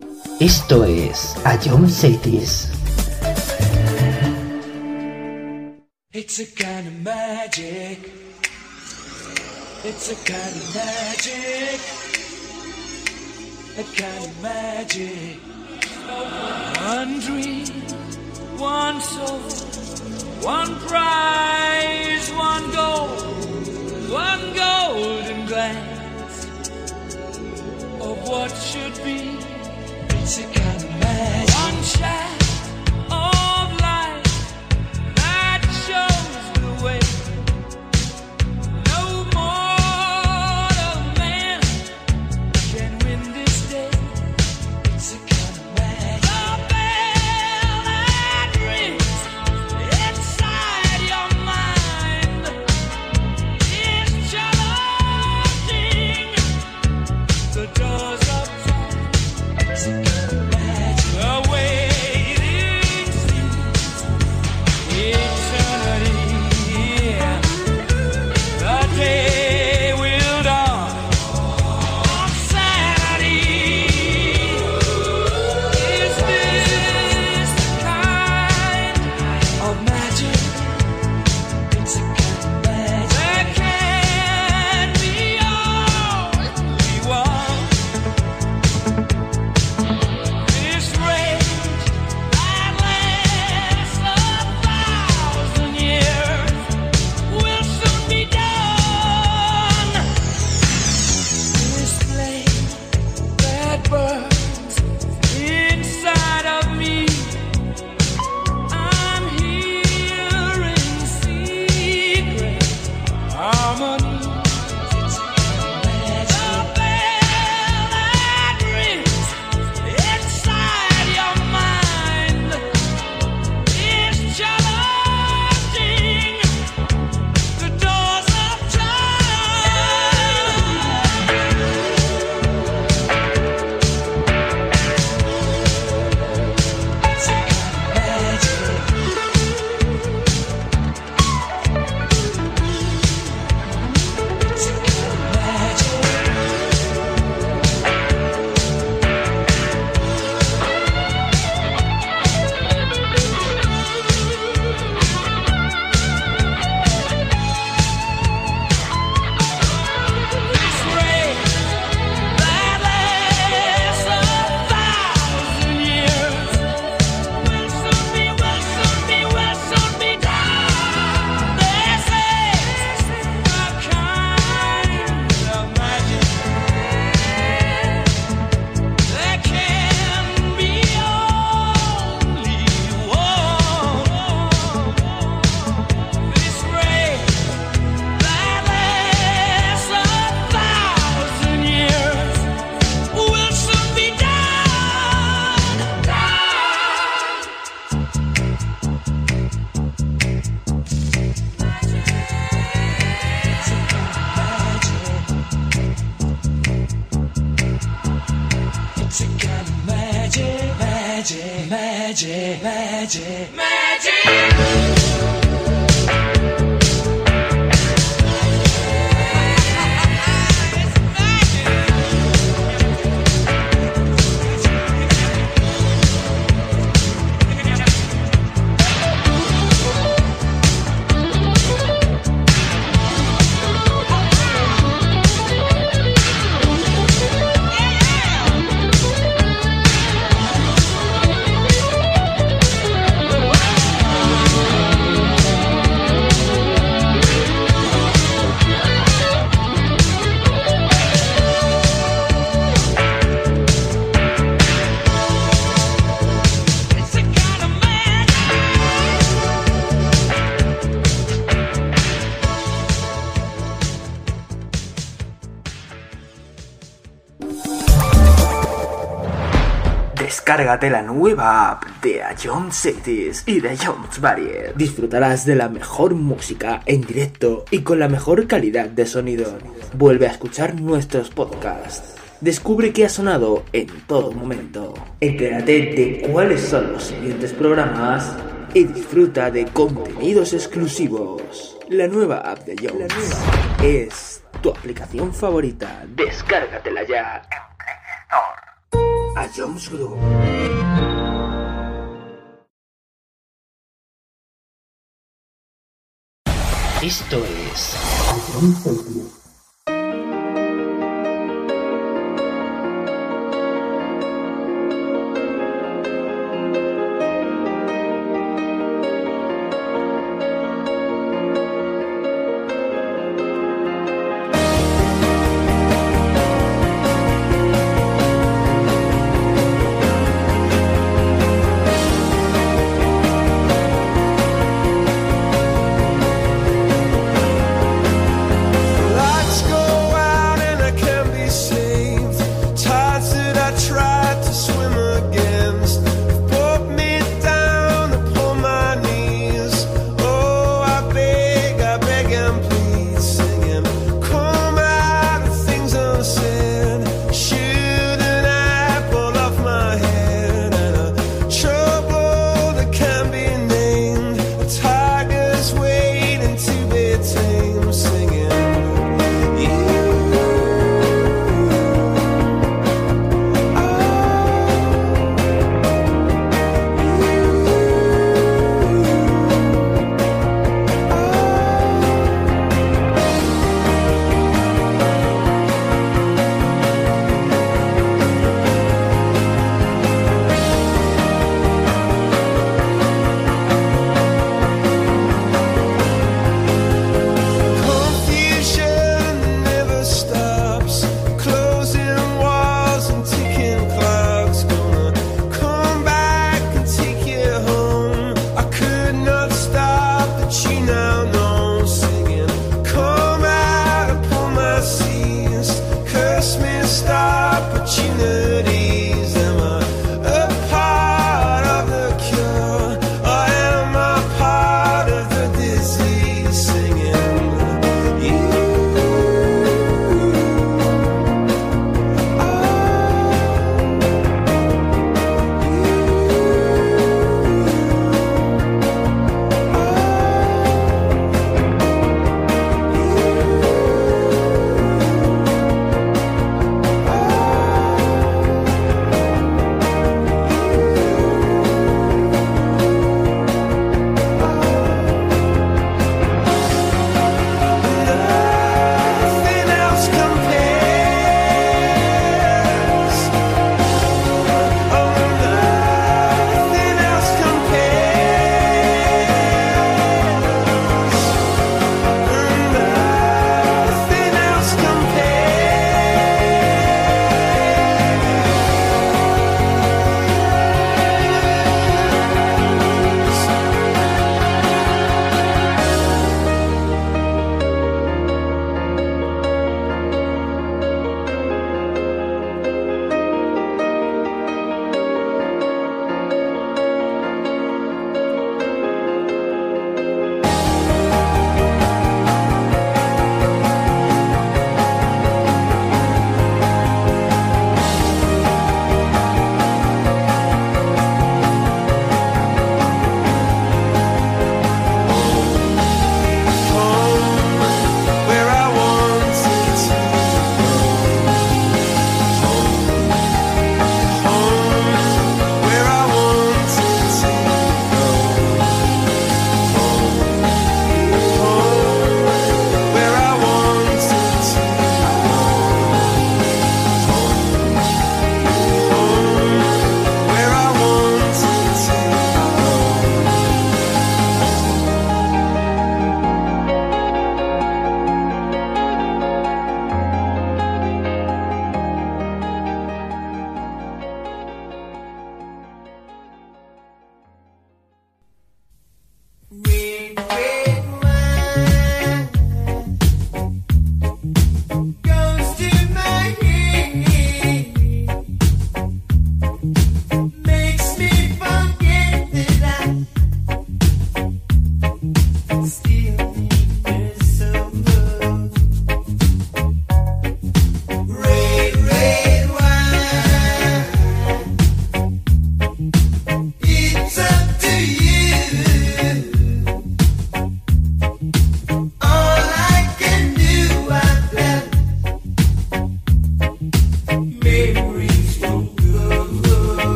Esto es A John Cities. It's a kind of magic. It's a kind of magic. A kind of magic. One dream, one soul, one prize, one goal, one golden glance of what should be. It's a kind of magic. One shaft of light that shows the way. No mortal man can win this day. It's a kind of magic. The bell that rings inside your mind is challenging the doors of time. It's a kind of magic. The waiting seems eternity. Yeah. The day will dawn on Saturday. Is this the kind of magic? It's a kind of magic. There can be only one. This rage that lasts a thousand years will soon be done. This flame that burns inside of me, I'm hearing secret harmony. It's a kind of magic. The bell that rings inside your mind is challenging the doors of time. It's a kind of magic. It's a kind of magic. This rage that lasts a thousand years will soon be, will soon be, will soon be done. This is the kind of magic. There can be only one. This rage that lasts a thousand years will soon be done. It's a kind of magic, magic, magic, magic, magic. It's a kind of magic. Descárgate la nueva app de A John Cities y de John's Barrier. Disfrutarás de la mejor música en directo y con la mejor calidad de sonido. Vuelve a escuchar nuestros podcasts. Descubre qué ha sonado en todo momento. Entérate de cuáles son los siguientes programas y disfruta de contenidos exclusivos. La nueva app de Jones es tu aplicación favorita. Descárgatela ya en Play Store. A Hacía música luego. Esto es... I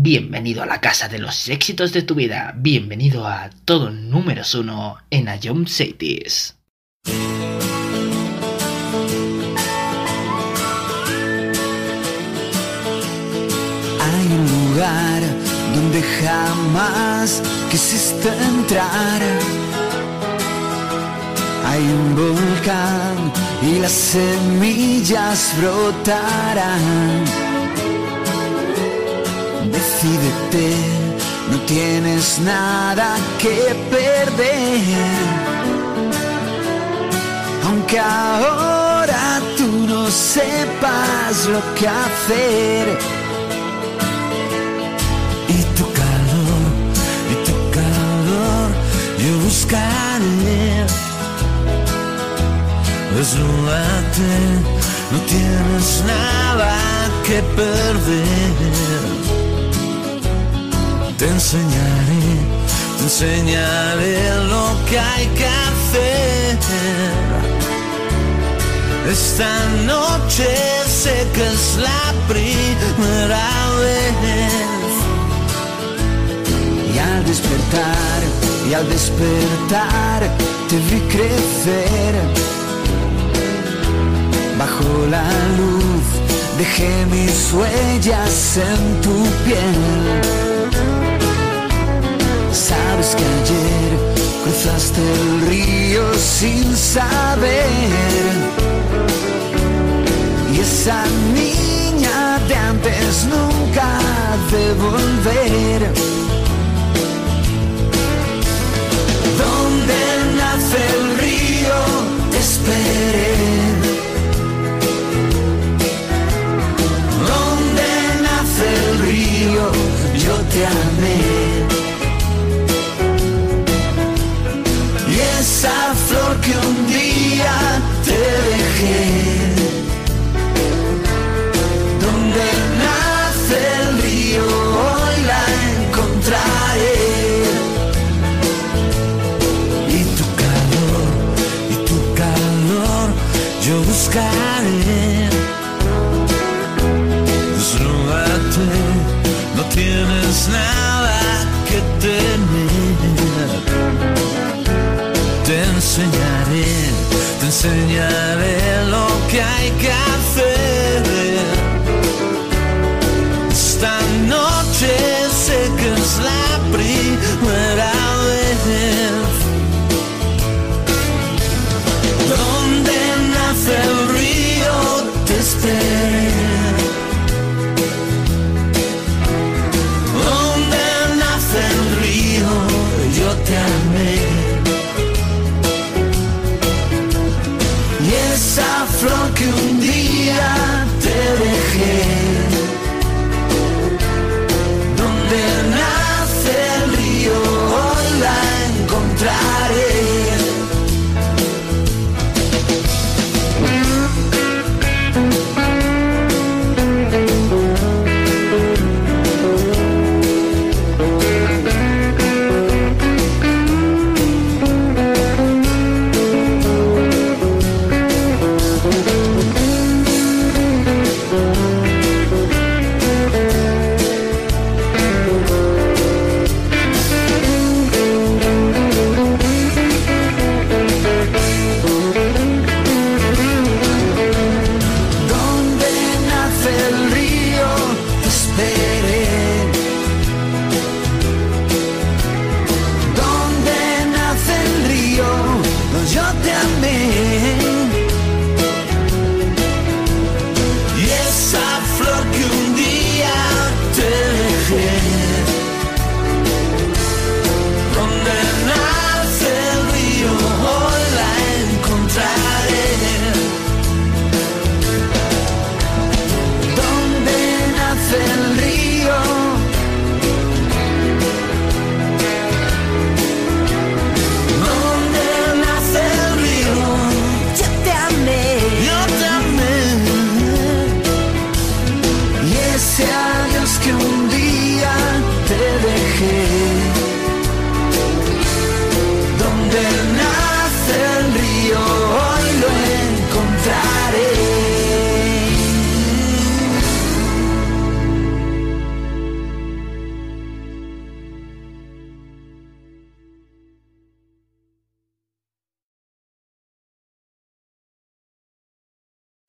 Bienvenido a la casa de los éxitos de tu vida. Bienvenido a todo números uno en Ion Cities. Hay un lugar donde jamás quisiste entrar. Hay un volcán y las semillas brotarán. Decídete, no tienes nada que perder. Aunque ahora tú no sepas lo que hacer. Y tu calor, y tu calor, yo buscaré. Desnúdate, no tienes nada que perder. Te enseñaré, te enseñaré lo que hay que hacer. Esta noche sé que es la primera vez. Y al despertar, y al despertar te vi crecer. Bajo la luz dejé mis huellas en tu piel. Sabes que ayer cruzaste el río sin saber. Y esa niña de antes nunca ha de volver. Donde nace el río te esperé. Donde nace el río yo te amé. Y esa flor que un día te dejé. Donde nace el río hoy la encontraré. Y tu calor, y tu calor yo buscaré. Desnúdate, no tienes nada que temer. Te enseñaré, te enseñaré lo que hay que hacer. Esta noche sé que es la primera vez. Donde nace el río te esperé. Donde nace el río yo te amé. Esa flor que un día te dejé. Donde nace el río hoy la encontraré.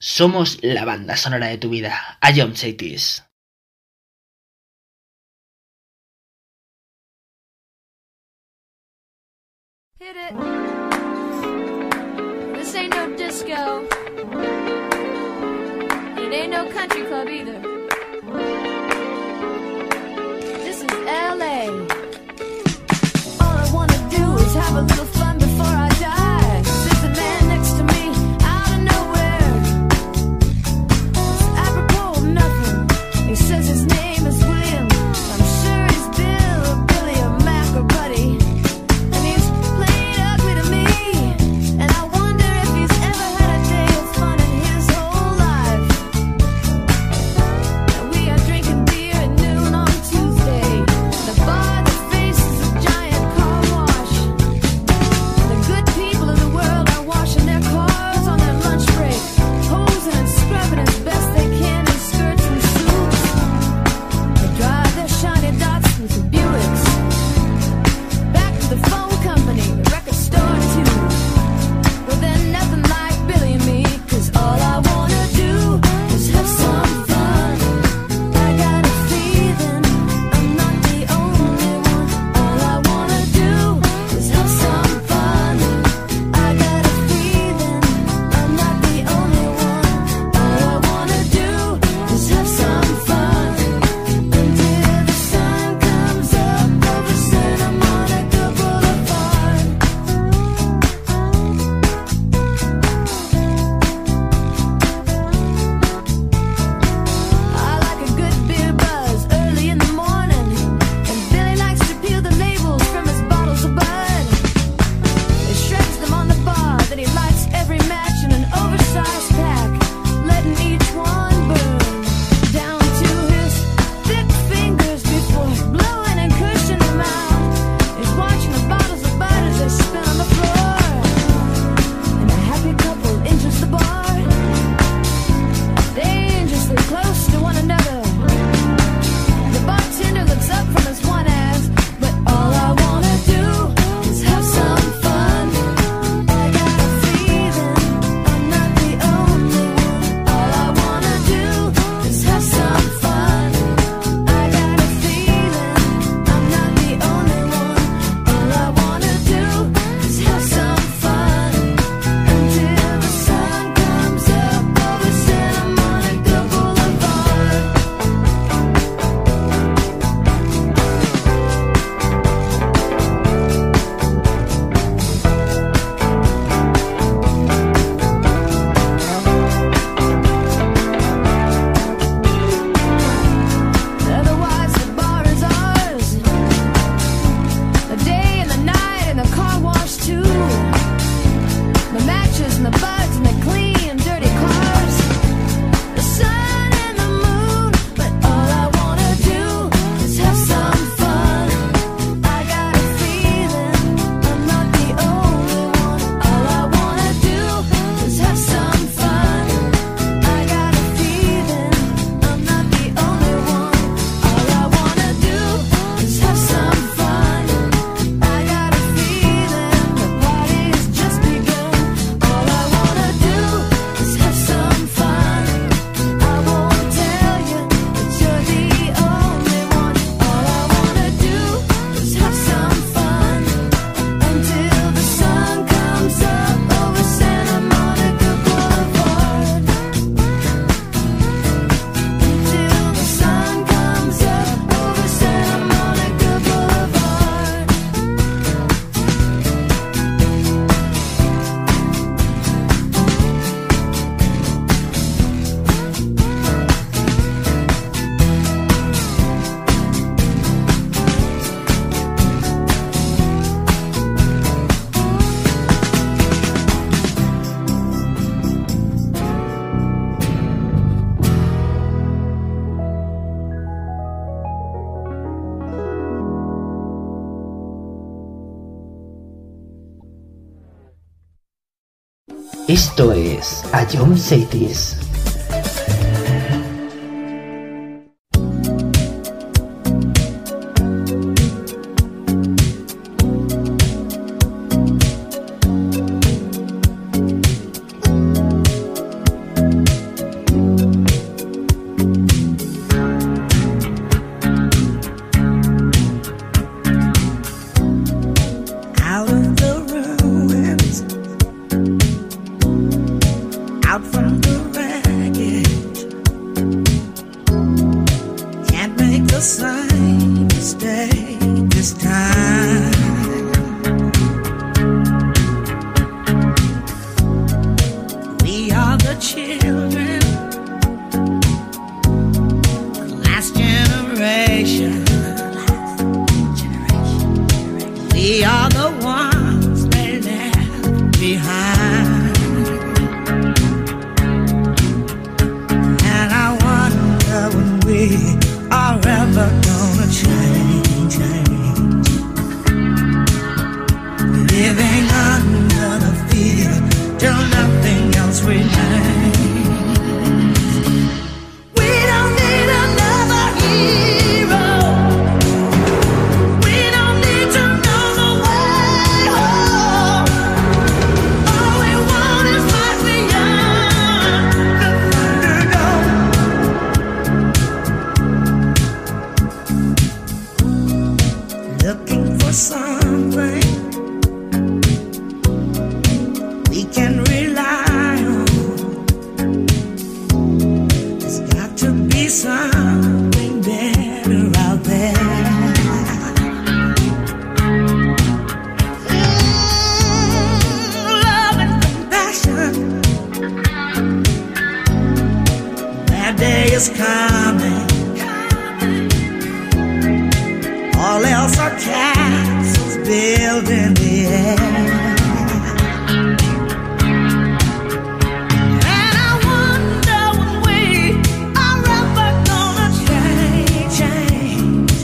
Somos la banda sonora de tu vida. A Jump Cities. Hit it. This ain't no disco. It ain't no country club either. This is L A. All I wanna do is have a little fun before I die. There's a man next to me out of nowhere. It's apropos of nothing. He says his name is William. I'm sure he's Bill or Billy or Mac or Buddy. And he's played ugly to me. And I wonder if he's ever had a day of fun in his whole life. And we are drinking beer at noon on Tuesday. The bar that faces a giant car wash. The good people of the world are washing their cars on their lunch break, hosing and scrubbing as best they can in skirts and suits. They drive their shiny Datsuns and Buicks back to the phone company, the record store too. But they're nothing like Billy and me, 'cause all I wanna do is have some fun. I got a feeling I'm not the only one. All I wanna do is have some fun. I got a feeling I'm not the only one. All I wanna do is have some fun until the sun comes up over Santa Monica Boulevard. I like a good beer buzz early in the morning, and Billy likes to peel the labels from his bottles of Bud. He shreds them on the bar, then he lights every match in an oversized pack, letting each one burn down to his thick fingers before blowing and cushioning them out. He's watching the bottles of Bud as they spin on the floor, and a happy couple enters the bar, dangerously close to one another. The bartender looks up from his one ass, but all I wanna do is have some fun. I got a feeling I'm not the only one. All I wanna do is have some fun. I got a feeling I'm not the only one. All I wanna do is have some fun until the sun comes up over Santa Monica Boulevard. Otherwise the bar is ours. The day and the night and the car wash too. The matches and the buds and the clean dirty cars. The sun and the moon, but all I wanna do is have some fun. I got a feeling I'm not the only one. All I wanna do is have some fun. I got a feeling I'm not the only one. All I wanna do is have some fun. I got a feeling the party's just begun. All I wanna do is have some fun. I won't tell you that you're the only one. All I wanna do is have some fun until the sun comes up over Santa Monica Boulevard. Until the sun comes up over Santa Monica Boulevard. Esto es A Jump Cities. behind. We are the children, the last generation. We are the ones they left behind. And I wonder when we are ever gonna change, change. Living under the fear till nothing else remains. We don't need another hero. We don't need to know the way home. All we want is life beyond the Thunderdome. Looking for something we can rely on. There's got to be something better out there. Mm, love and compassion. That day is coming. All else are castles built in the air. And I wonder when we are ever gonna change, change.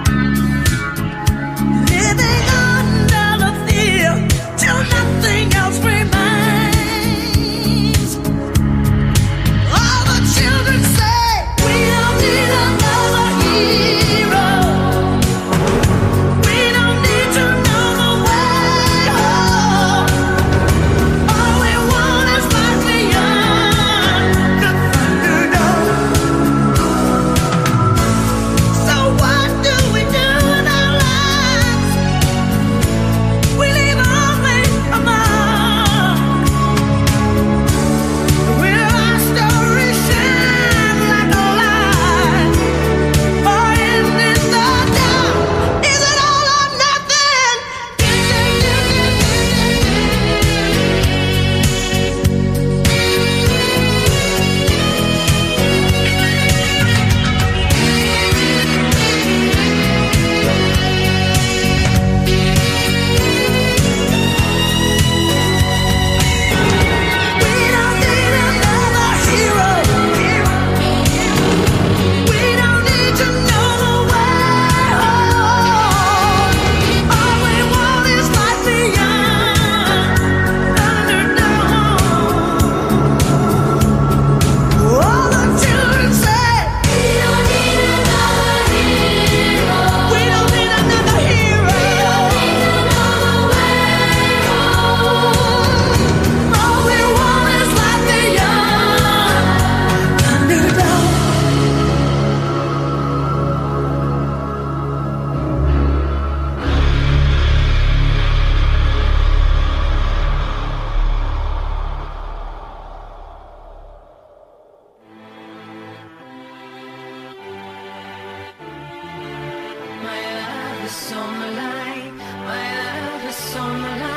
Living under the fear till nothing else remains. All the children say we don't need another hero. We don't need to know the way home. All we want is life beyond the Thunderdome. So what do we do in our lives? We leave only a mark. Will our story shine like a light, or end in the dark? Is it all or nothing? We don't need another hero. We don't need to know the way home. All we want is life beyond Thunderdome. All the children say we don't need another hero. We don't need another hero. We don't need to know the way home. All we want is life beyond Thunderdome. My love is on the line. My love is on the line.